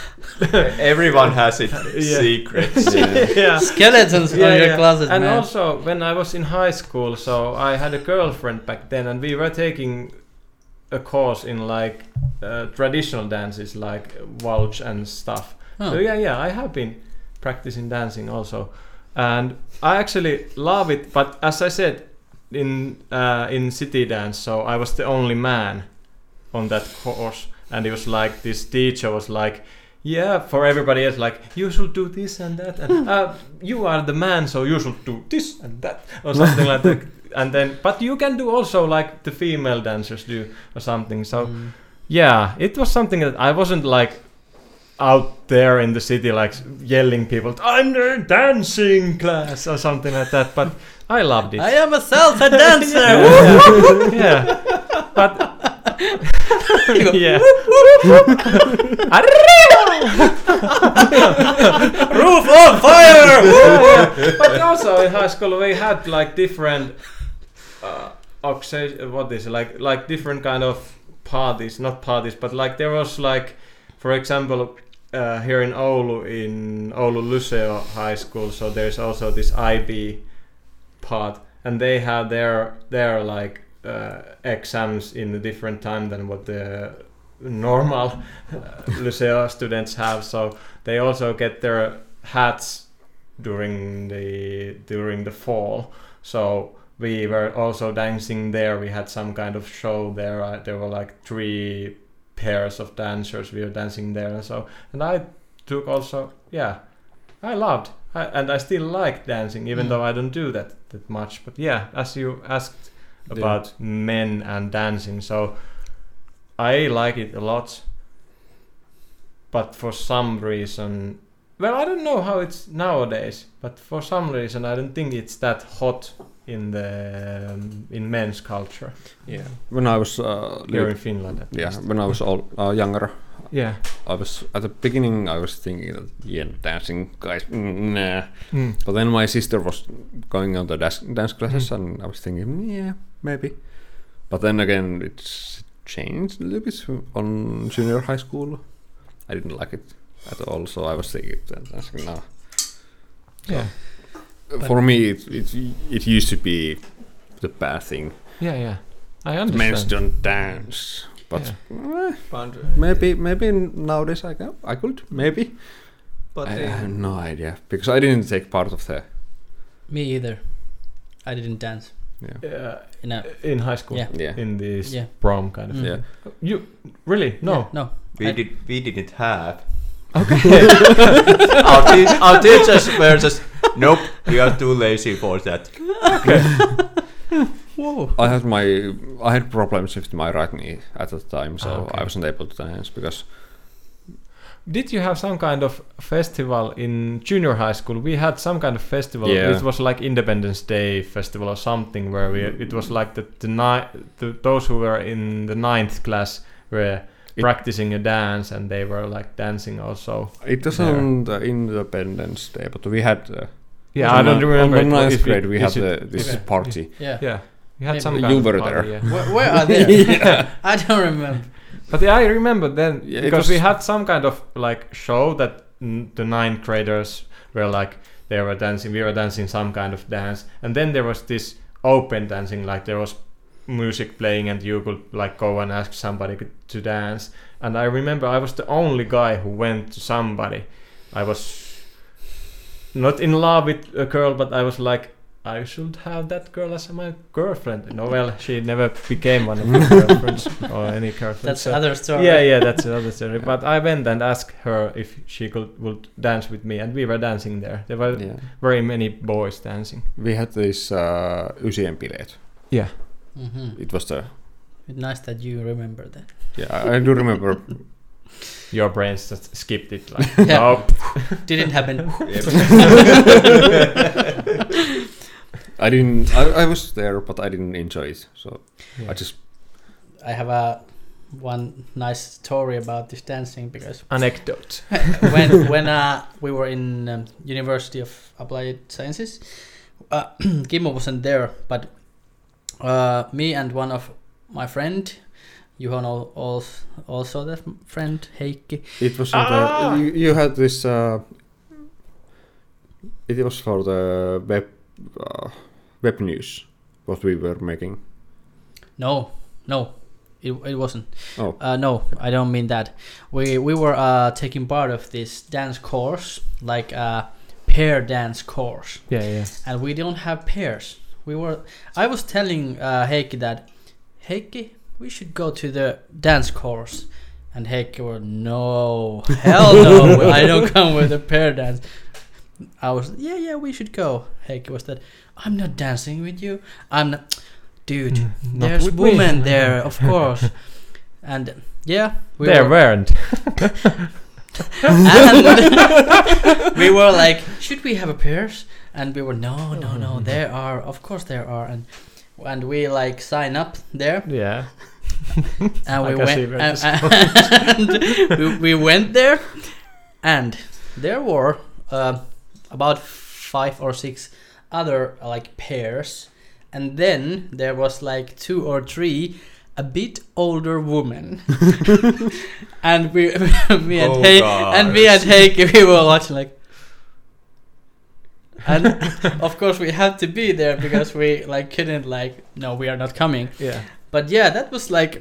[SPEAKER 1] Everyone has its
[SPEAKER 2] Yeah.
[SPEAKER 1] secrets.
[SPEAKER 2] yeah.
[SPEAKER 3] Skeletons on
[SPEAKER 2] Yeah,
[SPEAKER 3] your
[SPEAKER 2] yeah.
[SPEAKER 3] closet,
[SPEAKER 2] And
[SPEAKER 3] man.
[SPEAKER 2] also, when I was in high school, so I had a girlfriend back then, and we were taking a course in like uh, traditional dances, like waltz and stuff.
[SPEAKER 3] Oh.
[SPEAKER 2] So yeah, yeah, I have been practicing dancing also, and I actually love it. But as I said, in uh, in City Dance, so I was the only man on that course, and it was like this teacher was like, yeah, for everybody else, like you should do this and that, and uh, you are the man, so you should do this and that, or something like that. And then, but you can do also like the female dancers do, or something. So
[SPEAKER 3] Mm.
[SPEAKER 2] yeah, it was something that I wasn't like out there in the city, like yelling people, "I'm the dancing class" or something like that. But I loved it.
[SPEAKER 3] I am a salsa dancer.
[SPEAKER 2] yeah, yeah. But yeah.
[SPEAKER 3] Roof on fire!
[SPEAKER 2] But also in high school we had like different uh, occas- what is it, like like different kind of parties, not parties, but like there was like, for example, uh, here in Oulu, in Oulu Liceo High School, so there's also this I B part, and they have their their like uh, exams in a different time than what the normal uh, Liceo students have. So they also get their hats during the during the fall. So we were also dancing there. We had some kind of show there. Uh, there were like three pairs of dancers. We were dancing there. So and I took also yeah, I loved I, and I still like dancing, even
[SPEAKER 3] Mm.
[SPEAKER 2] though I don't do that that much. But yeah, as you asked about men and dancing, so I like it a lot. But for some reason, well, I don't know how it's nowadays, but for some reason I don't think it's that hot in the um, in men's culture
[SPEAKER 4] Yeah. When I was uh,
[SPEAKER 2] here
[SPEAKER 4] li-
[SPEAKER 2] in Finland. At
[SPEAKER 4] yeah,
[SPEAKER 2] least.
[SPEAKER 4] when I was all, uh, younger,
[SPEAKER 2] Yeah.
[SPEAKER 4] I was at the beginning. I was thinking that yeah, dancing guys, mm, nah.
[SPEAKER 2] Mm.
[SPEAKER 4] But then my sister was going on the dance, dance classes,
[SPEAKER 2] Mm.
[SPEAKER 4] and I was thinking, yeah, maybe. But then again, it's changed a little bit on junior high school. I didn't like it at all, so I was thinking that dancing now.
[SPEAKER 2] Yeah.
[SPEAKER 4] For me, it, it it used to be the bad thing.
[SPEAKER 2] Yeah. Yeah. I
[SPEAKER 4] Men
[SPEAKER 2] understand.
[SPEAKER 4] don't dance, but
[SPEAKER 2] Yeah.
[SPEAKER 4] eh,
[SPEAKER 1] But,
[SPEAKER 4] maybe maybe nowadays I can, I could maybe.
[SPEAKER 1] but
[SPEAKER 4] I, I
[SPEAKER 1] uh,
[SPEAKER 4] have no idea because I didn't take part of the.
[SPEAKER 3] Me either. I didn't dance.
[SPEAKER 4] Yeah.
[SPEAKER 2] Uh,
[SPEAKER 3] In a,
[SPEAKER 2] in high school.
[SPEAKER 3] Yeah.
[SPEAKER 4] Yeah.
[SPEAKER 2] In this
[SPEAKER 3] Yeah.
[SPEAKER 2] prom kind of.
[SPEAKER 3] Mm.
[SPEAKER 4] Yeah.
[SPEAKER 2] You really no.
[SPEAKER 3] Yeah, no.
[SPEAKER 1] we
[SPEAKER 3] I-
[SPEAKER 1] did we didn't have.
[SPEAKER 2] Okay.
[SPEAKER 1] our, te- our teachers were just nope. We are too lazy for that.
[SPEAKER 3] Whoa.
[SPEAKER 4] I had my I had problems with my right knee at the time, so
[SPEAKER 2] Ah, okay.
[SPEAKER 4] I wasn't able to dance because
[SPEAKER 2] did you have some kind of festival in junior high school? We had some kind of festival.
[SPEAKER 4] Yeah.
[SPEAKER 2] It was like Independence Day festival or something where we. It was like the the, ni- the those who were in the ninth class were
[SPEAKER 4] It-
[SPEAKER 2] practicing a dance, and they were like dancing also.
[SPEAKER 4] It wasn't uh, Independence Day, but we had. Uh,
[SPEAKER 2] Yeah,
[SPEAKER 4] on
[SPEAKER 2] I don't
[SPEAKER 4] the-
[SPEAKER 2] remember.
[SPEAKER 4] On
[SPEAKER 2] it,
[SPEAKER 4] the
[SPEAKER 2] but
[SPEAKER 4] ninth
[SPEAKER 2] if it-
[SPEAKER 4] grade, we had
[SPEAKER 2] is it-
[SPEAKER 4] the, this
[SPEAKER 3] Okay.
[SPEAKER 4] party.
[SPEAKER 3] Yeah.
[SPEAKER 2] Yeah, we had
[SPEAKER 3] Maybe.
[SPEAKER 2] some
[SPEAKER 4] You
[SPEAKER 2] kind of
[SPEAKER 4] were
[SPEAKER 2] party,
[SPEAKER 4] there.
[SPEAKER 2] yeah.
[SPEAKER 3] Where, where are they? I don't remember.
[SPEAKER 2] But yeah, I remember then
[SPEAKER 4] Yeah, it
[SPEAKER 2] because we
[SPEAKER 4] was-
[SPEAKER 2] had some kind of like show that n- the ninth graders were like they were dancing, we were dancing some kind of dance, and then there was this open dancing, like there was music playing and you could like go and ask somebody to dance. And I remember I was the only guy who went to somebody. I was not in love with a girl, but I was like, I should have that girl as my girlfriend. No, well, she never became one of my girlfriends or any girlfriend.
[SPEAKER 3] That's
[SPEAKER 2] so-
[SPEAKER 3] other story.
[SPEAKER 2] Yeah, yeah, that's another story. But I went and asked her if she could would dance with me, and we were dancing there. There were
[SPEAKER 4] Yeah.
[SPEAKER 2] very many boys dancing.
[SPEAKER 4] We had this uh, Ysien bileet.
[SPEAKER 2] Yeah,
[SPEAKER 3] Mm-hmm.
[SPEAKER 4] It was the.
[SPEAKER 3] Nice that you remember that.
[SPEAKER 4] Yeah, I, I do remember.
[SPEAKER 2] your brains just skipped it. Like,
[SPEAKER 3] Yeah.
[SPEAKER 2] nope.
[SPEAKER 3] Didn't happen.
[SPEAKER 4] I didn't. I, I was there, but I didn't enjoy it. So
[SPEAKER 2] Yeah.
[SPEAKER 4] I just.
[SPEAKER 3] I have a one nice story about this dancing because
[SPEAKER 2] Anecdote.
[SPEAKER 3] when when uh, we were in um, University of Applied Sciences, uh, Kimmo wasn't there, but uh, me and one of my friend, Juhon al- also also that friend Heikki.
[SPEAKER 4] It was.
[SPEAKER 2] Ah!
[SPEAKER 4] The, you, you had this. Uh, it was for the web. Uh, web news. What we were making.
[SPEAKER 3] No, no, it it wasn't.
[SPEAKER 4] Oh.
[SPEAKER 3] Uh, no, I don't mean that. We we were uh, taking part of this dance course, like a pair dance course,
[SPEAKER 2] Yeah, yeah.
[SPEAKER 3] and we don't have pairs. We were. I was telling uh, Heikki that, Heikki, we should go to the dance course, and Heikki were no, hell no, I don't come with a pair dance. I was yeah yeah we should go. Heikki was that, I'm not dancing with you. I'm not, dude.
[SPEAKER 2] Mm, not
[SPEAKER 3] There's
[SPEAKER 2] with me.
[SPEAKER 3] women there, of course. And yeah, we
[SPEAKER 2] There
[SPEAKER 3] were,
[SPEAKER 2] weren't.
[SPEAKER 3] and we were like, should we have a pairs? And we were no, no, no. There are, of course, there are, and and we like sign up there,
[SPEAKER 2] Yeah.
[SPEAKER 3] and
[SPEAKER 2] I
[SPEAKER 3] we
[SPEAKER 2] can see
[SPEAKER 3] went,
[SPEAKER 2] where
[SPEAKER 3] and,
[SPEAKER 2] this
[SPEAKER 3] and we, we went there, and there were uh, about five or six other uh, like pairs, and then there was like two or three a bit older women, and we me and
[SPEAKER 1] Oh,
[SPEAKER 3] He- and me and Heikki, we were watching like, and of course we had to be there because we like couldn't like no, we are not coming.
[SPEAKER 2] Yeah.
[SPEAKER 3] But yeah, that was like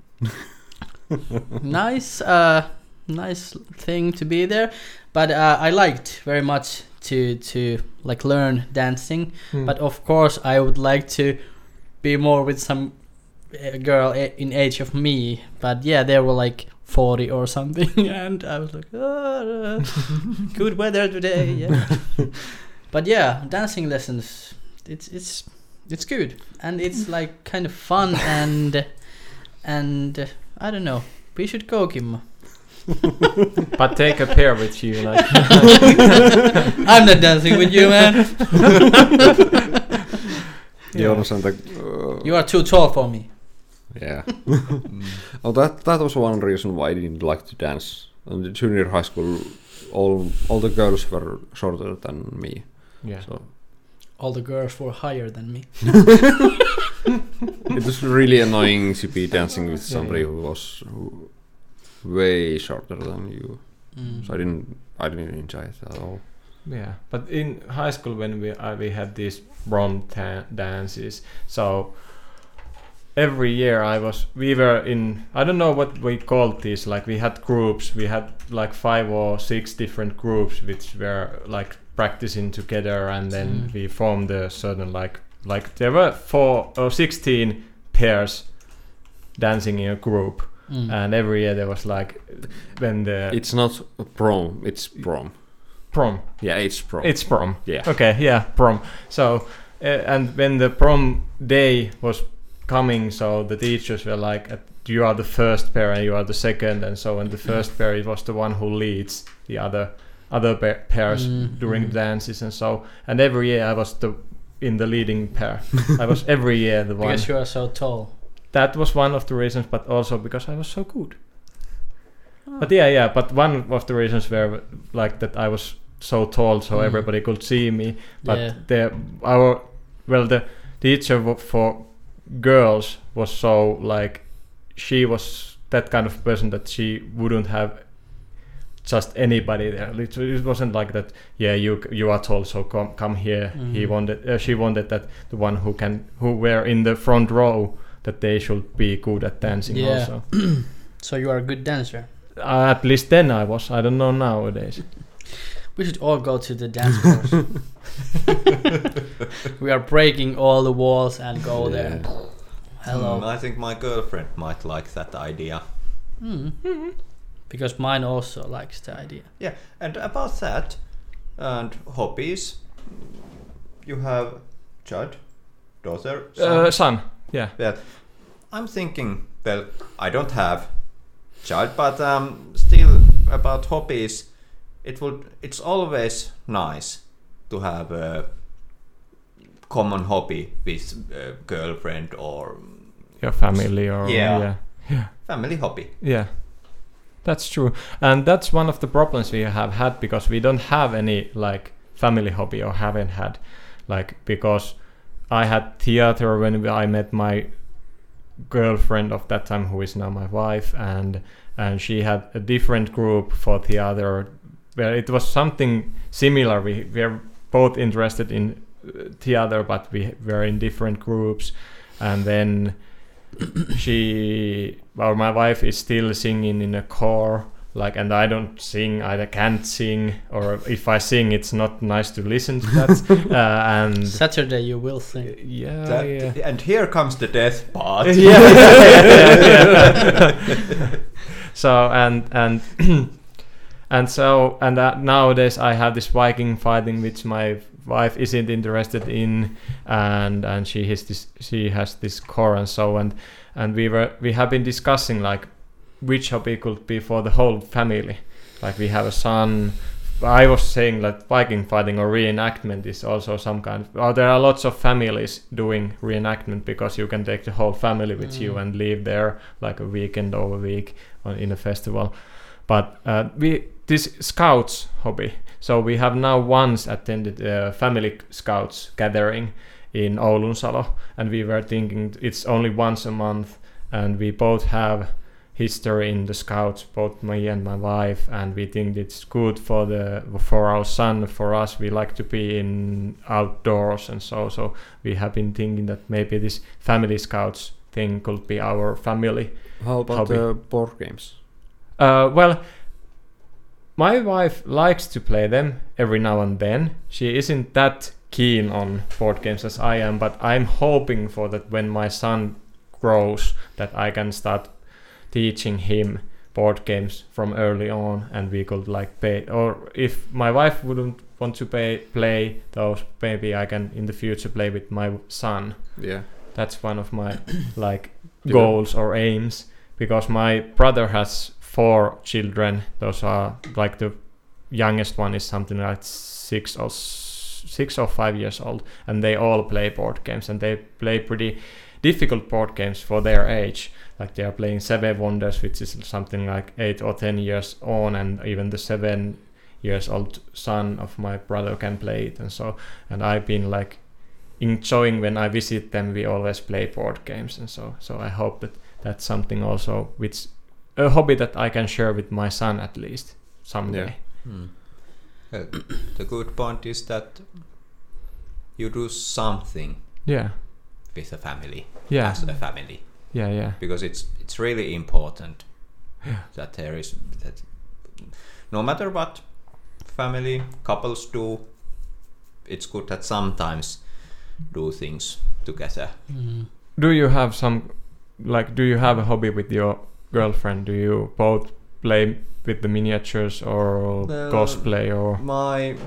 [SPEAKER 3] nice, uh, nice thing to be there. But uh, I liked very much to to like learn dancing.
[SPEAKER 2] Hmm.
[SPEAKER 3] But of course, I would like to be more with some uh, girl a- in age of me. But yeah, they were like forty or something, and I was like, "Ah, good weather today. Yeah. But yeah, dancing lessons. It's it's it's good, and it's like kind of fun, and and uh, I don't know. We should go, Kimmo.
[SPEAKER 2] But take a pair with you, like.
[SPEAKER 3] I'm not dancing with you, man.
[SPEAKER 4] Jonas and the. Uh,
[SPEAKER 3] You are too tall for me.
[SPEAKER 4] yeah. Oh, that that was one reason why I didn't like to dance. In the junior high school, all all the girls were shorter than me.
[SPEAKER 2] Yeah.
[SPEAKER 4] So
[SPEAKER 3] All the girls were higher than me.
[SPEAKER 4] it was really annoying to be dancing with
[SPEAKER 2] Yeah,
[SPEAKER 4] somebody
[SPEAKER 2] yeah.
[SPEAKER 4] who was who, way shorter than you.
[SPEAKER 3] Mm.
[SPEAKER 4] So I didn't I didn't enjoy it at all.
[SPEAKER 2] Yeah, but in high school when we uh, we had these prom ta- dances, so every year I was we were in I don't know what we called these, like we had groups, we had like five or six different groups which were like practicing together, and then
[SPEAKER 3] Mm.
[SPEAKER 2] we formed a certain like like there were four or sixteen pairs dancing in a group,
[SPEAKER 3] Mm.
[SPEAKER 2] and every year there was like when the
[SPEAKER 4] It's not prom, it's prom.
[SPEAKER 2] prom.
[SPEAKER 4] Yeah, it's prom.
[SPEAKER 2] It's prom.
[SPEAKER 4] yeah.
[SPEAKER 2] Okay, yeah, prom. So, uh, and when the prom day was coming, so the teachers were like, at, you are the first pair and you are the second, and so on. The first pair it was the one who leads the other other pa- pairs
[SPEAKER 3] Mm,
[SPEAKER 2] during
[SPEAKER 3] mm.
[SPEAKER 2] dances and so. And every year I was the in the leading pair. I was every year the one.
[SPEAKER 3] Because you are so tall.
[SPEAKER 2] That was one of the reasons, but also because I was so good. But yeah, yeah. But one of the reasons were like that I was so tall, so
[SPEAKER 3] Mm.
[SPEAKER 2] everybody could see me. But
[SPEAKER 3] Yeah.
[SPEAKER 2] the our well, the teacher w- for girls was so like she was that kind of person that she wouldn't have just anybody there. It, it wasn't like that. Yeah, you you are tall, so come come here.
[SPEAKER 3] Mm.
[SPEAKER 2] He wanted, uh, she wanted that the one who can who were in the front row that they should be good at dancing
[SPEAKER 3] Yeah.
[SPEAKER 2] also.
[SPEAKER 3] So you are a good dancer.
[SPEAKER 2] Uh, at least then I was. I don't know nowadays.
[SPEAKER 3] We should all go to the dance course. We are breaking all the walls and go there.
[SPEAKER 4] Yeah.
[SPEAKER 3] Hello.
[SPEAKER 1] Mm, I think my girlfriend might like that idea.
[SPEAKER 3] Mm. Because mine also likes the idea.
[SPEAKER 1] Yeah, and about that, and hobbies, you have child, daughter, son.
[SPEAKER 2] Uh, son. Yeah.
[SPEAKER 1] Yeah, I'm thinking. Well, I don't have child, but um, still about hobbies, it would. It's always nice to have a common hobby with a girlfriend or
[SPEAKER 2] Your family or
[SPEAKER 1] Yeah.
[SPEAKER 2] yeah. Yeah.
[SPEAKER 1] family hobby.
[SPEAKER 2] Yeah, that's true, and that's one of the problems we have had because we don't have any like family hobby or haven't had, like because I had theater when I met my girlfriend of that time, who is now my wife, and and she had a different group for theater where it was something similar. We were both interested in uh, theater, but we were in different groups, and then she or my wife is still singing in a choir, like, and I don't sing, I can't sing, or if I sing it's not nice to listen to that. uh, and
[SPEAKER 3] Saturday you will sing.
[SPEAKER 2] yeah,
[SPEAKER 1] That-
[SPEAKER 2] yeah.
[SPEAKER 1] And here comes the death part.
[SPEAKER 2] yeah, yeah, yeah, yeah. So and and and so and uh, nowadays I have this Viking fighting which my wife isn't interested in, and and she has this she has this core and so and and we were we have been discussing like which hobby could be for the whole family. Like we have a son. I was saying that Viking fighting or reenactment is also some kind of. Oh, there are lots of families doing reenactment because you can take the whole family with
[SPEAKER 3] Mm.
[SPEAKER 2] you and live there like a weekend or a week on, in a festival. But uh, we this scouts hobby. So we have now once attended a family scouts gathering in Oulunsalo, and we were thinking it's only once a month, and we both have history in the scouts, both me and my wife, and we think it's good for the for our son, for us. We like to be in outdoors and so so we have been thinking that maybe this family scouts thing could be our family.
[SPEAKER 4] How about
[SPEAKER 2] Hobby.
[SPEAKER 4] the board games?
[SPEAKER 2] Uh, well, my wife likes to play them every now and then. She isn't that keen on board games as I am, but I'm hoping for that when my son grows that I can start teaching him board games from early on, and we could like pay, or if my wife wouldn't want to pay, play those, maybe I can in the future play with my son.
[SPEAKER 4] Yeah.
[SPEAKER 2] That's one of my like
[SPEAKER 4] Yeah.
[SPEAKER 2] goals or aims, because my brother has four children. Those are like the youngest one is something like six or s- six or five years old, and they all play board games, and they play pretty difficult board games for their age. Like they are playing Seven Wonders, which is something like eight or ten years on, and even the seven years old son of my brother can play it, and so. And I've been like enjoying when I visit them. We always play board games, and so. So I hope that that's something also which a hobby that I can share with my son at least someday.
[SPEAKER 4] Yeah.
[SPEAKER 1] Hmm. Well, the good point is that you do something
[SPEAKER 2] Yeah,
[SPEAKER 1] with a family,
[SPEAKER 2] yeah,
[SPEAKER 1] as a family,
[SPEAKER 2] yeah, yeah,
[SPEAKER 1] because it's it's really important
[SPEAKER 2] Yeah.
[SPEAKER 1] that there is that no matter what family couples do, it's good that sometimes do things together.
[SPEAKER 3] Mm.
[SPEAKER 2] Do you have some, like, do you have a hobby with your girlfriend? Do you both play with the miniatures or
[SPEAKER 1] Well,
[SPEAKER 2] cosplay or?
[SPEAKER 1] My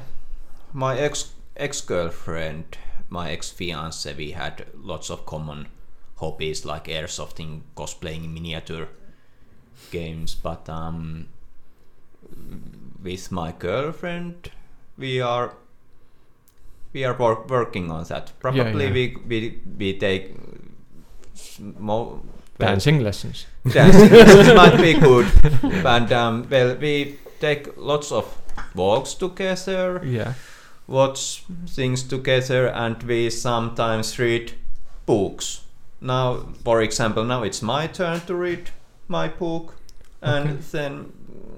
[SPEAKER 1] my ex ex girlfriend, my ex fiance, we had lots of common hobbies like airsofting, cosplaying, miniature games. But um, with my girlfriend, we are we are wor- working on that. Probably
[SPEAKER 2] yeah.
[SPEAKER 1] we we we take more
[SPEAKER 2] Dancing lessons.
[SPEAKER 1] dancing lessons might be good. And um, well, we take lots of walks together,
[SPEAKER 2] Yeah.
[SPEAKER 1] watch things together, and we sometimes read books. Now, for example, now it's my turn to read my book, and
[SPEAKER 2] Okay.
[SPEAKER 1] then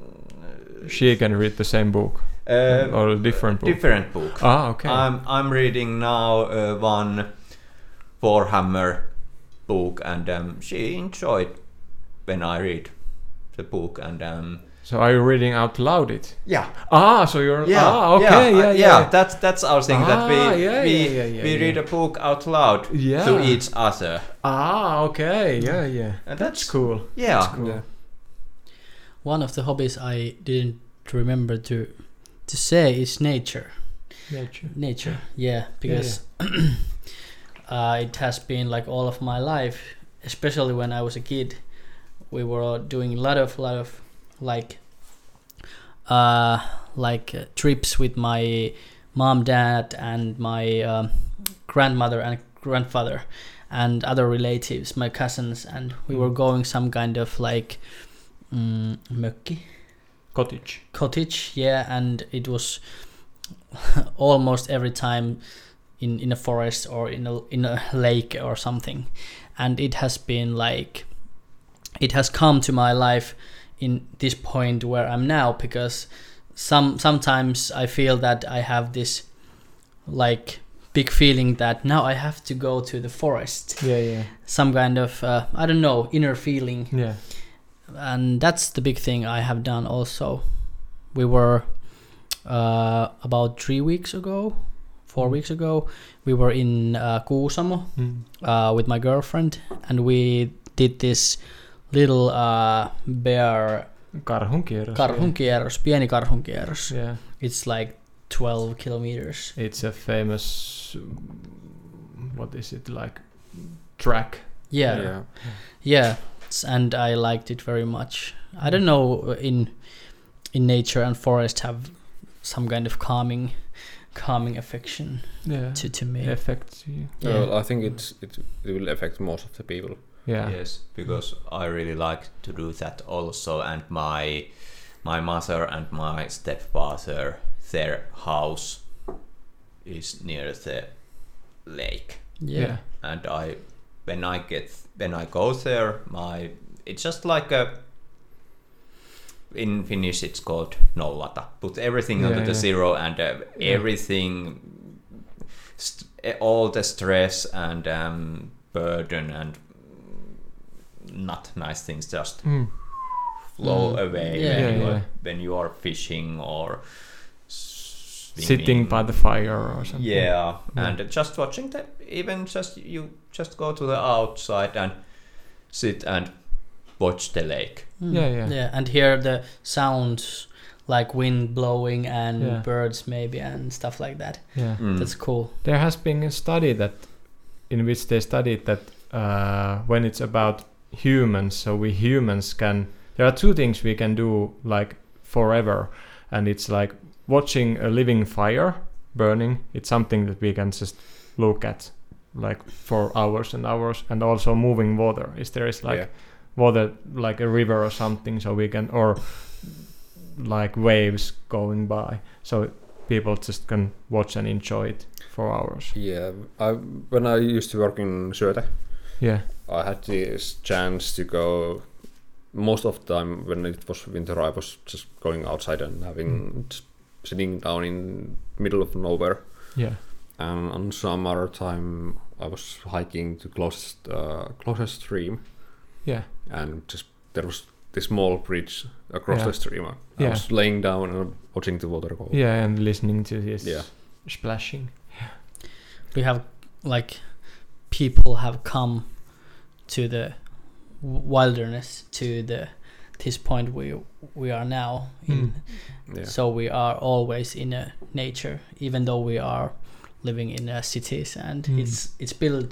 [SPEAKER 2] She can read the same book
[SPEAKER 1] uh,
[SPEAKER 2] or a different book.
[SPEAKER 1] different book.
[SPEAKER 2] Ah, okay.
[SPEAKER 1] I'm I'm reading now uh, one Warhammer book, and um, she enjoyed when I read the book, and um,
[SPEAKER 2] So are you reading out loud it?
[SPEAKER 1] yeah.
[SPEAKER 2] Ah, so you're
[SPEAKER 1] Yeah,
[SPEAKER 2] ah, okay,
[SPEAKER 1] yeah,
[SPEAKER 2] yeah,
[SPEAKER 1] uh,
[SPEAKER 2] yeah.
[SPEAKER 1] That's that's our thing, that we
[SPEAKER 2] Ah, yeah,
[SPEAKER 1] we,
[SPEAKER 2] yeah, yeah, yeah,
[SPEAKER 1] we
[SPEAKER 2] yeah.
[SPEAKER 1] read a book out loud
[SPEAKER 2] Yeah.
[SPEAKER 1] to each other,
[SPEAKER 2] Ah, okay, yeah, yeah.
[SPEAKER 1] and
[SPEAKER 2] That's
[SPEAKER 1] that's
[SPEAKER 2] cool.
[SPEAKER 1] Yeah,
[SPEAKER 2] Cool.
[SPEAKER 4] Yeah.
[SPEAKER 3] One of the hobbies I didn't remember to to say is nature.
[SPEAKER 2] Nature.
[SPEAKER 3] Nature, yeah, because uh, it has been like all of my life, especially when I was a kid. We were doing a lot of lot of like uh, like uh, trips with my mom, dad, and my um, grandmother and grandfather, and other relatives, my cousins, and we were going some kind of like mm, mökki.
[SPEAKER 2] Cottage.
[SPEAKER 3] Cottage, yeah, and it was almost every time in in a forest or in a in a lake or something, and it has been like it has come to my life in this point where I'm now, because some sometimes I feel that I have this like big feeling that now I have to go to the forest,
[SPEAKER 2] Yeah, yeah.
[SPEAKER 3] some kind of uh, I don't know, inner feeling.
[SPEAKER 2] Yeah.
[SPEAKER 3] And that's the big thing I have done also. We were uh, about three weeks ago, four weeks ago, we were in uh, Kuusamo
[SPEAKER 2] Mm.
[SPEAKER 3] uh, with my girlfriend, and we did this little uh, bear
[SPEAKER 2] Karhunkierros.
[SPEAKER 3] karhunkierros, pieni karhunkierros.
[SPEAKER 2] Yeah.
[SPEAKER 3] It's like twelve kilometers.
[SPEAKER 2] It's a famous, um, what is it, like track?
[SPEAKER 3] Yeah,
[SPEAKER 4] Yeah.
[SPEAKER 3] yeah, s- and I liked it very much. I don't know, in in nature and forest have some kind of calming calming affection
[SPEAKER 2] Yeah.
[SPEAKER 3] to, to me.
[SPEAKER 2] Affects you.
[SPEAKER 3] Yeah.
[SPEAKER 4] Well, I think it's it, it will affect most of the people.
[SPEAKER 2] Yeah.
[SPEAKER 1] yes, because I really like to do that also, and my my mother and my stepfather, their house is near the lake,
[SPEAKER 3] Yeah.
[SPEAKER 2] Yeah.
[SPEAKER 1] and I when I get when I go there, my it's just like a in Finnish it's called nollata. Put everything
[SPEAKER 2] Yeah,
[SPEAKER 1] onto the
[SPEAKER 2] yeah.
[SPEAKER 1] zero, and uh,
[SPEAKER 2] Yeah.
[SPEAKER 1] everything, st- all the stress and um, burden and not nice things just
[SPEAKER 2] Mm.
[SPEAKER 1] flow
[SPEAKER 3] Mm.
[SPEAKER 1] away
[SPEAKER 3] Yeah.
[SPEAKER 1] when,
[SPEAKER 2] Yeah,
[SPEAKER 1] you are,
[SPEAKER 2] yeah.
[SPEAKER 1] when you are fishing or swimming.
[SPEAKER 2] Sitting by the fire or something.
[SPEAKER 1] Yeah,
[SPEAKER 2] Yeah.
[SPEAKER 1] and just watching the even just you just go to the outside and sit and watch the lake.
[SPEAKER 3] Mm.
[SPEAKER 2] Yeah, yeah.
[SPEAKER 3] Yeah, and hear the sounds like wind blowing and
[SPEAKER 2] Yeah.
[SPEAKER 3] birds maybe and stuff like that.
[SPEAKER 2] Yeah.
[SPEAKER 1] Mm.
[SPEAKER 3] That's cool.
[SPEAKER 2] There has been a study that, in which they studied that uh, when it's about humans, so we humans can. There are two things we can do like forever, and it's like watching a living fire burning. It's something that we can just look at like for hours and hours, and also moving water. Is there is like
[SPEAKER 4] Yeah.
[SPEAKER 2] water like a river or something, so we can, or like waves going by, so people just can watch and enjoy it for hours.
[SPEAKER 4] Yeah, I when I used to work in Syöte,
[SPEAKER 2] Yeah.
[SPEAKER 4] I had this chance to go. Most of the time when it was winter, I was just going outside and having just sitting down in middle of nowhere.
[SPEAKER 2] Yeah.
[SPEAKER 4] And on summer time, I was hiking to closest uh, closest stream,
[SPEAKER 2] Yeah.
[SPEAKER 4] and just there was this small bridge across
[SPEAKER 2] Yeah.
[SPEAKER 4] the stream. I
[SPEAKER 2] Yeah.
[SPEAKER 4] was laying down and watching the water go.
[SPEAKER 2] Yeah, and listening to this
[SPEAKER 4] Yeah.
[SPEAKER 2] splashing.
[SPEAKER 3] We have like people have come to the w- wilderness, to the this point we we are now in.
[SPEAKER 2] Mm.
[SPEAKER 4] Yeah.
[SPEAKER 3] So we are always in a nature, even though we are living in uh, cities, and
[SPEAKER 2] Mm.
[SPEAKER 3] it's it's built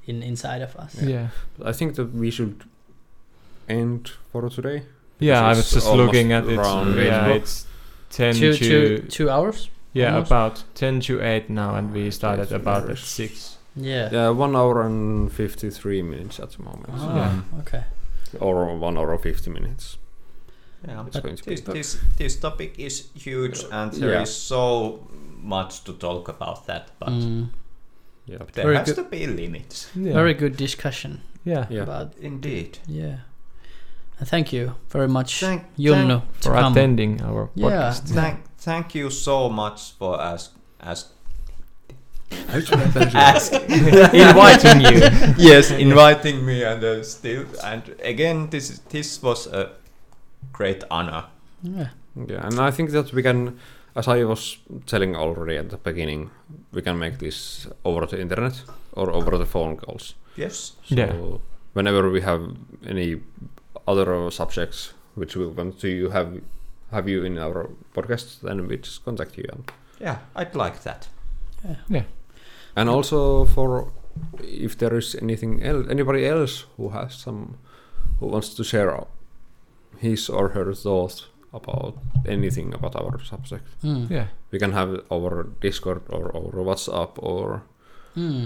[SPEAKER 3] in inside of us.
[SPEAKER 2] Yeah.
[SPEAKER 4] I think that we should end for today.
[SPEAKER 2] Yeah, I
[SPEAKER 4] It's
[SPEAKER 2] was just
[SPEAKER 4] almost
[SPEAKER 2] looking at it.
[SPEAKER 4] around
[SPEAKER 2] Yeah,
[SPEAKER 4] eight.
[SPEAKER 2] it's ten
[SPEAKER 3] Two,
[SPEAKER 2] to
[SPEAKER 3] two, two hours.
[SPEAKER 2] yeah,
[SPEAKER 3] almost.
[SPEAKER 2] about ten to eight now, and we started
[SPEAKER 4] Yes,
[SPEAKER 2] about at
[SPEAKER 4] yes.
[SPEAKER 2] six.
[SPEAKER 3] Yeah.
[SPEAKER 4] Yeah, one hour and fifty-three minutes at the moment,
[SPEAKER 3] Ah,
[SPEAKER 2] Yeah.
[SPEAKER 3] Okay.
[SPEAKER 4] or one hour fifty minutes.
[SPEAKER 1] Yeah,
[SPEAKER 4] It's going to be
[SPEAKER 1] this,
[SPEAKER 4] tough.
[SPEAKER 1] this this topic is huge, and there
[SPEAKER 4] Yeah.
[SPEAKER 1] is so much to talk about that. But
[SPEAKER 3] Mm.
[SPEAKER 4] Yeah,
[SPEAKER 1] there
[SPEAKER 3] Very
[SPEAKER 1] has
[SPEAKER 3] good.
[SPEAKER 1] to be limits.
[SPEAKER 2] Yeah.
[SPEAKER 3] Very good discussion
[SPEAKER 2] yeah.
[SPEAKER 4] yeah.
[SPEAKER 3] about
[SPEAKER 1] Indeed.
[SPEAKER 3] yeah. And thank you very much,
[SPEAKER 1] Thank,
[SPEAKER 3] Junnu,
[SPEAKER 2] For
[SPEAKER 3] to come.
[SPEAKER 2] attending our
[SPEAKER 3] Yeah.
[SPEAKER 2] podcast.
[SPEAKER 1] Thank, thank you so much for ask, ask,
[SPEAKER 4] Ask.
[SPEAKER 1] ask
[SPEAKER 2] Inviting you.
[SPEAKER 1] yes, inviting me, and uh, still, and again, this is- this was a great honor.
[SPEAKER 3] Yeah.
[SPEAKER 4] Yeah, and I think that we can, as I was telling already at the beginning, we can make this over the internet or over the phone calls.
[SPEAKER 1] Yes.
[SPEAKER 4] So
[SPEAKER 2] Yeah.
[SPEAKER 4] whenever we have any other subjects which we want to have have you in our podcast, then we just contact you. And,
[SPEAKER 1] Yeah, I'd like that.
[SPEAKER 4] and also for if there is anything else, anybody else who has some, who wants to share his or her thoughts about anything about our subject,
[SPEAKER 3] Mm.
[SPEAKER 2] Yeah.
[SPEAKER 4] we can have our Discord or our WhatsApp or
[SPEAKER 3] Mm.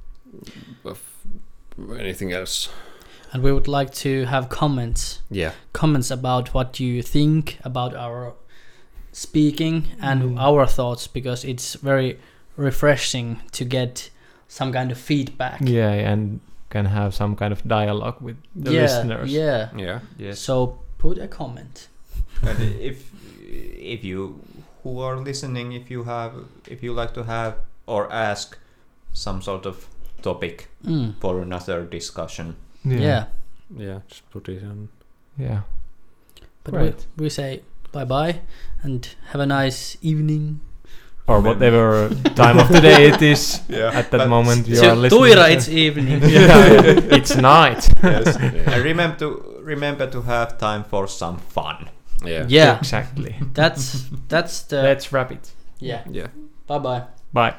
[SPEAKER 4] anything else.
[SPEAKER 3] And we would like to have comments,
[SPEAKER 4] Yeah,
[SPEAKER 3] comments about what you think about our speaking and
[SPEAKER 2] Mm.
[SPEAKER 3] our thoughts, because it's very refreshing to get some kind of feedback.
[SPEAKER 2] Yeah, and can have some kind of dialogue with the
[SPEAKER 3] yeah,
[SPEAKER 2] listeners.
[SPEAKER 3] Yeah.
[SPEAKER 4] yeah,
[SPEAKER 2] Yes.
[SPEAKER 3] So put a comment.
[SPEAKER 1] And if if you who are listening, if you have, if you like to have or ask some sort of topic
[SPEAKER 3] Mm.
[SPEAKER 1] for another discussion,
[SPEAKER 3] Yeah.
[SPEAKER 2] Yeah.
[SPEAKER 4] yeah. Just put it on.
[SPEAKER 2] Yeah.
[SPEAKER 3] But
[SPEAKER 2] Great.
[SPEAKER 3] we, we say bye bye and have a nice evening.
[SPEAKER 2] Or whatever time of the day it is
[SPEAKER 1] Yeah,
[SPEAKER 2] at that
[SPEAKER 1] but
[SPEAKER 2] moment you
[SPEAKER 3] To
[SPEAKER 2] are listening.
[SPEAKER 3] Tuira,
[SPEAKER 2] to-
[SPEAKER 3] it's evening.
[SPEAKER 2] yeah, it's night.
[SPEAKER 1] yes.
[SPEAKER 4] Yeah.
[SPEAKER 1] And remember to remember to have time for some fun.
[SPEAKER 4] Yeah,
[SPEAKER 3] Yeah,
[SPEAKER 2] Exactly.
[SPEAKER 3] that's that's the
[SPEAKER 2] Let's wrap it.
[SPEAKER 3] yeah.
[SPEAKER 4] yeah.
[SPEAKER 3] Bye bye.
[SPEAKER 2] Bye.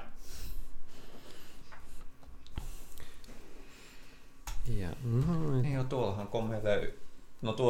[SPEAKER 4] Yeah. No,
[SPEAKER 1] Niin jo, tuollahan komea löytyy. No tuo